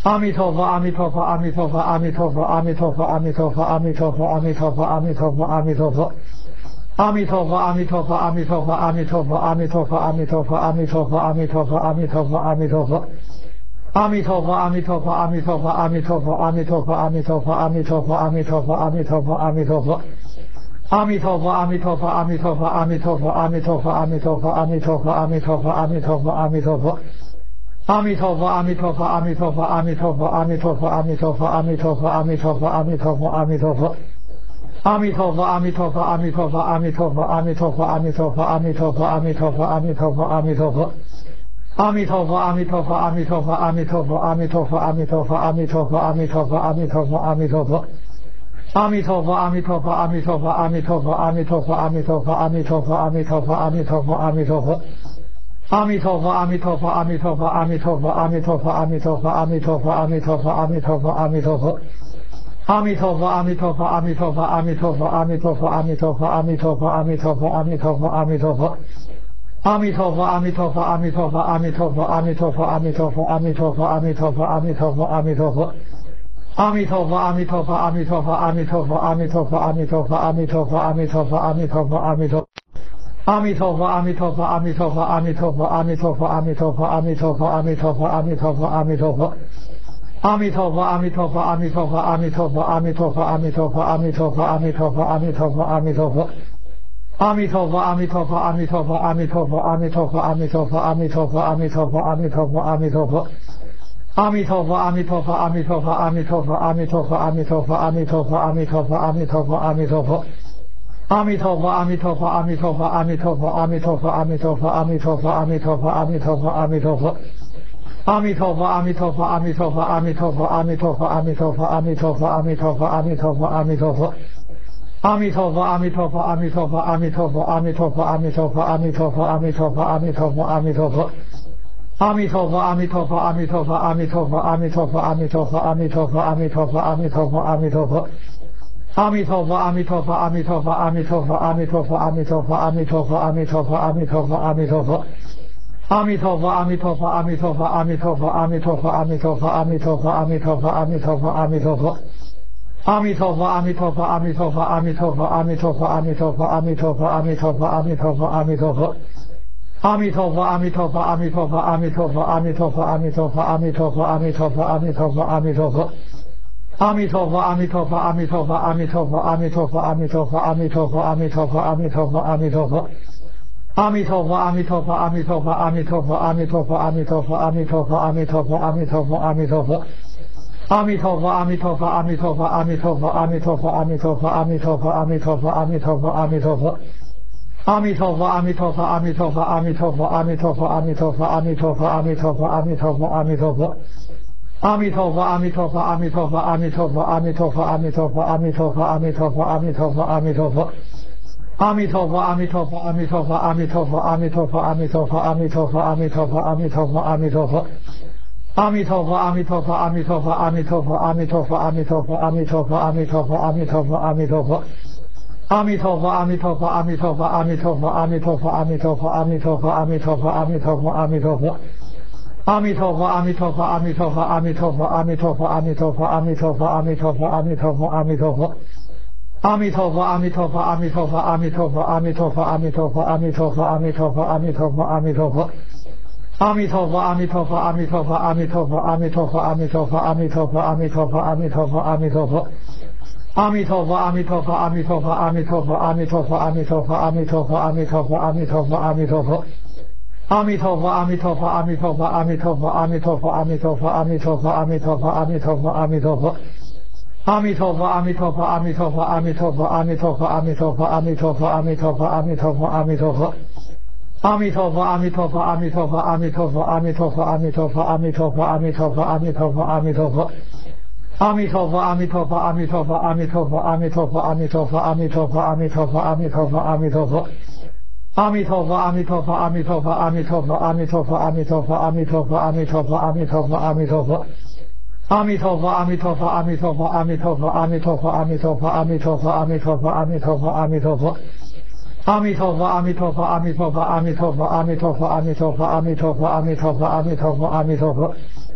阿弥陀佛，阿弥陀佛，阿弥陀佛，阿弥陀佛，阿弥陀佛，阿弥陀佛，阿弥陀佛，阿弥陀佛，阿弥陀佛，阿弥陀佛。阿弥陀佛，阿弥陀佛，阿弥陀佛，阿弥陀佛，阿弥陀佛，阿弥陀佛，阿弥陀佛，阿弥陀佛，阿弥陀佛，阿弥陀佛。阿弥陀佛，阿弥陀佛，阿弥陀佛，阿弥陀佛，阿弥陀佛，阿弥陀佛，阿弥陀佛，阿弥陀佛，阿弥陀佛，阿弥陀佛。阿弥陀佛，阿弥陀佛，阿弥陀佛，阿弥陀佛，阿弥陀佛，阿弥陀佛，阿弥陀佛，阿弥陀佛，阿弥陀佛，阿弥陀佛。阿弥陀佛，阿弥陀佛，阿弥陀佛，阿弥陀佛，阿弥陀佛，阿弥陀佛，阿弥陀佛，阿弥陀佛，阿弥陀佛，阿弥陀佛。阿弥陀佛，阿弥陀佛，阿弥陀佛，阿弥陀佛，阿弥陀佛，阿弥陀佛，阿弥陀佛，阿弥陀佛，阿弥陀佛，阿弥陀佛。阿弥陀佛，阿弥陀佛，阿弥陀佛，阿弥陀佛，阿弥陀佛，阿弥陀佛，阿弥陀佛，阿弥陀佛，阿弥陀佛，阿弥陀佛。阿弥陀佛，阿弥陀佛，阿弥陀佛，阿弥陀佛，阿弥陀佛，阿弥陀佛，阿弥陀佛，阿弥陀佛，阿弥陀佛，阿弥陀佛。阿弥陀佛，阿弥陀佛，阿弥陀佛，阿弥陀佛，阿弥陀佛，阿弥陀佛，阿弥陀佛，阿弥陀佛，阿弥陀佛，阿弥陀佛。阿弥陀佛，阿弥陀佛，阿弥陀佛，阿弥陀佛，阿弥陀佛，阿弥陀佛，阿弥陀佛，阿弥陀佛，阿弥陀佛，阿弥陀佛。阿弥陀佛，阿弥陀佛，阿弥陀佛，阿弥陀佛，阿弥陀佛，阿弥陀佛，阿弥陀佛，阿弥陀佛，阿弥陀佛，阿弥陀佛。阿弥陀佛，阿弥陀佛，阿弥陀佛，阿弥陀佛，阿弥陀佛，阿弥陀佛，阿弥陀佛，阿弥陀佛，阿弥陀佛，阿弥陀。阿弥陀佛，阿弥陀佛，阿弥陀佛，阿弥陀佛，阿弥陀佛，阿弥陀佛，阿弥陀佛，阿弥陀佛，阿弥陀佛，阿弥陀佛。阿弥陀佛，阿弥陀佛，阿弥陀佛，阿弥陀佛，阿弥陀佛，阿弥陀佛，阿弥陀佛，阿弥陀佛，阿弥陀佛，阿弥陀佛。阿弥陀佛，阿弥陀佛，阿弥陀佛，阿弥陀佛，阿弥陀佛，阿弥陀佛，阿弥陀佛，阿弥陀佛，阿弥陀佛，阿弥陀佛。阿弥陀佛，阿弥陀佛，阿弥陀佛，阿弥陀佛，阿弥陀佛，阿弥陀佛，阿弥陀佛，阿弥陀佛，阿弥陀佛，阿弥陀佛。阿弥陀佛，阿弥陀佛，阿弥陀佛，阿弥陀佛，阿弥陀佛，阿弥陀佛，阿弥陀佛，阿弥陀佛，阿弥陀佛，阿弥陀佛。阿弥陀佛，阿弥陀佛，阿弥陀佛，阿弥陀佛，阿弥陀佛，阿弥陀佛，阿弥陀佛，阿弥陀佛，阿弥陀佛，阿弥陀佛。阿弥陀佛，阿弥陀佛，阿弥陀佛，阿弥陀佛，阿弥陀佛，阿弥陀佛，阿弥陀佛，阿弥陀佛，阿弥陀佛，阿弥陀佛。阿弥陀佛，阿弥陀佛，阿弥陀佛，阿弥陀佛，阿弥陀佛，阿弥陀佛，阿弥陀佛，阿弥陀佛，阿弥陀佛，阿弥陀佛。阿弥陀佛，阿弥陀佛，阿弥陀佛，阿弥陀佛，阿弥陀佛，阿弥陀佛，阿弥陀佛，阿弥陀佛，阿弥陀佛，阿弥陀佛。阿弥陀佛，阿弥陀佛，阿弥陀佛，阿弥陀佛，阿弥陀佛，阿弥陀佛，阿弥陀佛，阿弥陀佛，阿弥陀佛，阿弥陀佛。阿弥陀佛，阿弥陀佛，阿弥陀佛，阿弥陀佛，阿弥陀佛，阿弥陀佛，阿弥陀佛，阿弥陀佛，阿弥陀佛，阿弥陀佛。阿弥陀佛，阿弥陀佛，阿弥陀佛，阿弥陀佛，阿弥陀佛，阿弥陀佛，阿弥陀佛，阿弥陀佛，阿弥陀佛，阿弥陀佛。阿弥陀佛，阿弥陀佛，阿弥陀佛，阿弥陀佛，阿弥陀佛，阿弥陀佛，阿弥陀佛，阿弥陀佛，阿弥陀佛，阿弥陀佛。阿弥陀佛，阿弥陀佛，阿弥陀佛，阿弥陀佛，阿弥陀佛，阿弥陀佛，阿弥陀佛，阿弥陀佛，阿弥陀佛，阿弥陀佛。阿弥陀佛，阿弥陀佛，阿弥陀佛，阿弥陀佛，阿弥陀佛，阿弥陀佛，阿弥陀佛，阿弥陀佛，阿弥陀佛，阿弥陀佛。阿弥陀佛，阿弥陀佛，阿弥陀佛，阿弥陀佛，阿弥陀佛，阿弥陀佛，阿弥陀佛，阿弥陀佛，阿弥陀佛，阿弥陀佛。阿弥陀佛，阿弥陀佛，阿弥陀佛，阿弥陀佛，阿弥陀佛，阿弥陀佛，阿弥陀佛，阿弥陀佛，阿弥陀佛，阿弥陀佛。阿弥陀佛，阿弥陀佛，阿弥陀佛，阿弥陀佛，阿弥陀佛，阿弥陀佛，阿弥陀佛，阿弥陀佛，阿弥陀佛，阿弥陀佛。阿弥陀佛，阿弥陀佛，阿弥陀佛，阿弥陀佛，阿弥陀佛，阿弥陀佛，阿弥陀佛，阿弥陀佛，阿弥陀佛，阿弥陀佛。阿弥陀佛，阿弥陀佛，阿弥陀佛，阿弥陀佛，阿弥陀佛，阿弥陀佛，阿弥陀佛，阿弥陀佛，阿弥陀佛，阿弥陀佛。阿弥陀佛，阿弥陀佛，阿弥陀佛，阿弥陀佛，阿弥陀佛，阿弥陀佛，阿弥陀佛，阿弥陀佛，阿弥陀佛，阿弥陀佛。阿弥陀佛，阿弥陀佛，阿弥陀佛，阿弥陀佛，阿弥陀佛，阿弥陀佛，阿弥陀佛，阿弥陀佛，阿弥陀佛，阿弥陀佛。阿弥陀佛，阿弥陀佛，阿弥陀佛，阿弥陀佛，阿弥陀佛，阿弥陀佛，阿弥陀佛，阿弥陀佛，阿弥陀佛，阿弥陀佛。阿弥陀佛，阿弥陀佛，阿弥陀佛，阿弥陀佛，阿弥陀佛，阿弥陀佛，阿弥陀佛，阿弥陀佛，阿弥陀佛，阿弥陀佛。阿弥陀佛，阿弥陀佛，阿弥陀佛，阿弥陀佛，阿弥陀佛，阿弥陀佛，阿弥陀佛，阿弥陀佛，阿弥陀佛，阿弥陀佛。阿弥陀佛，阿弥陀佛，阿弥陀佛，阿弥陀佛，阿弥陀佛，阿弥陀佛，阿弥陀佛，阿弥陀佛，阿弥陀佛，阿弥陀佛。阿弥陀佛，阿弥陀佛，阿弥陀佛，阿弥陀佛，阿弥陀佛，阿弥陀佛，阿弥陀佛，阿弥陀佛，阿弥陀佛，阿弥陀佛。阿弥陀佛，阿弥陀佛，阿弥陀佛，阿弥陀佛，阿弥陀佛，阿弥陀佛，阿弥陀佛，阿弥陀佛，阿弥陀佛，阿弥陀佛。阿弥陀佛，阿弥陀佛，阿弥陀佛，阿弥陀佛，阿弥陀佛，阿弥陀佛，阿弥陀佛，阿弥陀佛，阿弥陀佛，阿弥陀佛。阿弥陀佛，阿弥陀佛，阿弥陀佛，阿弥陀佛，阿弥陀佛，阿弥陀佛，阿弥陀佛，阿弥陀佛，阿弥陀佛，阿弥陀佛。阿弥陀佛，阿弥陀佛，阿弥陀佛，阿弥陀佛，阿弥陀佛，阿弥陀佛，阿弥陀佛，阿弥陀佛，阿弥陀佛，阿弥陀佛。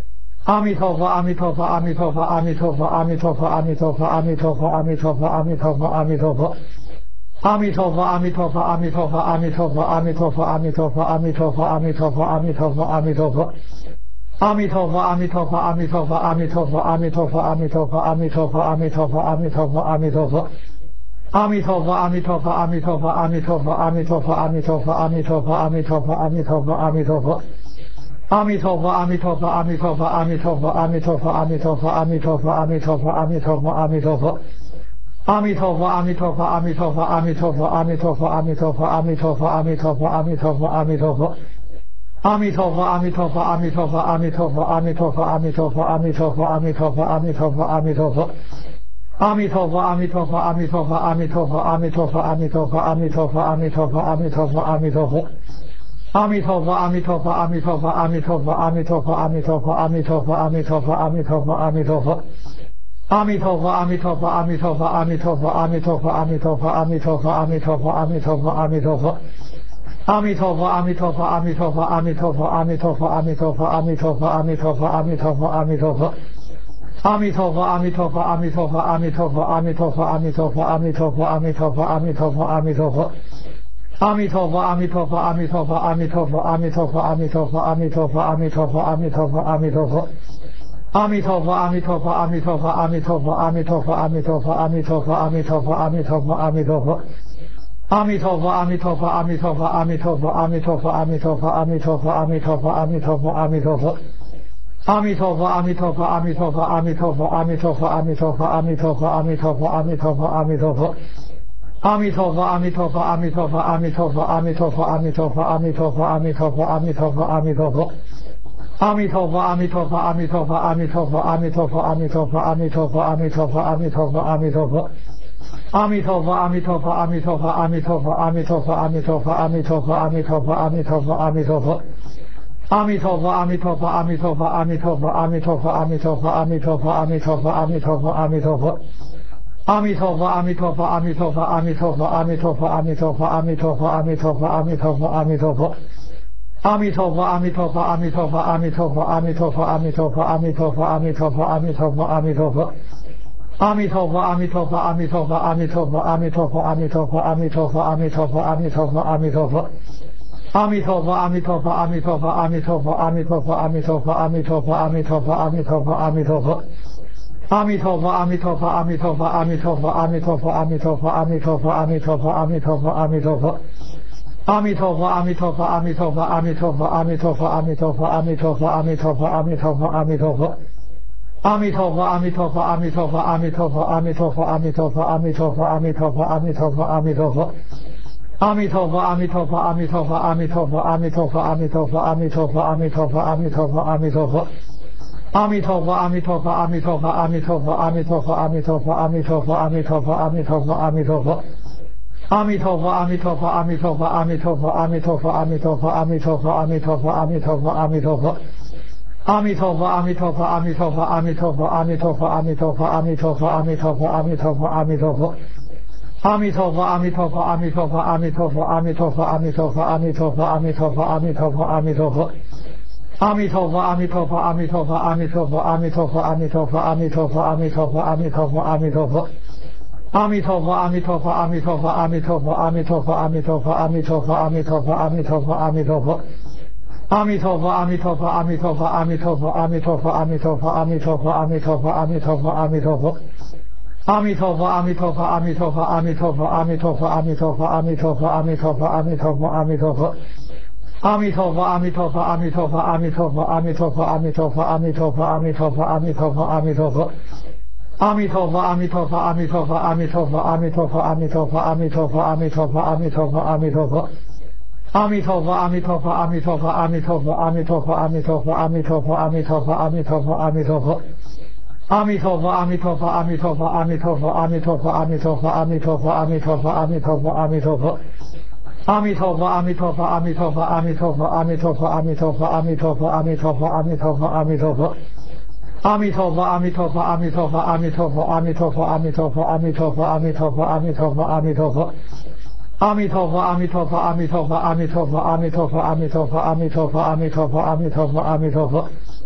阿弥陀佛，阿弥陀佛，阿弥陀佛，阿弥陀佛，阿弥陀佛，阿弥陀佛，阿弥陀佛，阿弥陀佛，阿弥陀佛，阿弥陀佛。阿弥陀佛，阿弥陀佛，阿弥陀佛，阿弥陀佛，阿弥陀佛，阿弥陀佛，阿弥陀佛，阿弥陀佛，阿弥陀佛，阿弥陀佛。阿弥陀佛，阿弥陀佛，阿弥陀佛，阿弥陀佛，阿弥陀佛，阿弥陀佛，阿弥陀佛，阿弥陀佛，阿弥陀佛，阿弥陀佛。阿弥陀佛，阿弥陀佛，阿弥陀佛，阿弥陀佛，阿弥陀佛，阿弥陀佛，阿弥陀佛，阿弥陀佛，阿弥陀佛，阿弥陀佛。阿弥陀佛，阿弥陀佛，阿弥陀佛，阿弥陀佛，阿弥陀佛，阿弥陀佛，阿弥陀佛，阿弥陀佛，阿弥陀佛，阿弥陀佛。阿弥陀佛，阿弥陀佛，阿弥陀佛，阿弥陀佛，阿弥陀佛，阿弥陀佛，阿弥陀佛，阿弥陀佛，阿弥陀佛，阿弥陀佛。阿弥陀佛，阿弥陀佛，阿弥陀佛，阿弥陀佛，阿弥陀佛，阿弥陀佛，阿弥陀佛，阿弥陀佛，阿弥陀佛，阿弥陀佛。阿弥陀佛，阿弥陀佛，阿弥陀佛，阿弥陀佛，阿弥陀佛，阿弥陀佛，阿弥陀佛，阿弥陀佛，阿弥陀佛，阿弥陀佛。阿弥陀佛，阿弥陀佛，阿弥陀佛，阿弥陀佛，阿弥陀佛，阿弥陀佛，阿弥陀佛，阿弥陀佛，阿弥陀佛，阿弥陀佛。阿弥陀佛，阿弥陀佛，阿弥陀佛，阿弥陀佛，阿弥陀佛，阿弥陀佛，阿弥陀佛，阿弥陀佛，阿弥陀佛，阿弥陀佛。阿弥陀佛，阿弥陀佛，阿弥陀佛，阿弥陀佛，阿弥陀佛，阿弥陀佛，阿弥陀佛，阿弥陀佛，阿弥陀佛，阿弥陀佛。阿弥陀佛，阿弥陀佛，阿弥陀佛，阿弥陀佛，阿弥陀佛，阿弥陀佛，阿弥陀佛，阿弥陀佛，阿弥陀佛，阿弥陀佛。阿弥陀佛，阿弥陀佛，阿弥陀佛，阿弥陀佛，阿弥陀佛，阿弥陀佛，阿弥陀佛，阿弥陀佛，阿弥陀佛，阿弥陀佛。阿弥陀佛，阿弥陀佛，阿弥陀佛，阿弥陀佛，阿弥陀佛，阿弥陀佛，阿弥陀佛，阿弥陀佛，阿弥陀佛，阿弥陀佛。阿弥陀佛，阿弥陀佛，阿弥陀佛，阿弥陀佛，阿弥陀佛，阿弥陀佛，阿弥陀佛，阿弥陀佛，阿弥陀佛，阿弥陀佛。阿弥陀佛，阿弥陀佛，阿弥陀佛，阿弥陀佛，阿弥陀佛，阿弥陀佛，阿弥陀佛，阿弥陀佛，阿弥陀佛，阿弥陀佛。阿弥陀佛，阿弥陀佛，阿弥陀佛，阿弥陀佛，阿弥陀佛，阿弥陀佛，阿弥陀佛，阿弥陀佛，阿弥陀佛，阿弥陀佛。阿弥陀佛，阿弥陀佛，阿弥陀佛，阿弥陀佛，阿弥陀佛，阿弥陀佛，阿弥陀佛，阿弥陀佛，阿弥陀佛，阿弥陀佛。阿弥陀佛，阿弥陀佛，阿弥陀佛，阿弥陀佛，阿弥陀佛，阿弥陀佛，阿弥陀佛，阿弥陀佛，阿弥陀佛，阿弥陀佛。阿弥陀佛，阿弥陀佛，阿弥陀佛，阿弥陀佛，阿弥陀佛，阿弥陀佛，阿弥陀佛，阿弥陀佛，阿弥陀佛，阿弥陀佛。阿弥陀佛，阿弥陀佛，阿弥陀佛，阿弥陀佛，阿弥陀佛，阿弥陀佛，阿弥陀佛，阿弥陀佛，阿弥陀佛，阿弥陀佛。阿弥陀佛，阿弥陀佛，阿弥陀佛，阿弥陀佛，阿弥陀佛，阿弥陀佛，阿弥陀佛，阿弥陀佛，阿弥陀佛，阿弥陀佛。阿弥陀佛，阿弥陀佛，阿弥陀佛，阿弥陀佛，阿弥陀佛，阿弥陀佛，阿弥陀佛，阿弥陀佛，阿弥陀佛，阿弥陀佛。阿弥陀佛，阿弥陀佛，阿弥陀佛，阿弥陀佛，阿弥陀佛，阿弥陀佛，阿弥陀佛，阿弥陀佛，阿弥陀佛，阿弥陀佛。阿弥陀佛，阿弥陀佛，阿弥陀佛，阿弥陀佛，阿弥陀佛，阿弥陀佛，阿弥陀佛，阿弥陀佛，阿弥陀佛，阿弥陀佛。阿弥陀佛，阿弥陀佛，阿弥陀佛，阿弥陀佛，阿弥陀佛，阿弥陀佛，阿弥陀佛，阿弥陀佛，阿弥陀佛，阿弥陀佛。阿弥陀佛，阿弥陀佛，阿弥陀佛，阿弥陀佛，阿弥陀佛，阿弥陀佛，阿弥陀佛，阿弥陀佛，阿弥陀佛，阿弥陀佛。阿弥陀佛，阿弥陀佛，阿弥陀佛，阿弥陀佛，阿弥陀佛，阿弥陀佛，阿弥陀佛，阿弥陀佛，阿弥陀佛，阿弥陀佛。阿弥陀佛，阿弥陀佛，阿弥陀佛，阿弥陀佛，阿弥陀佛，阿弥陀佛，阿弥陀佛，阿弥陀佛，阿弥陀佛，阿弥陀佛。阿弥陀佛，阿弥陀佛，阿弥陀佛，阿弥陀佛，阿弥陀佛，阿弥陀佛，阿弥陀佛，阿弥陀佛，阿弥陀佛，阿弥陀佛。阿弥陀佛，阿弥陀佛，阿弥陀佛，阿弥陀佛，阿弥陀佛，阿弥陀佛，阿弥陀佛，阿弥陀佛，阿弥陀佛，阿弥陀佛。阿弥陀佛，阿弥陀佛，阿弥陀佛，阿弥陀佛，阿弥陀佛，阿弥陀佛，阿弥陀佛，阿弥陀佛，阿弥陀佛，阿弥陀佛。阿弥陀佛，阿弥陀佛，阿弥陀佛，阿弥陀佛，阿弥陀佛，阿弥陀佛，阿弥陀佛，阿弥陀佛，阿弥陀佛，阿弥陀佛。阿弥陀佛，阿弥陀佛，阿弥陀佛，阿弥陀佛，阿弥陀佛，阿弥陀佛，阿弥陀佛，阿弥陀佛，阿弥陀佛，阿弥陀佛。阿弥陀佛，阿弥陀佛，阿弥陀佛，阿弥陀佛，阿弥陀佛，阿弥陀佛，阿弥陀佛，阿弥陀佛，阿弥陀佛，阿弥陀佛。阿弥陀佛，阿弥陀佛，阿弥陀佛，阿弥陀佛，阿弥陀佛，阿弥陀佛，阿弥陀佛，阿弥陀佛，阿弥陀佛，阿弥陀佛。阿弥陀佛，阿弥陀佛，阿弥陀佛，阿弥陀佛，阿弥陀佛，阿弥陀佛，阿弥陀佛，阿弥陀佛，阿弥陀佛，阿弥陀佛。阿弥陀佛，阿弥陀佛，阿弥陀佛，阿弥陀佛，阿弥陀佛，阿弥陀佛，阿弥陀佛，阿弥陀佛，阿弥陀佛，阿弥陀佛。阿弥陀佛，阿弥陀佛，阿弥陀佛，阿弥陀佛，阿弥陀佛，阿弥陀佛，阿弥陀佛，阿弥陀佛，阿弥陀佛，阿弥陀佛。阿弥陀佛，阿弥陀佛，阿弥陀佛，阿弥陀佛，阿弥陀佛，阿弥陀佛，阿弥陀佛，阿弥陀佛，阿弥陀佛，阿弥陀佛。阿弥陀佛，阿弥陀佛，阿弥陀佛，阿弥陀佛，阿弥陀佛，阿弥陀佛，阿弥陀佛，阿弥陀佛，阿弥陀佛，阿弥陀佛。阿弥陀佛，阿弥陀佛，阿弥陀佛，阿弥陀佛，阿弥陀佛，阿弥陀佛，阿弥陀佛，阿弥陀佛，阿弥陀佛，阿弥陀佛。阿弥陀佛，阿弥陀佛，阿弥陀佛，阿弥陀佛，阿弥陀佛，阿弥陀佛，阿弥陀佛，阿弥陀佛，阿弥陀佛，阿弥陀佛。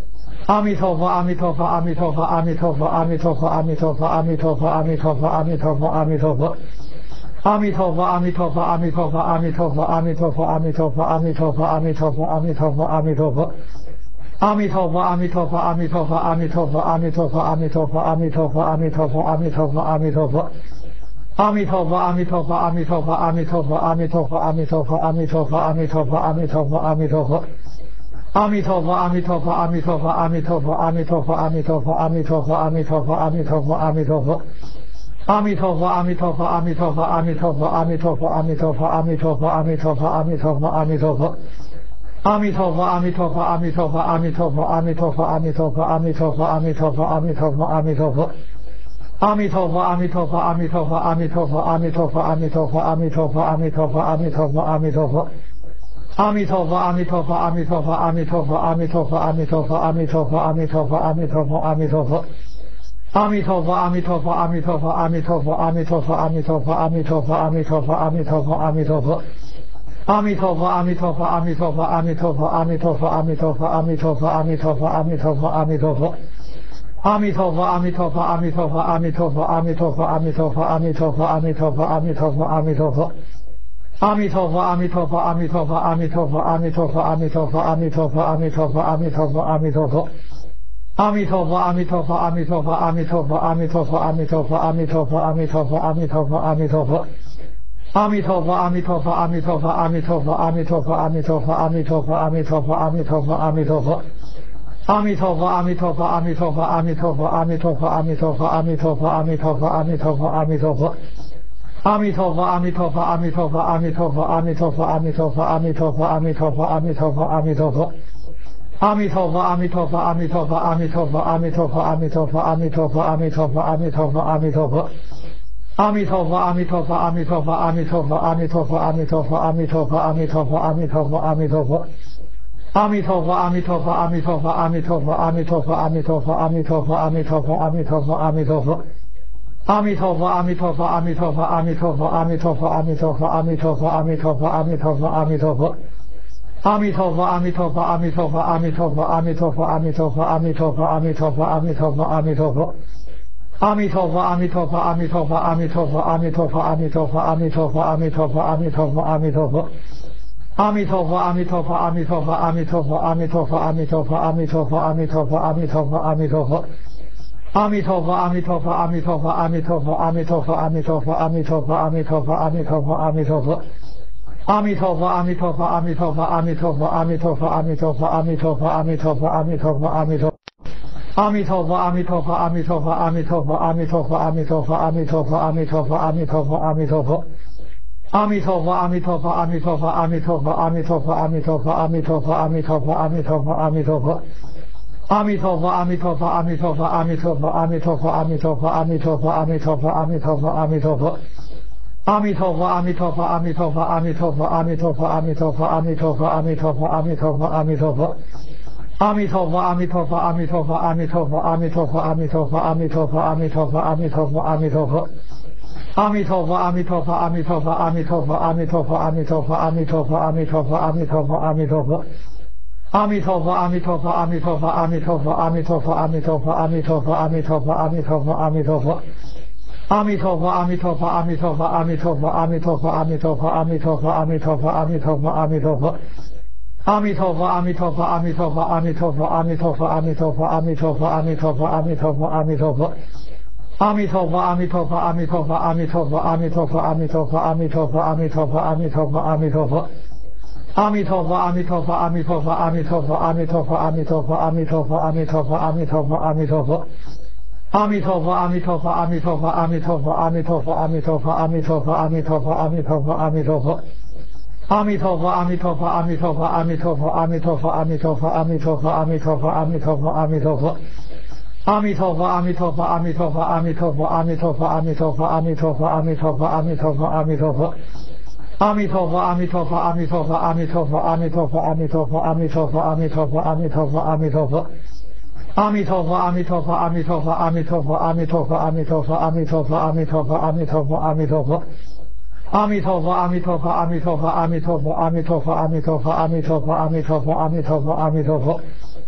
阿弥陀佛，阿弥陀佛，阿弥陀佛，阿弥陀佛，阿弥陀佛，阿弥陀佛，阿弥陀佛，阿弥陀佛，阿弥陀佛，阿弥陀佛。阿弥陀佛，阿弥陀佛，阿弥陀佛，阿弥陀佛，阿弥陀佛，阿弥陀佛，阿弥陀佛，阿弥陀佛，阿弥陀佛，阿弥陀佛。阿弥陀佛，阿弥陀佛，阿弥陀佛，阿弥陀佛，阿弥陀佛，阿弥陀佛，阿弥陀佛，阿弥陀佛，阿弥陀佛，阿弥陀佛。阿弥陀佛，阿弥陀佛，阿弥陀佛，阿弥陀佛，阿弥陀佛，阿弥陀佛，阿弥陀佛，阿弥陀佛，阿弥陀佛，阿弥陀佛。阿弥陀佛，阿弥陀佛，阿弥陀佛，阿弥陀佛，阿弥陀佛，阿弥陀佛，阿弥陀佛，阿弥陀佛，阿弥陀佛，阿弥陀佛。阿弥陀佛，阿弥陀佛，阿弥陀佛，阿弥陀佛，阿弥陀佛，阿弥陀佛，阿弥陀佛，阿弥陀佛，阿弥陀佛，阿弥陀佛。阿弥陀佛，阿弥陀佛，阿弥陀佛，阿弥陀佛，阿弥陀佛，阿弥陀佛，阿弥陀佛，阿弥陀佛，阿弥陀佛，阿弥陀佛。阿弥陀佛，阿弥陀佛，阿弥陀佛，阿弥陀佛，阿弥陀佛，阿弥陀佛，阿弥陀佛，阿弥陀佛，阿弥陀佛，阿弥陀佛。阿弥陀佛，阿弥陀佛，阿弥陀佛，阿弥陀佛，阿弥陀佛，阿弥陀佛，阿弥陀佛，阿弥陀佛，阿弥陀佛，阿弥陀佛。阿弥陀佛，阿弥陀佛，阿弥陀佛，阿弥陀佛，阿弥陀佛，阿弥陀佛，阿弥陀佛，阿弥陀佛，阿弥陀佛，阿弥陀佛。阿弥陀佛，阿弥陀佛，阿弥陀佛，阿弥陀佛，阿弥陀佛，阿弥陀佛，阿弥陀佛，阿弥陀佛，阿弥陀佛，阿弥陀佛。阿弥陀佛，阿弥陀佛，阿弥陀佛，阿弥陀佛，阿弥陀佛，阿弥陀佛，阿弥陀佛，阿弥陀佛，阿弥陀佛，阿弥陀佛。阿弥陀佛，阿弥陀佛，阿弥陀佛，阿弥陀佛，阿弥陀佛，阿弥陀佛，阿弥陀佛，阿弥陀佛，阿弥陀佛，阿弥陀佛。阿弥陀佛，阿弥陀佛，阿弥陀佛，阿弥陀佛，阿弥陀佛，阿弥陀佛，阿弥陀佛，阿弥陀佛，阿弥陀佛，阿弥陀佛。阿弥陀佛，阿弥陀佛，阿弥陀佛，阿弥陀佛，阿弥陀佛，阿弥陀佛，阿弥陀佛，阿弥陀佛，阿弥陀佛，阿弥陀佛。阿弥陀佛，阿弥陀佛，阿弥陀佛，阿弥陀佛，阿弥陀佛，阿弥陀佛，阿弥陀佛，阿弥陀佛，阿弥陀佛，阿弥陀佛。阿弥陀佛，阿弥陀佛，阿弥陀佛，阿弥陀佛，阿弥陀佛，阿弥陀佛，阿弥陀佛，阿弥陀佛，阿弥陀佛，阿弥陀佛。阿弥陀佛，阿弥陀佛，阿弥陀佛，阿弥陀佛，阿弥陀佛，阿弥陀佛，阿弥陀佛，阿弥陀佛，阿弥陀佛，阿弥陀佛。阿弥陀佛，阿弥陀佛，阿弥陀佛，阿弥陀佛，阿弥陀佛，阿弥陀佛，阿弥陀佛，阿弥陀佛，阿弥陀佛，阿弥陀佛。阿弥陀佛，阿弥陀佛，阿弥陀佛，阿弥陀佛，阿弥陀佛，阿弥陀佛，阿弥陀佛，阿弥陀佛，阿弥陀佛，阿弥陀佛。阿弥陀佛，阿弥陀佛，阿弥陀佛，阿弥陀佛，阿弥陀佛，阿弥陀佛，阿弥陀佛，阿弥陀佛，阿弥陀佛，阿弥陀佛。阿弥陀佛，阿弥陀佛，阿弥陀佛，阿弥陀佛，阿弥陀佛，阿弥陀佛，阿弥陀佛，阿弥陀佛，阿弥陀佛，阿弥陀佛。阿弥陀佛，阿弥陀佛，阿弥陀佛，阿弥陀佛，阿弥陀佛，阿弥陀佛，阿弥陀佛，阿弥陀佛，阿弥陀佛，阿弥陀佛。阿弥陀佛，阿弥陀佛，阿弥陀佛，阿弥陀佛，阿弥陀佛，阿弥陀佛，阿弥陀佛，阿弥陀佛，阿弥陀佛，阿弥陀佛。阿弥陀佛，阿弥陀佛，阿弥陀佛，阿弥陀佛，阿弥陀佛，阿弥陀佛，阿弥陀佛，阿弥陀佛，阿弥陀佛，阿弥陀佛。阿弥陀佛，阿弥陀佛，阿弥陀佛，阿弥陀佛，阿弥陀佛，阿弥陀佛，阿弥陀佛，阿弥陀佛，阿弥陀佛，阿弥陀。阿弥陀佛，阿弥陀佛，阿弥陀佛，阿弥陀佛，阿弥陀佛，阿弥陀佛，阿弥陀佛，阿弥陀佛，阿弥陀佛，阿弥陀佛。阿弥陀佛，阿弥陀佛，阿弥陀佛，阿弥陀佛，阿弥陀佛，阿弥陀佛，阿弥陀佛，阿弥陀佛，阿弥陀佛，阿弥陀佛。阿弥陀佛，阿弥陀佛，阿弥陀佛，阿弥陀佛，阿弥陀佛，阿弥陀佛，阿弥陀佛，阿弥陀佛，阿弥陀佛，阿弥陀佛。阿弥陀佛，阿弥陀佛，阿弥陀佛，阿弥陀佛，阿弥陀佛，阿弥陀佛，阿弥陀佛，阿弥陀佛，阿弥陀佛，阿弥陀佛。阿弥陀佛，阿弥陀佛，阿弥陀佛，阿弥陀佛，阿弥陀佛，阿弥陀佛，阿弥陀佛，阿弥陀佛，阿弥陀佛，阿弥陀佛。阿弥陀佛，阿弥陀佛，阿弥陀佛，阿弥陀佛，阿弥陀佛，阿弥陀佛，阿弥陀佛，阿弥陀佛，阿弥陀佛，阿弥陀佛。阿弥陀佛，阿弥陀佛，阿弥陀佛，阿弥陀佛，阿弥陀佛，阿弥陀佛，阿弥陀佛，阿弥陀佛，阿弥陀佛，阿弥陀佛。阿弥陀佛，阿弥陀佛，阿弥陀佛，阿弥陀佛，阿弥陀佛，阿弥陀佛，阿弥陀佛，阿弥陀佛，阿弥陀佛，阿弥陀佛。阿弥陀佛，阿弥陀佛，阿弥陀佛，阿弥陀佛，阿弥陀佛，阿弥陀佛，阿弥陀佛，阿弥陀佛，阿弥陀佛，阿弥陀佛。阿弥陀佛，阿弥陀佛，阿弥陀佛，阿弥陀佛，阿弥陀佛，阿弥陀佛，阿弥陀佛，阿弥陀佛，阿弥陀佛，阿弥陀佛。阿弥陀佛，阿弥陀佛，阿弥陀佛，阿弥陀佛，阿弥陀佛，阿弥陀佛，阿弥陀佛，阿弥陀佛，阿弥陀佛，阿弥陀佛。阿弥陀佛，阿弥陀佛，阿弥陀佛，阿弥陀佛，阿弥陀佛，阿弥陀佛，阿弥陀佛，阿弥陀佛，阿弥陀佛，阿弥陀佛。阿弥陀佛，阿弥陀佛，阿弥陀佛，阿弥陀佛，阿弥陀佛，阿弥陀佛，阿弥陀佛，阿弥陀佛，阿弥陀佛，阿弥陀佛。阿弥陀佛，阿弥陀佛，阿弥陀佛，阿弥陀佛，阿弥陀佛，阿弥陀佛，阿弥陀佛，阿弥陀佛，阿弥陀佛，阿弥陀佛。阿弥陀佛，阿弥陀佛，阿弥陀佛，阿弥陀佛，阿弥陀佛，阿弥陀佛，阿弥陀佛，阿弥陀佛，阿弥陀佛，阿弥陀佛。阿弥陀佛，阿弥陀佛，阿弥陀佛，阿弥陀佛，阿弥陀佛，阿弥陀佛，阿弥陀佛，阿弥陀佛，阿弥陀佛，阿弥陀佛。阿弥陀佛，阿弥陀佛，阿弥陀佛，阿弥陀佛，阿弥陀佛，阿弥陀佛，阿弥陀佛，阿弥陀佛，阿弥陀佛，阿弥陀佛。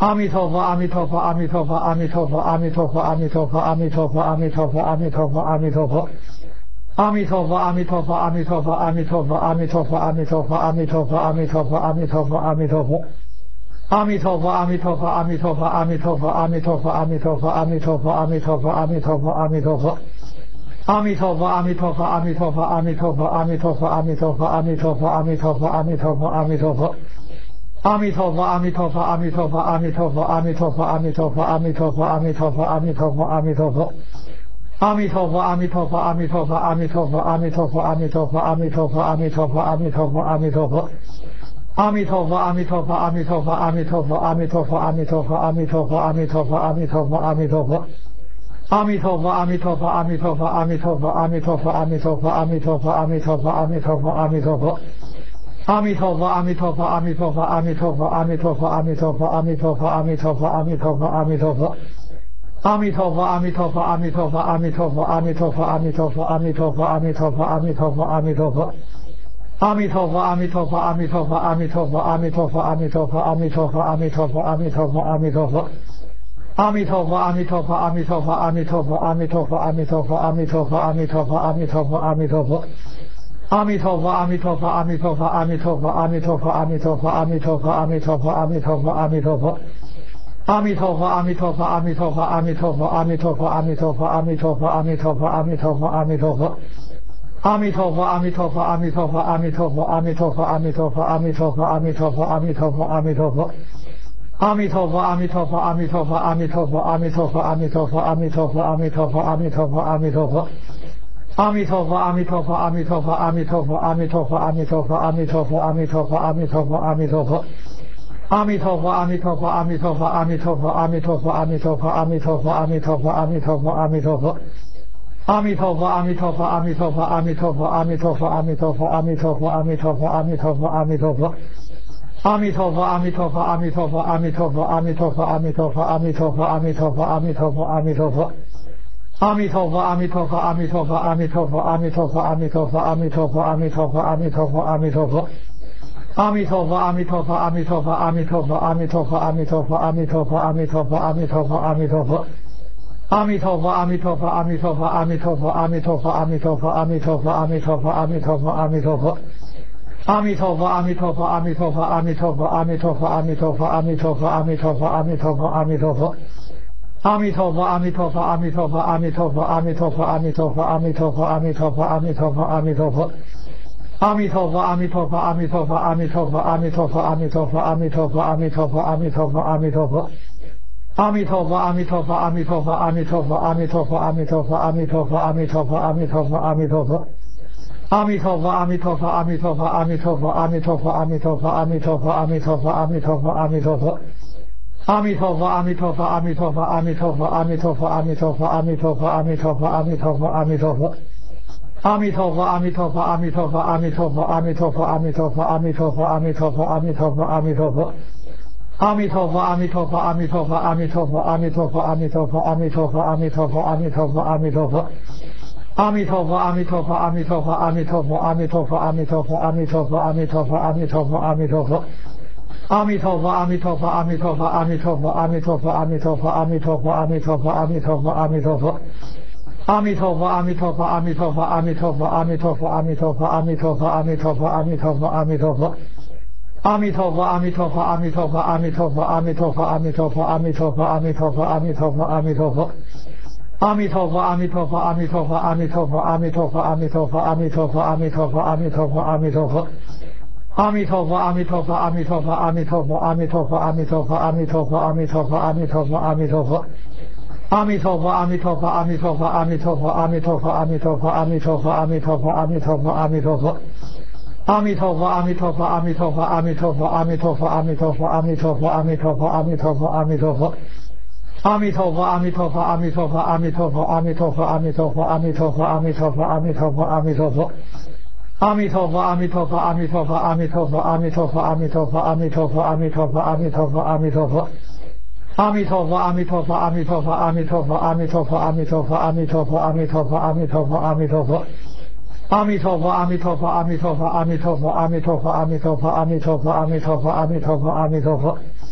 阿弥陀佛，阿弥陀佛，阿弥陀佛，阿弥陀佛，阿弥陀佛，阿弥陀佛，阿弥陀佛，阿弥陀佛，阿弥陀佛，阿弥陀佛。阿弥陀佛，阿弥陀佛，阿弥陀佛，阿弥陀佛，阿弥陀佛，阿弥陀佛，阿弥陀佛，阿弥陀佛，阿弥陀佛，阿弥陀佛。阿弥陀佛，阿弥陀佛，阿弥陀佛，阿弥陀佛，阿弥陀佛，阿弥陀佛，阿弥陀佛，阿弥陀佛，阿弥陀佛，阿弥陀佛。阿弥陀佛，阿弥陀佛，阿弥陀佛，阿弥陀佛，阿弥陀佛，阿弥陀佛，阿弥陀佛，阿弥陀佛，阿弥陀佛，阿弥陀佛。阿弥陀佛，阿弥陀佛，阿弥陀佛，阿弥陀佛，阿弥陀佛，阿弥陀佛，阿弥陀佛，阿弥陀佛，阿弥陀佛，阿弥陀佛。阿弥陀佛，阿弥陀佛，阿弥陀佛，阿弥陀佛，阿弥陀佛，阿弥陀佛，阿弥陀佛，阿弥陀佛，阿弥陀佛，阿弥陀佛。阿弥陀佛，阿弥陀佛，阿弥陀佛，阿弥陀佛，阿弥陀佛，阿弥陀佛，阿弥陀佛，阿弥陀佛，阿弥陀佛，阿弥陀佛。阿弥陀佛，阿弥陀佛，阿弥陀佛，阿弥陀佛，阿弥陀佛，阿弥陀佛，阿弥陀佛，阿弥陀佛，阿弥陀佛，阿弥陀佛。阿弥陀佛，阿弥陀佛，阿弥陀佛，阿弥陀佛，阿弥陀佛，阿弥陀佛，阿弥陀佛，阿弥陀佛，阿弥陀佛，阿弥陀佛。阿弥陀佛，阿弥陀佛，阿弥陀佛，阿弥陀佛，阿弥陀佛，阿弥陀佛，阿弥陀佛，阿弥陀佛，阿弥陀佛，阿弥陀佛。阿弥陀佛，阿弥陀佛，阿弥陀佛，阿弥陀佛，阿弥陀佛，阿弥陀佛，阿弥陀佛，阿弥陀佛，阿弥陀佛，阿弥陀佛。阿弥陀佛，阿弥陀佛，阿弥陀佛，阿弥陀佛，阿弥陀佛，阿弥陀佛，阿弥陀佛，阿弥陀佛，阿弥陀佛，阿弥陀佛。阿弥陀佛，阿弥陀佛，阿弥陀佛，阿弥陀佛，阿弥陀佛，阿弥陀佛，阿弥陀佛，阿弥陀佛，阿弥陀佛，阿弥陀佛。阿弥陀佛，阿弥陀佛，阿弥陀佛，阿弥陀佛，阿弥陀佛，阿弥陀佛，阿弥陀佛，阿弥陀佛，阿弥陀佛，阿弥陀佛。阿弥陀佛，阿弥陀佛，阿弥陀佛，阿弥陀佛，阿弥陀佛，阿弥陀佛，阿弥陀佛，阿弥陀佛，阿弥陀佛，阿弥陀佛。阿弥陀佛，阿弥陀佛，阿弥陀佛，阿弥陀佛，阿弥陀佛，阿弥陀佛，阿弥陀佛，阿弥陀佛，阿弥陀佛，阿弥陀佛。阿弥陀佛，阿弥陀佛，阿弥陀佛，阿弥陀佛，阿弥陀佛，阿弥陀佛，阿弥陀佛，阿弥陀佛，阿弥陀佛，阿弥陀佛。阿弥陀佛，阿弥陀佛，阿弥陀佛，阿弥陀佛，阿弥陀佛，阿弥陀佛，阿弥陀佛，阿弥陀佛，阿弥陀佛，阿弥陀佛。阿弥陀佛，阿弥陀佛，阿弥陀佛，阿弥陀佛，阿弥陀佛，阿弥陀佛，阿弥陀佛，阿弥陀佛，阿弥陀佛，阿弥陀佛。阿弥陀佛，阿弥陀佛，阿弥陀佛，阿弥陀佛，阿弥陀佛，阿弥陀佛，阿弥陀佛，阿弥陀佛，阿弥陀佛，阿弥陀佛。阿弥陀佛，阿弥陀佛，阿弥陀佛，阿弥陀佛，阿弥陀佛，阿弥陀佛，阿弥陀佛，阿弥陀佛，阿弥陀佛，阿弥陀佛。阿弥陀佛，阿弥陀佛，阿弥陀佛，阿弥陀佛，阿弥陀佛，阿弥陀佛，阿弥陀佛，阿弥陀佛，阿弥陀佛，阿弥陀佛。阿弥陀佛，阿弥陀佛，阿弥陀佛，阿弥陀佛，阿弥陀佛，阿弥陀佛，阿弥陀佛，阿弥陀佛，阿弥陀佛，阿弥陀佛。阿弥陀佛，阿弥陀佛，阿弥陀佛，阿弥陀佛，阿弥陀佛，阿弥陀佛，阿弥陀佛，阿弥陀佛，阿弥陀佛，阿弥陀佛。阿弥陀佛，阿弥陀佛，阿弥陀佛，阿弥陀佛，阿弥陀佛，阿弥陀佛，阿弥陀佛，阿弥陀佛，阿弥陀佛，阿弥陀佛。阿弥陀佛，阿弥陀佛，阿弥陀佛，阿弥陀佛，阿弥陀佛，阿弥陀佛，阿弥陀佛，阿弥陀佛，阿弥陀佛，阿弥陀佛。阿弥陀佛，阿弥陀佛，阿弥陀佛，阿弥陀佛，阿弥陀佛，阿弥陀佛，阿弥陀佛，阿弥陀佛，阿弥陀佛，阿弥陀佛。阿弥陀佛，阿弥陀佛，阿弥陀佛，阿弥陀佛，阿弥陀佛，阿弥陀佛，阿弥陀佛，阿弥陀佛，阿弥陀佛，阿弥陀佛。阿弥陀佛，阿弥陀佛，阿弥陀佛，阿弥陀佛，阿弥陀佛，阿弥陀佛，阿弥陀佛，阿弥陀佛，阿弥陀佛，阿弥陀佛。阿弥陀佛，阿弥陀佛，阿弥陀佛，阿弥陀佛，阿弥陀佛，阿弥陀佛，阿弥陀佛，阿弥陀佛，阿弥陀佛，阿弥陀佛。阿弥陀佛，阿弥陀佛，阿弥陀佛，阿弥陀佛，阿弥陀佛，阿弥陀佛，阿弥陀佛，阿弥陀佛，阿弥陀佛，阿弥陀佛。阿弥陀佛，阿弥陀佛，阿弥陀佛，阿弥陀佛，阿弥陀佛，阿弥陀佛，阿弥陀佛，阿弥陀佛，阿弥陀佛，阿弥陀佛。阿弥陀佛，阿弥陀佛，阿弥陀佛，阿弥陀佛，阿弥陀佛，阿弥陀佛，阿弥陀佛，阿弥陀佛，阿弥陀佛，阿弥陀佛。阿弥陀佛，阿弥陀佛，阿弥陀佛，阿弥陀佛，阿弥陀佛，阿弥陀佛，阿弥陀佛，阿弥陀佛，阿弥陀佛，阿弥陀佛。阿弥陀佛，阿弥陀佛，阿弥陀佛，阿弥陀佛，阿弥陀佛，阿弥陀佛，阿弥陀佛，阿弥陀佛，阿弥陀佛，阿弥陀佛。阿弥陀佛，阿弥陀佛，阿弥陀佛，阿弥陀佛，阿弥陀佛，阿弥陀佛，阿弥陀佛，阿弥陀佛，阿弥陀佛，阿弥陀佛。阿弥陀佛，阿弥陀佛，阿弥陀佛，阿弥陀佛，阿弥陀佛，阿弥陀佛，阿弥陀佛，阿弥陀佛，阿弥陀佛，阿弥陀佛。阿弥陀佛，阿弥陀佛，阿弥陀佛，阿弥陀佛，阿弥陀佛，阿弥陀佛，阿弥陀佛，阿弥陀佛，阿弥陀佛，阿弥陀佛。阿弥陀佛，阿弥陀佛，阿弥陀佛，阿弥陀佛，阿弥陀佛，阿弥陀佛，阿弥陀佛，阿弥陀佛，阿弥陀佛，阿弥陀佛。阿弥陀佛，阿弥陀佛，阿弥陀佛，阿弥陀佛，阿弥陀佛，阿弥陀佛，阿弥陀佛，阿弥陀佛，阿弥陀佛，阿弥陀佛。阿弥陀佛，阿弥陀佛，阿弥陀佛，阿弥陀佛，阿弥陀佛，阿弥陀佛，阿弥陀佛，阿弥陀佛，阿弥陀佛，阿弥陀佛。阿弥陀佛，阿弥陀佛，阿弥陀佛，阿弥陀佛，阿弥陀佛，阿弥陀佛，阿弥陀佛，阿弥陀佛，阿弥陀佛，阿弥陀佛。阿弥陀佛，阿弥陀佛，阿弥陀佛，阿弥陀佛，阿弥陀佛，阿弥陀佛，阿弥陀佛，阿弥陀佛，阿弥陀佛，阿弥陀佛。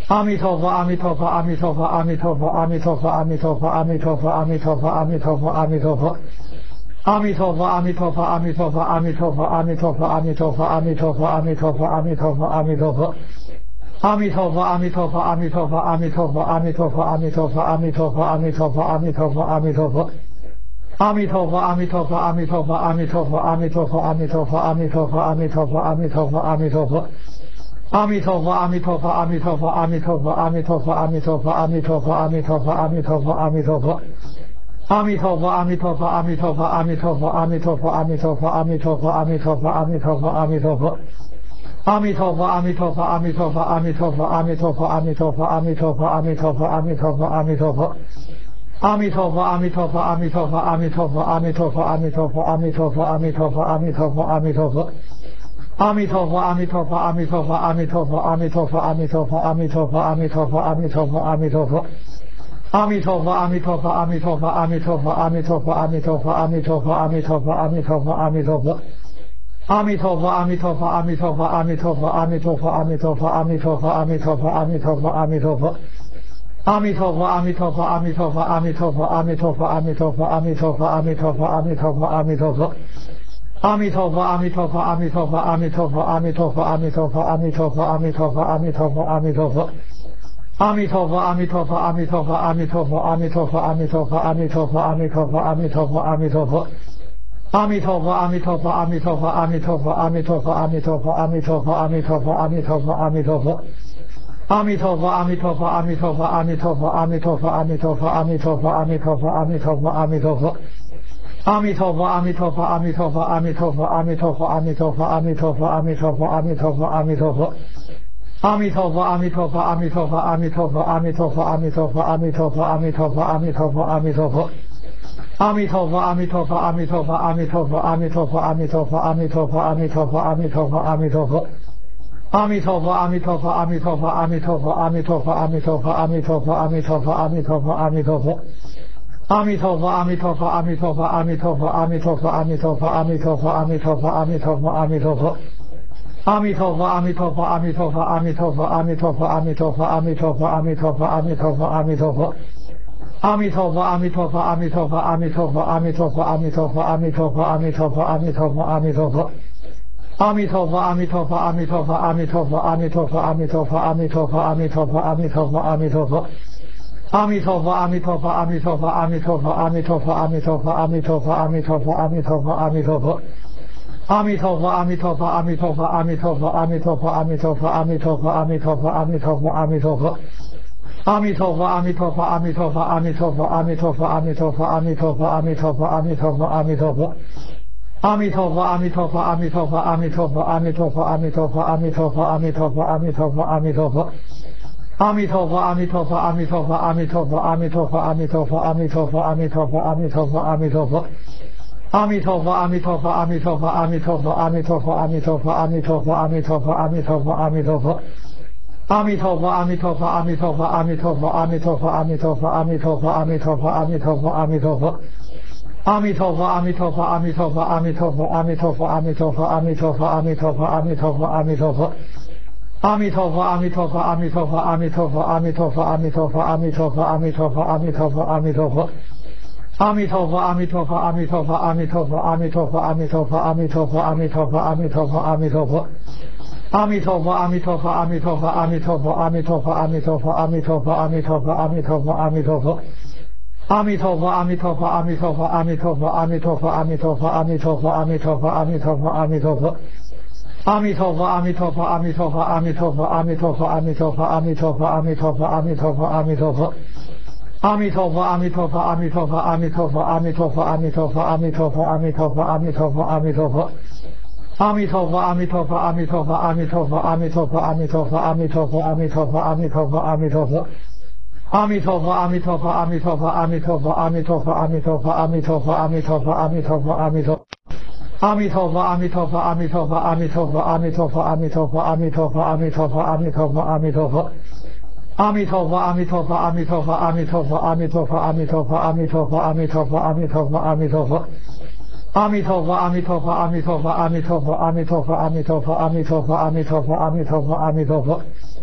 阿弥陀佛，阿弥陀佛，阿弥陀佛，阿弥陀佛，阿弥陀佛，阿弥陀佛，阿弥陀佛，阿弥陀佛，阿弥陀佛，阿弥陀佛。阿弥陀佛，阿弥陀佛，阿弥陀佛，阿弥陀佛，阿弥陀佛，阿弥陀佛，阿弥陀佛，阿弥陀佛，阿弥陀佛，阿弥陀佛。阿弥陀佛，阿弥陀佛，阿弥陀佛，阿弥陀佛，阿弥陀佛，阿弥陀佛，阿弥陀佛，阿弥陀佛，阿弥陀佛，阿弥陀佛。阿弥陀佛，阿弥陀佛，阿弥陀佛，阿弥陀佛，阿弥陀佛，阿弥陀佛，阿弥陀佛，阿弥陀佛，阿弥陀佛，阿弥陀佛。阿弥陀佛，阿弥陀佛，阿弥陀佛，阿弥陀佛，阿弥陀佛，阿弥陀佛，阿弥陀佛，阿弥陀佛，阿弥陀佛，阿弥陀佛。阿弥陀佛，阿弥陀佛，阿弥陀佛，阿弥陀佛，阿弥陀佛，阿弥陀佛，阿弥陀佛，阿弥陀佛，阿弥陀佛，阿弥陀佛。阿弥陀佛，阿弥陀佛，阿弥陀佛，阿弥陀佛，阿弥陀佛，阿弥陀佛，阿弥陀佛，阿弥陀佛，阿弥陀佛，阿弥陀佛。阿弥陀佛，阿弥陀佛，阿弥陀佛，阿弥陀佛，阿弥陀佛，阿弥陀佛，阿弥陀佛，阿弥陀佛，阿弥陀佛，阿弥陀佛。阿弥陀佛，阿弥陀佛，阿弥陀佛，阿弥陀佛，阿弥陀佛，阿弥陀佛，阿弥陀佛，阿弥陀佛，阿弥陀佛，阿弥陀佛。阿弥陀佛，阿弥陀佛，阿弥陀佛，阿弥陀佛，阿弥陀佛，阿弥陀佛，阿弥陀佛，阿弥陀佛，阿弥陀佛，阿弥陀佛。阿弥陀佛，阿弥陀佛，阿弥陀佛，阿弥陀佛，阿弥陀佛，阿弥陀佛，阿弥陀佛，阿弥陀佛，阿弥陀佛，阿弥陀佛。阿弥陀佛，阿弥陀佛，阿弥陀佛，阿弥陀佛，阿弥陀佛，阿弥陀佛，阿弥陀佛，阿弥陀佛，阿弥陀佛，阿弥陀佛。阿弥陀佛，阿弥陀佛，阿弥陀佛，阿弥陀佛，阿弥陀佛，阿弥陀佛，阿弥陀佛，阿弥陀佛，阿弥陀佛，阿弥陀佛。阿弥陀佛，阿弥陀佛，阿弥陀佛，阿弥陀佛，阿弥陀佛，阿弥陀佛，阿弥陀佛，阿弥陀佛，阿弥陀佛，阿弥陀佛。阿弥陀佛，阿弥陀佛，阿弥陀佛，阿弥陀佛，阿弥陀佛，阿弥陀佛，阿弥陀佛，阿弥陀佛，阿弥陀佛，阿弥陀佛。阿弥陀佛，阿弥陀佛，阿弥陀佛，阿弥陀佛，阿弥陀佛，阿弥陀佛，阿弥陀佛，阿弥陀佛，阿弥陀佛，阿弥陀佛。阿弥陀佛，阿弥陀佛，阿弥陀佛，阿弥陀佛，阿弥陀佛，阿弥陀佛，阿弥陀佛，阿弥陀佛，阿弥陀佛，阿弥陀佛。阿弥陀佛，阿弥陀佛，阿弥陀佛，阿弥陀佛，阿弥陀佛，阿弥陀佛，阿弥陀佛，阿弥陀佛，阿弥陀佛，阿弥陀佛。阿弥陀佛，阿弥陀佛，阿弥陀佛，阿弥陀佛，阿弥陀佛，阿弥陀佛，阿弥陀佛，阿弥陀佛，阿弥陀佛，阿弥陀佛。阿弥陀佛，阿弥陀佛，阿弥陀佛，阿弥陀佛，阿弥陀佛，阿弥陀佛，阿弥陀佛，阿弥陀佛，阿弥陀佛，阿弥陀佛。阿弥陀佛，阿弥陀佛，阿弥陀佛，阿弥陀佛，阿弥陀佛，阿弥陀佛，阿弥陀佛，阿弥陀佛，阿弥陀佛，阿弥陀佛。阿弥陀佛，阿弥陀佛，阿弥陀佛，阿弥陀佛，阿弥陀佛，阿弥陀佛，阿弥陀佛，阿弥陀佛，阿弥陀佛，阿弥陀佛。阿弥陀佛，阿弥陀佛，阿弥陀佛，阿弥陀佛，阿弥陀佛，阿弥陀佛，阿弥陀佛，阿弥陀佛，阿弥陀佛，阿弥陀佛。阿弥陀佛，阿弥陀佛，阿弥陀佛，阿弥陀佛，阿弥陀佛，阿弥陀佛，阿弥陀佛，阿弥陀佛，阿弥陀佛，阿弥陀佛。阿弥陀佛，阿弥陀佛，阿弥陀佛，阿弥陀佛，阿弥陀佛，阿弥陀佛，阿弥陀佛，阿弥陀佛，阿弥陀佛，阿弥陀佛。阿弥陀佛，阿弥陀佛，阿弥陀佛，阿弥陀佛，阿弥陀佛，阿弥陀佛，阿弥陀佛，阿弥陀佛，阿弥陀佛，阿弥陀佛。阿弥陀佛，阿弥陀佛，阿弥陀佛，阿弥陀佛，阿弥陀佛，阿弥陀佛，阿弥陀佛，阿弥陀佛，阿弥陀佛，阿弥陀佛。阿弥陀佛，阿弥陀佛，阿弥陀佛，阿弥陀佛，阿弥陀佛，阿弥陀佛，阿弥陀佛，阿弥陀佛，阿弥陀佛，阿弥陀佛。阿弥陀佛，阿弥陀佛，阿弥陀佛，阿弥陀佛，阿弥陀佛，阿弥陀佛，阿弥陀佛，阿弥陀佛，阿弥陀佛，阿弥陀佛。阿弥陀佛，阿弥陀佛，阿弥陀佛，阿弥陀佛，阿弥陀佛，阿弥陀佛，阿弥陀佛，阿弥陀佛，阿弥陀佛，阿弥陀佛。阿弥陀佛，阿弥陀佛，阿弥陀佛，阿弥陀佛，阿弥陀佛，阿弥陀佛，阿弥陀佛，阿弥陀佛，阿弥陀佛，阿弥陀佛。阿弥陀佛，阿弥陀佛，阿弥陀佛，阿弥陀佛，阿弥陀佛，阿弥陀佛，阿弥陀佛，阿弥陀佛，阿弥陀佛，阿弥陀佛。阿弥陀佛，阿弥陀佛，阿弥陀佛，阿弥陀佛，阿弥陀佛，阿弥陀佛，阿弥陀佛，阿弥陀佛，阿弥陀佛，阿弥陀佛。阿弥陀佛，阿弥陀佛，阿弥陀佛，阿弥陀佛，阿弥陀佛，阿弥陀佛，阿弥陀佛，阿弥陀佛，阿弥陀佛，阿弥陀佛。阿弥陀佛，阿弥陀佛，阿弥陀佛，阿弥陀佛，阿弥陀佛，阿弥陀佛，阿弥陀佛，阿弥陀佛，阿弥陀佛，阿弥陀佛。阿弥陀佛，阿弥陀佛，阿弥陀佛，阿弥陀佛，阿弥陀佛，阿弥陀佛，阿弥陀佛，阿弥陀佛，阿弥陀佛，阿弥陀佛。阿弥陀佛，阿弥陀佛，阿弥陀佛，阿弥陀佛，阿弥陀佛，阿弥陀佛，阿弥陀佛，阿弥陀佛，阿弥陀佛，阿弥陀佛。阿弥陀佛，阿弥陀佛，阿弥陀佛，阿弥陀佛，阿弥陀佛，阿弥陀佛，阿弥陀佛，阿弥陀佛，阿弥陀佛，阿弥陀佛。阿弥陀佛，阿弥陀佛，阿弥陀佛，阿弥陀佛，阿弥陀佛，阿弥陀佛，阿弥陀佛，阿弥陀佛，阿弥陀佛，阿弥陀佛。阿弥陀佛，阿弥陀佛，阿弥陀佛，阿弥陀佛，阿弥陀佛，阿弥陀佛，阿弥陀佛，阿弥陀佛，阿弥陀佛，阿弥陀。阿弥陀佛，阿弥陀佛，阿弥陀佛，阿弥陀佛，阿弥陀佛，阿弥陀佛，阿弥陀佛，阿弥陀佛，阿弥陀佛，阿弥陀佛。阿弥陀佛，阿弥陀佛，阿弥陀佛，阿弥陀佛，阿弥陀佛，阿弥陀佛，阿弥陀佛，阿弥陀佛，阿弥陀佛，阿弥陀佛。阿弥陀佛，阿弥陀佛，阿弥陀佛，阿弥陀佛，阿弥陀佛，阿弥陀佛，阿弥陀佛，阿弥陀佛，阿弥陀佛，阿弥陀佛。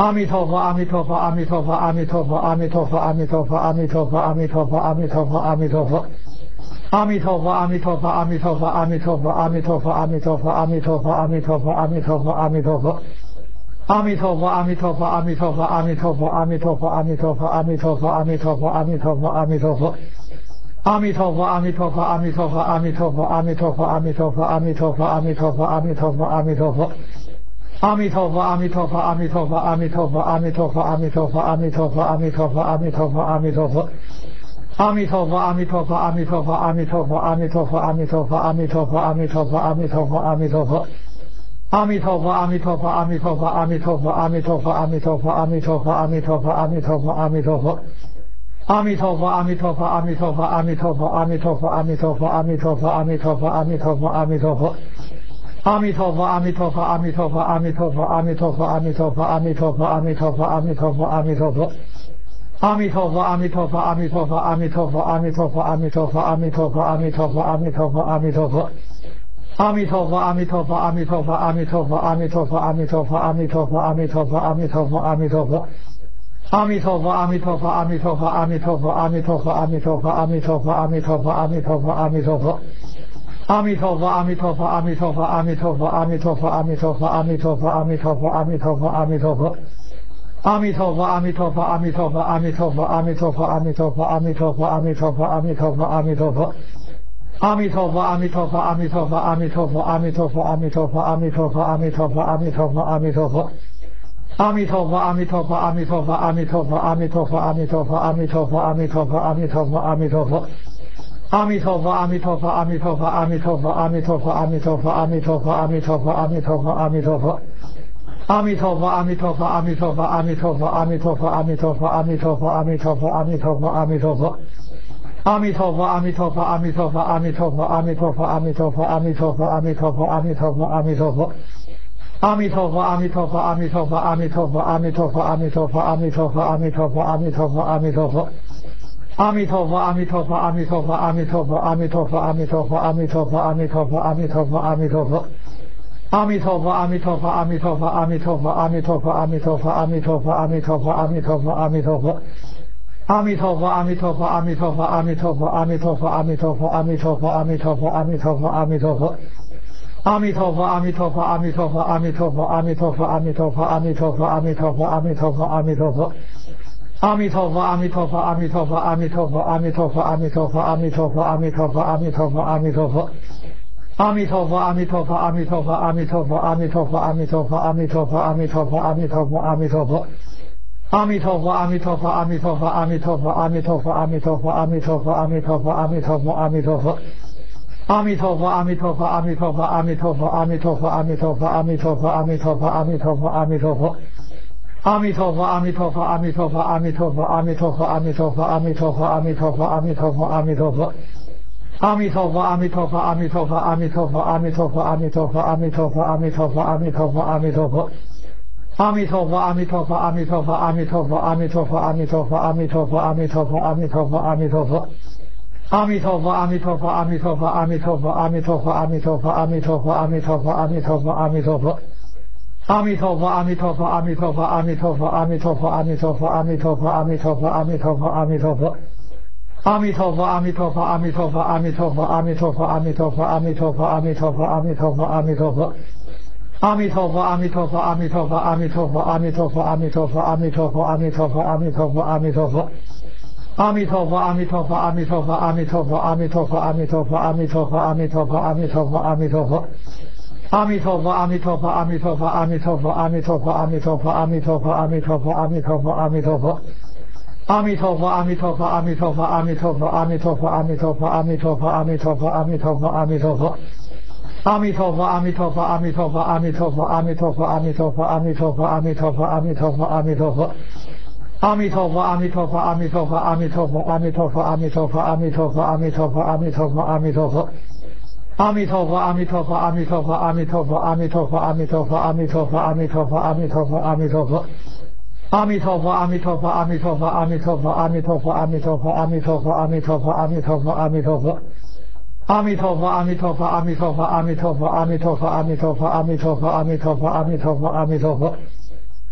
阿弥陀佛，阿弥陀佛，阿弥陀佛，阿弥陀佛，阿弥陀佛，阿弥陀佛，阿弥陀佛，阿弥陀佛，阿弥陀佛，阿弥陀佛。阿弥陀佛，阿弥陀佛，阿弥陀佛，阿弥陀佛，阿弥陀佛，阿弥陀佛，阿弥陀佛，阿弥陀佛，阿弥陀佛，阿弥陀佛。阿弥陀佛，阿弥陀佛，阿弥陀佛，阿弥陀佛，阿弥陀佛，阿弥陀佛，阿弥陀佛，阿弥陀佛，阿弥陀佛，阿弥陀佛。阿弥陀佛，阿弥陀佛，阿弥陀佛，阿弥陀佛，阿弥陀佛，阿弥陀佛，阿弥陀佛，阿弥陀佛，阿弥陀佛，阿弥陀佛。阿弥陀佛，阿弥陀佛，阿弥陀佛，阿弥陀佛，阿弥陀佛，阿弥陀佛，阿弥陀佛，阿弥陀佛，阿弥陀佛，阿弥陀佛。阿弥陀佛，阿弥陀佛，阿弥陀佛，阿弥陀佛，阿弥陀佛，阿弥陀佛，阿弥陀佛，阿弥陀佛，阿弥陀佛，阿弥陀佛。阿弥陀佛，阿弥陀佛，阿弥陀佛，阿弥陀佛，阿弥陀佛，阿弥陀佛，阿弥陀佛，阿弥陀佛，阿弥陀佛，阿弥陀佛。阿弥陀佛，阿弥陀佛，阿弥陀佛，阿弥陀佛，阿弥陀佛，阿弥陀佛，阿弥陀佛，阿弥陀佛，阿弥陀佛，阿弥陀佛。阿弥陀佛，阿弥陀佛，阿弥陀佛，阿弥陀佛，阿弥陀佛，阿弥陀佛，阿弥陀佛，阿弥陀佛，阿弥陀佛，阿弥陀佛。阿弥陀佛，阿弥陀佛，阿弥陀佛，阿弥陀佛，阿弥陀佛，阿弥陀佛，阿弥陀佛，阿弥陀佛，阿弥陀佛，阿弥陀佛。阿弥陀佛，阿弥陀佛，阿弥陀佛，阿弥陀佛，阿弥陀佛，阿弥陀佛，阿弥陀佛，阿弥陀佛，阿弥陀佛，阿弥陀佛。阿弥陀佛，阿弥陀佛，阿弥陀佛，阿弥陀佛，阿弥陀佛，阿弥陀佛，阿弥陀佛，阿弥陀佛，阿弥陀佛，阿弥陀佛。阿弥陀佛，阿弥陀佛，阿弥陀佛，阿弥陀佛，阿弥陀佛，阿弥陀佛，阿弥陀佛，阿弥陀佛，阿弥陀佛，阿弥陀佛。阿弥陀佛，阿弥陀佛，阿弥陀佛，阿弥陀佛，阿弥陀佛，阿弥陀佛，阿弥陀佛，阿弥陀佛，阿弥陀佛，阿弥陀佛。阿弥陀佛，阿弥陀佛，阿弥陀佛，阿弥陀佛，阿弥陀佛，阿弥陀佛，阿弥陀佛，阿弥陀佛，阿弥陀佛，阿弥陀佛。阿弥陀佛，阿弥陀佛，阿弥陀佛，阿弥陀佛，阿弥陀佛，阿弥陀佛，阿弥陀佛，阿弥陀佛，阿弥陀佛，阿弥陀佛。阿弥陀佛，阿弥陀佛，阿弥陀佛，阿弥陀佛，阿弥陀佛，阿弥陀佛，阿弥陀佛，阿弥陀佛，阿弥陀佛，阿弥陀佛。阿弥陀佛，阿弥陀佛，阿弥陀佛，阿弥陀佛，阿弥陀佛，阿弥陀佛，阿弥陀佛，阿弥陀佛，阿弥陀佛，阿弥陀佛。阿弥陀佛，阿弥陀佛，阿弥陀佛，阿弥陀佛，阿弥陀佛，阿弥陀佛，阿弥陀佛，阿弥陀佛，阿弥陀佛，阿弥陀佛。阿弥陀佛，阿弥陀佛，阿弥陀佛，阿弥陀佛，阿弥陀佛，阿弥陀佛，阿弥陀佛，阿弥陀佛，阿弥陀佛，阿弥陀佛。阿弥陀佛，阿弥陀佛，阿弥陀佛，阿弥陀佛，阿弥陀佛，阿弥陀佛，阿弥陀佛，阿弥陀佛，阿弥陀佛，阿弥陀佛。阿弥陀佛，阿弥陀佛，阿弥陀佛，阿弥陀佛，阿弥陀佛，阿弥陀佛，阿弥陀佛，阿弥陀佛，阿弥陀佛，阿弥陀佛。阿弥陀佛，阿弥陀佛，阿弥陀佛，阿弥陀佛，阿弥陀佛，阿弥陀佛，阿弥陀佛，阿弥陀佛，阿弥陀佛，阿弥陀佛。阿弥陀佛，阿弥陀佛，阿弥陀佛，阿弥陀佛，阿弥陀佛，阿弥陀佛，阿弥陀佛，阿弥陀佛，阿弥陀佛，阿弥陀佛。阿弥陀佛，阿弥陀佛，阿弥陀佛，阿弥陀佛，阿弥陀佛，阿弥陀佛，阿弥陀佛，阿弥陀佛，阿弥陀佛，阿弥陀佛。阿弥陀佛，阿弥陀佛，阿弥陀佛，阿弥陀佛，阿弥陀佛，阿弥陀佛，阿弥陀佛，阿弥陀佛，阿弥陀佛，阿弥陀佛。阿弥陀佛，阿弥陀佛，阿弥陀佛，阿弥陀佛，阿弥陀佛，阿弥陀佛，阿弥陀佛，阿弥陀佛，阿弥陀佛，阿弥陀佛。阿弥陀佛，阿弥陀佛，阿弥陀佛，阿弥陀佛，阿弥陀佛，阿弥陀佛，阿弥陀佛，阿弥陀佛，阿弥陀佛，阿弥陀佛。阿弥陀佛，阿弥陀佛，阿弥陀佛，阿弥陀佛，阿弥陀佛，阿弥陀佛，阿弥陀佛，阿弥陀佛，阿弥陀佛，阿弥陀佛。阿弥陀佛，阿弥陀佛，阿弥陀佛，阿弥陀佛，阿弥陀佛，阿弥陀佛，阿弥陀佛，阿弥陀佛，阿弥陀佛，阿弥陀佛。阿弥陀佛，阿弥陀佛，阿弥陀佛，阿弥陀佛，阿弥陀佛，阿弥陀佛，阿弥陀佛，阿弥陀佛，阿弥陀佛，阿弥陀佛。阿弥陀佛，阿弥陀佛，阿弥陀佛，阿弥陀佛，阿弥陀佛，阿弥陀佛，阿弥陀佛，阿弥陀佛，阿弥陀佛，阿弥陀佛。阿弥陀佛，阿弥陀佛，阿弥陀佛，阿弥陀佛，阿弥陀佛，阿弥陀佛，阿弥陀佛，阿弥陀佛，阿弥陀佛，阿弥陀佛。阿弥陀佛，阿弥陀佛，阿弥陀佛，阿弥陀佛，阿弥陀佛，阿弥陀佛，阿弥陀佛，阿弥陀佛，阿弥陀佛，阿弥陀佛。阿弥陀佛，阿弥陀佛，阿弥陀佛，阿弥陀佛，阿弥陀佛，阿弥陀佛，阿弥陀佛，阿弥陀佛，阿弥陀佛，阿弥陀佛。阿弥陀佛，阿弥陀佛，阿弥陀佛，阿弥陀佛，阿弥陀佛，阿弥陀佛，阿弥陀佛，阿弥陀佛，阿弥陀佛，阿弥陀佛。阿弥陀佛，阿弥陀佛，阿弥陀佛，阿弥陀佛，阿弥陀佛，阿弥陀佛，阿弥陀佛，阿弥陀佛，阿弥陀佛，阿弥陀佛。阿弥陀佛，阿弥陀佛，阿弥陀佛，阿弥陀佛，阿弥陀佛，阿弥陀佛，阿弥陀佛，阿弥陀佛，阿弥陀佛，阿弥陀佛。阿弥陀佛，阿弥陀佛，阿弥陀佛，阿弥陀佛，阿弥陀佛，阿弥陀佛，阿弥陀佛，阿弥陀佛，阿弥陀佛，阿弥陀佛。阿弥陀佛，阿弥陀佛，阿弥陀佛，阿弥陀佛，阿弥陀佛，阿弥陀佛，阿弥陀佛，阿弥陀佛，阿弥陀佛，阿弥陀佛。阿弥陀佛，阿弥陀佛，阿弥陀佛，阿弥陀佛，阿弥陀佛，阿弥陀佛，阿弥陀佛，阿弥陀佛，阿弥陀佛，阿弥陀佛。阿弥陀佛，阿弥陀佛，阿弥陀佛，阿弥陀佛，阿弥陀佛，阿弥陀佛，阿弥陀佛，阿弥陀佛，阿弥陀佛，阿弥陀佛。阿弥陀佛，阿弥陀佛，阿弥陀佛，阿弥陀佛，阿弥陀佛，阿弥陀佛，阿弥陀佛，阿弥陀佛，阿弥陀佛，阿弥陀佛。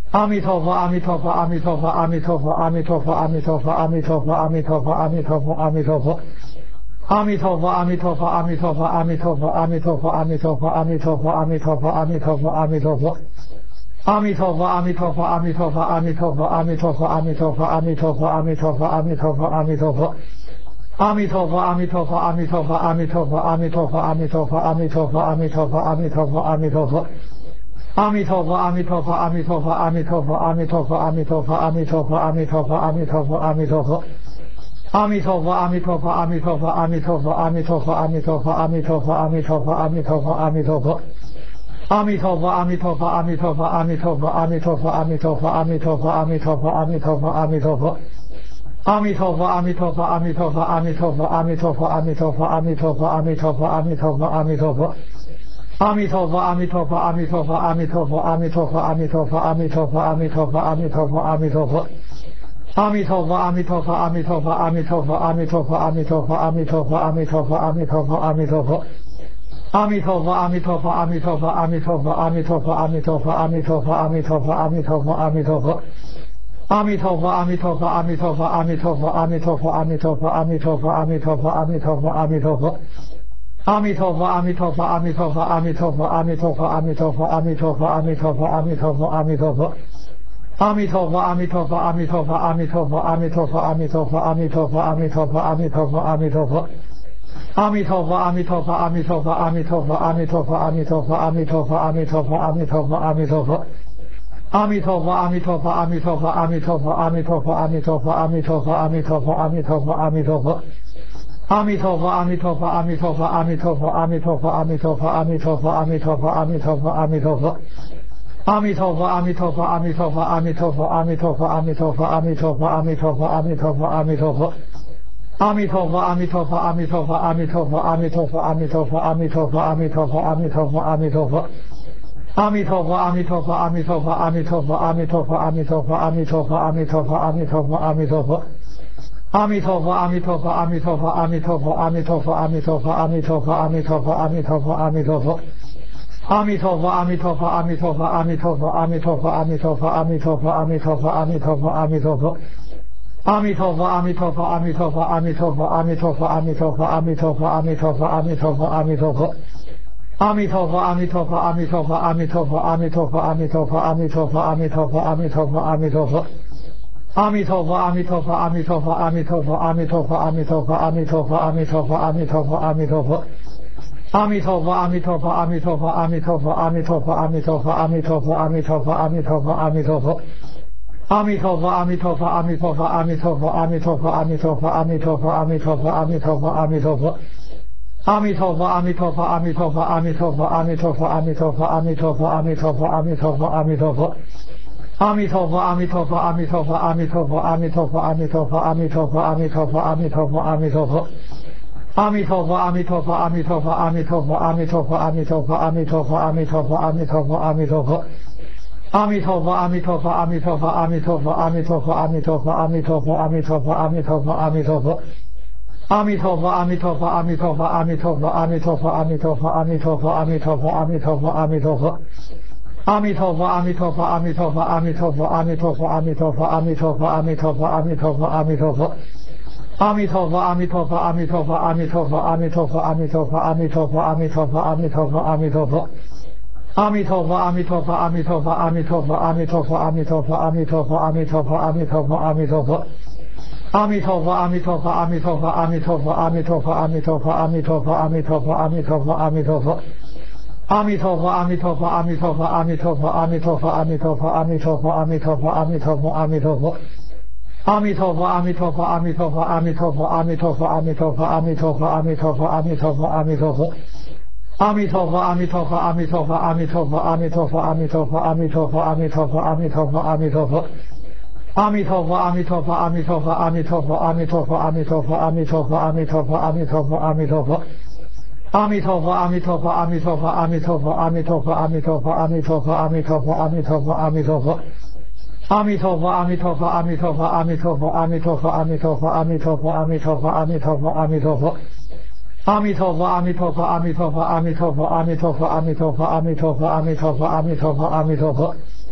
阿弥陀佛，阿弥陀佛，阿弥陀佛，阿弥陀佛，阿弥陀佛，阿弥陀佛，阿弥陀佛，阿弥陀佛，阿弥陀佛，阿弥陀佛。阿弥陀佛，阿弥陀佛，阿弥陀佛，阿弥陀佛，阿弥陀佛，阿弥陀佛，阿弥陀佛，阿弥陀佛，阿弥陀佛，阿弥陀佛。阿弥陀佛，阿弥陀佛，阿弥陀佛，阿弥陀佛，阿弥陀佛，阿弥陀佛，阿弥陀佛，阿弥陀佛，阿弥陀佛，阿弥陀佛。阿弥陀佛，阿弥陀佛，阿弥陀佛，阿弥陀佛，阿弥陀佛，阿弥陀佛，阿弥陀佛，阿弥陀佛，阿弥陀佛，阿弥陀佛。阿弥陀佛，阿弥陀佛，阿弥陀佛，阿弥陀佛，阿弥陀佛，阿弥陀佛，阿弥陀佛，阿弥陀佛，阿弥陀佛，阿弥陀佛。阿弥陀佛，阿弥陀佛，阿弥陀佛，阿弥陀佛，阿弥陀佛，阿弥陀佛，阿弥陀佛，阿弥陀佛，阿弥陀佛，阿弥陀佛。阿弥陀佛，阿弥陀佛，阿弥陀佛，阿弥陀佛，阿弥陀佛，阿弥陀佛，阿弥陀佛，阿弥陀佛，阿弥陀佛，阿弥陀佛。阿弥陀佛，阿弥陀佛，阿弥陀佛，阿弥陀佛，阿弥陀佛，阿弥陀佛，阿弥陀佛，阿弥陀佛，阿弥陀佛，阿弥陀佛。阿弥陀佛，阿弥陀佛，阿弥陀佛，阿弥陀佛，阿弥陀佛，阿弥陀佛，阿弥陀佛，阿弥陀佛，阿弥陀佛，阿弥陀佛。阿弥陀佛，阿弥陀佛，阿弥陀佛，阿弥陀佛，阿弥陀佛，阿弥陀佛，阿弥陀佛，阿弥陀佛，阿弥陀佛，阿弥陀佛。阿弥陀佛，阿弥陀佛，阿弥陀佛，阿弥陀佛，阿弥陀佛，阿弥陀佛，阿弥陀佛，阿弥陀佛，阿弥陀佛，阿弥陀佛。阿弥陀佛，阿弥陀佛，阿弥陀佛，阿弥陀佛，阿弥陀佛，阿弥陀佛，阿弥陀佛，阿弥陀佛，阿弥陀佛，阿弥陀佛。阿弥陀佛，阿弥陀佛，阿弥陀佛，阿弥陀佛，阿弥陀佛，阿弥陀佛，阿弥陀佛，阿弥陀佛，阿弥陀佛，阿弥陀佛。阿弥陀佛，阿弥陀佛，阿弥陀佛，阿弥陀佛，阿弥陀佛，阿弥陀佛，阿弥陀佛，阿弥陀佛，阿弥陀佛，阿弥陀佛。阿弥陀佛，阿弥陀佛，阿弥陀佛，阿弥陀佛，阿弥陀佛，阿弥陀佛，阿弥陀佛，阿弥陀佛，阿弥陀佛，阿弥陀佛。阿弥陀佛，阿弥陀佛，阿弥陀佛，阿弥陀佛，阿弥陀佛，阿弥陀佛，阿弥陀佛，阿弥陀佛，阿弥陀佛，阿弥陀佛。阿弥陀佛，阿弥陀佛，阿弥陀佛，阿弥陀佛，阿弥陀佛，阿弥陀佛，阿弥陀佛，阿弥陀佛，阿弥陀佛，阿弥陀佛。阿弥陀佛，阿弥陀佛，阿弥陀佛，阿弥陀佛，阿弥陀佛，阿弥陀佛，阿弥陀佛，阿弥陀佛，阿弥陀佛，阿弥陀佛。阿弥陀佛，阿弥陀佛，阿弥陀佛，阿弥陀佛，阿弥陀佛，阿弥陀佛，阿弥陀佛，阿弥陀佛，阿弥陀佛，阿弥陀佛。阿弥陀佛，阿弥陀佛，阿弥陀佛，阿弥陀佛，阿弥陀佛，阿弥陀佛，阿弥陀佛，阿弥陀佛，阿弥陀佛，阿弥陀佛。阿弥陀佛，阿弥陀佛，阿弥陀佛，阿弥陀佛，阿弥陀佛，阿弥陀佛，阿弥陀佛，阿弥陀佛，阿弥陀佛，阿弥陀佛。阿弥陀佛，阿弥陀佛，阿弥陀佛，阿弥陀佛，阿弥陀佛，阿弥陀佛，阿弥陀佛，阿弥陀佛，阿弥陀佛，阿弥陀佛。阿弥陀佛，阿弥陀佛，阿弥陀佛，阿弥陀佛，阿弥陀佛，阿弥陀佛，阿弥陀佛，阿弥陀佛，阿弥陀佛，阿弥陀佛。阿弥陀佛，阿弥陀佛，阿弥陀佛，阿弥陀佛，阿弥陀佛，阿弥陀佛，阿弥陀佛，阿弥陀佛，阿弥陀佛，阿弥陀佛。阿弥陀佛，阿弥陀佛，阿弥陀佛，阿弥陀佛，阿弥陀佛，阿弥陀佛，阿弥陀佛，阿弥陀佛，阿弥陀佛，阿弥陀佛。阿弥陀佛，阿弥陀佛，阿弥陀佛，阿弥陀佛，阿弥陀佛，阿弥陀佛，阿弥陀佛，阿弥陀佛，阿弥陀佛，阿弥陀佛。阿弥陀佛，阿弥陀佛，阿弥陀佛，阿弥陀佛，阿弥陀佛，阿弥陀佛，阿弥陀佛，阿弥陀佛，阿弥陀佛，阿弥陀佛。阿弥陀佛，阿弥陀佛，阿弥陀佛，阿弥陀佛，阿弥陀佛，阿弥陀佛，阿弥陀佛，阿弥陀佛，阿弥陀佛，阿弥陀佛。阿弥陀佛，阿弥陀佛，阿弥陀佛，阿弥陀佛，阿弥陀佛，阿弥陀佛，阿弥陀佛，阿弥陀佛，阿弥陀佛，阿弥陀佛。阿弥陀佛，阿弥陀佛，阿弥陀佛，阿弥陀佛，阿弥陀佛，阿弥陀佛，阿弥陀佛，阿弥陀佛，阿弥陀佛，阿弥陀佛。阿弥陀佛，阿弥陀佛，阿弥陀佛，阿弥陀佛，阿弥陀佛，阿弥陀佛，阿弥陀佛，阿弥陀佛，阿弥陀佛，阿弥陀佛。阿弥陀佛，阿弥陀佛，阿弥陀佛，阿弥陀佛，阿弥陀佛，阿弥陀佛，阿弥陀佛，阿弥陀佛，阿弥陀佛，阿弥陀佛。阿弥陀佛，阿弥陀佛，阿弥陀佛，阿弥陀佛，阿弥陀佛，阿弥陀佛，阿弥陀佛，阿弥陀佛，阿弥陀佛，阿弥陀佛。阿弥陀佛，阿弥陀佛，阿弥陀佛，阿弥陀佛，阿弥陀佛，阿弥陀佛，阿弥陀佛，阿弥陀佛，阿弥陀佛，阿弥陀佛。阿弥陀佛，阿弥陀佛，阿弥陀佛，阿弥陀佛，阿弥陀佛，阿弥陀佛，阿弥陀佛，阿弥陀佛，阿弥陀佛，阿弥陀佛。阿弥陀佛，阿弥陀佛，阿弥陀佛，阿弥陀佛，阿弥陀佛，阿弥陀佛，阿弥陀佛，阿弥陀佛，阿弥陀佛，阿弥陀佛。阿弥陀佛，阿弥陀佛，阿弥陀佛，阿弥陀佛，阿弥陀佛，阿弥陀佛，阿弥陀佛，阿弥陀佛，阿弥陀佛，阿弥陀佛。阿弥陀佛，阿弥陀佛，阿弥陀佛，阿弥陀佛，阿弥陀佛，阿弥陀佛，阿弥陀佛，阿弥陀佛，阿弥陀佛，阿弥陀佛。阿弥陀佛，阿弥陀佛，阿弥陀佛，阿弥陀佛，阿弥陀佛，阿弥陀佛，阿弥陀佛，阿弥陀佛，阿弥陀佛，阿弥陀佛。阿弥陀佛，阿弥陀佛，阿弥陀佛，阿弥陀佛，阿弥陀佛，阿弥陀佛，阿弥陀佛，阿弥陀佛，阿弥陀佛，阿弥陀佛。阿弥陀佛，阿弥陀佛，阿弥陀佛，阿弥陀佛，阿弥陀佛，阿弥陀佛，阿弥陀佛，阿弥陀佛，阿弥陀佛，阿弥陀佛。阿弥陀佛，阿弥陀佛，阿弥陀佛，阿弥陀佛，阿弥陀佛，阿弥陀佛，阿弥陀佛，阿弥陀佛，阿弥陀佛，阿弥陀佛。阿弥陀佛，阿弥陀佛，阿弥陀佛，阿弥陀佛，阿弥陀佛，阿弥陀佛，阿弥陀佛，阿弥陀佛，阿弥陀佛，阿弥陀佛。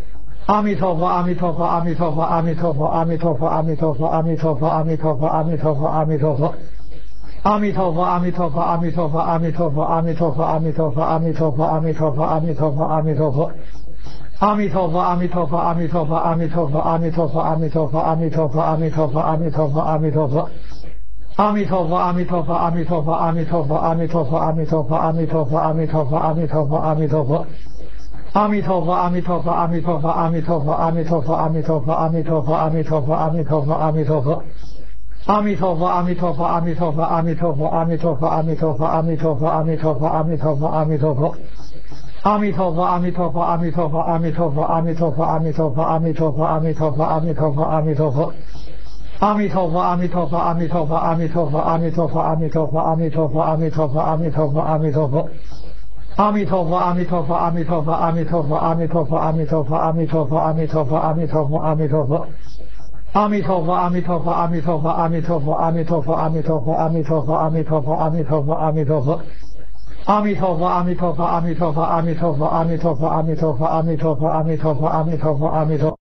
阿弥陀佛，阿弥陀佛，阿弥陀佛，阿弥陀佛，阿弥陀佛，阿弥陀佛，阿弥陀佛，阿弥陀佛，阿弥陀佛，阿弥陀佛。阿弥陀佛，阿弥陀佛，阿弥陀佛，阿弥陀佛，阿弥陀佛，阿弥陀佛，阿弥陀佛，阿弥陀佛，阿弥陀佛，阿弥陀佛。阿弥陀佛，阿弥陀佛，阿弥陀佛，阿弥陀佛，阿弥陀佛，阿弥陀佛，阿弥陀佛，阿弥陀佛，阿弥陀佛，阿弥陀佛。阿弥陀佛，阿弥陀佛，阿弥陀佛，阿弥陀佛，阿弥陀佛，阿弥陀佛，阿弥陀佛，阿弥陀佛，阿弥陀佛，阿弥陀佛。阿弥陀佛，阿弥陀佛，阿弥陀佛，阿弥陀佛，阿弥陀佛，阿弥陀佛，阿弥陀佛，阿弥陀佛，阿弥陀佛，阿弥陀佛。阿弥陀佛，阿弥陀佛，阿弥陀佛，阿弥陀佛，阿弥陀佛，阿弥陀佛，阿弥陀佛，阿弥陀佛，阿弥陀佛，阿弥陀佛。阿弥陀佛，阿弥陀佛，阿弥陀佛，阿弥陀佛，阿弥陀佛，阿弥陀佛，阿弥陀佛，阿弥陀佛，阿弥陀佛，阿弥陀佛。阿弥陀佛，阿弥陀佛，阿弥陀佛，阿弥陀佛，阿弥陀佛，阿弥陀佛，阿弥陀佛，阿弥陀佛，阿弥陀佛，阿弥陀佛。阿弥陀佛，阿弥陀佛，阿弥陀佛，阿弥陀佛，阿弥陀佛，阿弥陀佛，阿弥陀佛，阿弥陀佛，阿弥陀佛，阿弥陀佛。阿弥陀佛，阿弥陀佛，阿弥陀佛，阿弥陀佛，阿弥陀佛，阿弥陀佛，阿弥陀佛，阿弥陀佛，阿弥陀佛，阿弥陀佛。阿弥陀佛，阿弥陀佛，阿弥陀佛，阿弥陀佛，阿弥陀佛，阿弥陀佛，阿弥陀佛，阿弥陀佛，阿弥陀佛，阿弥陀佛。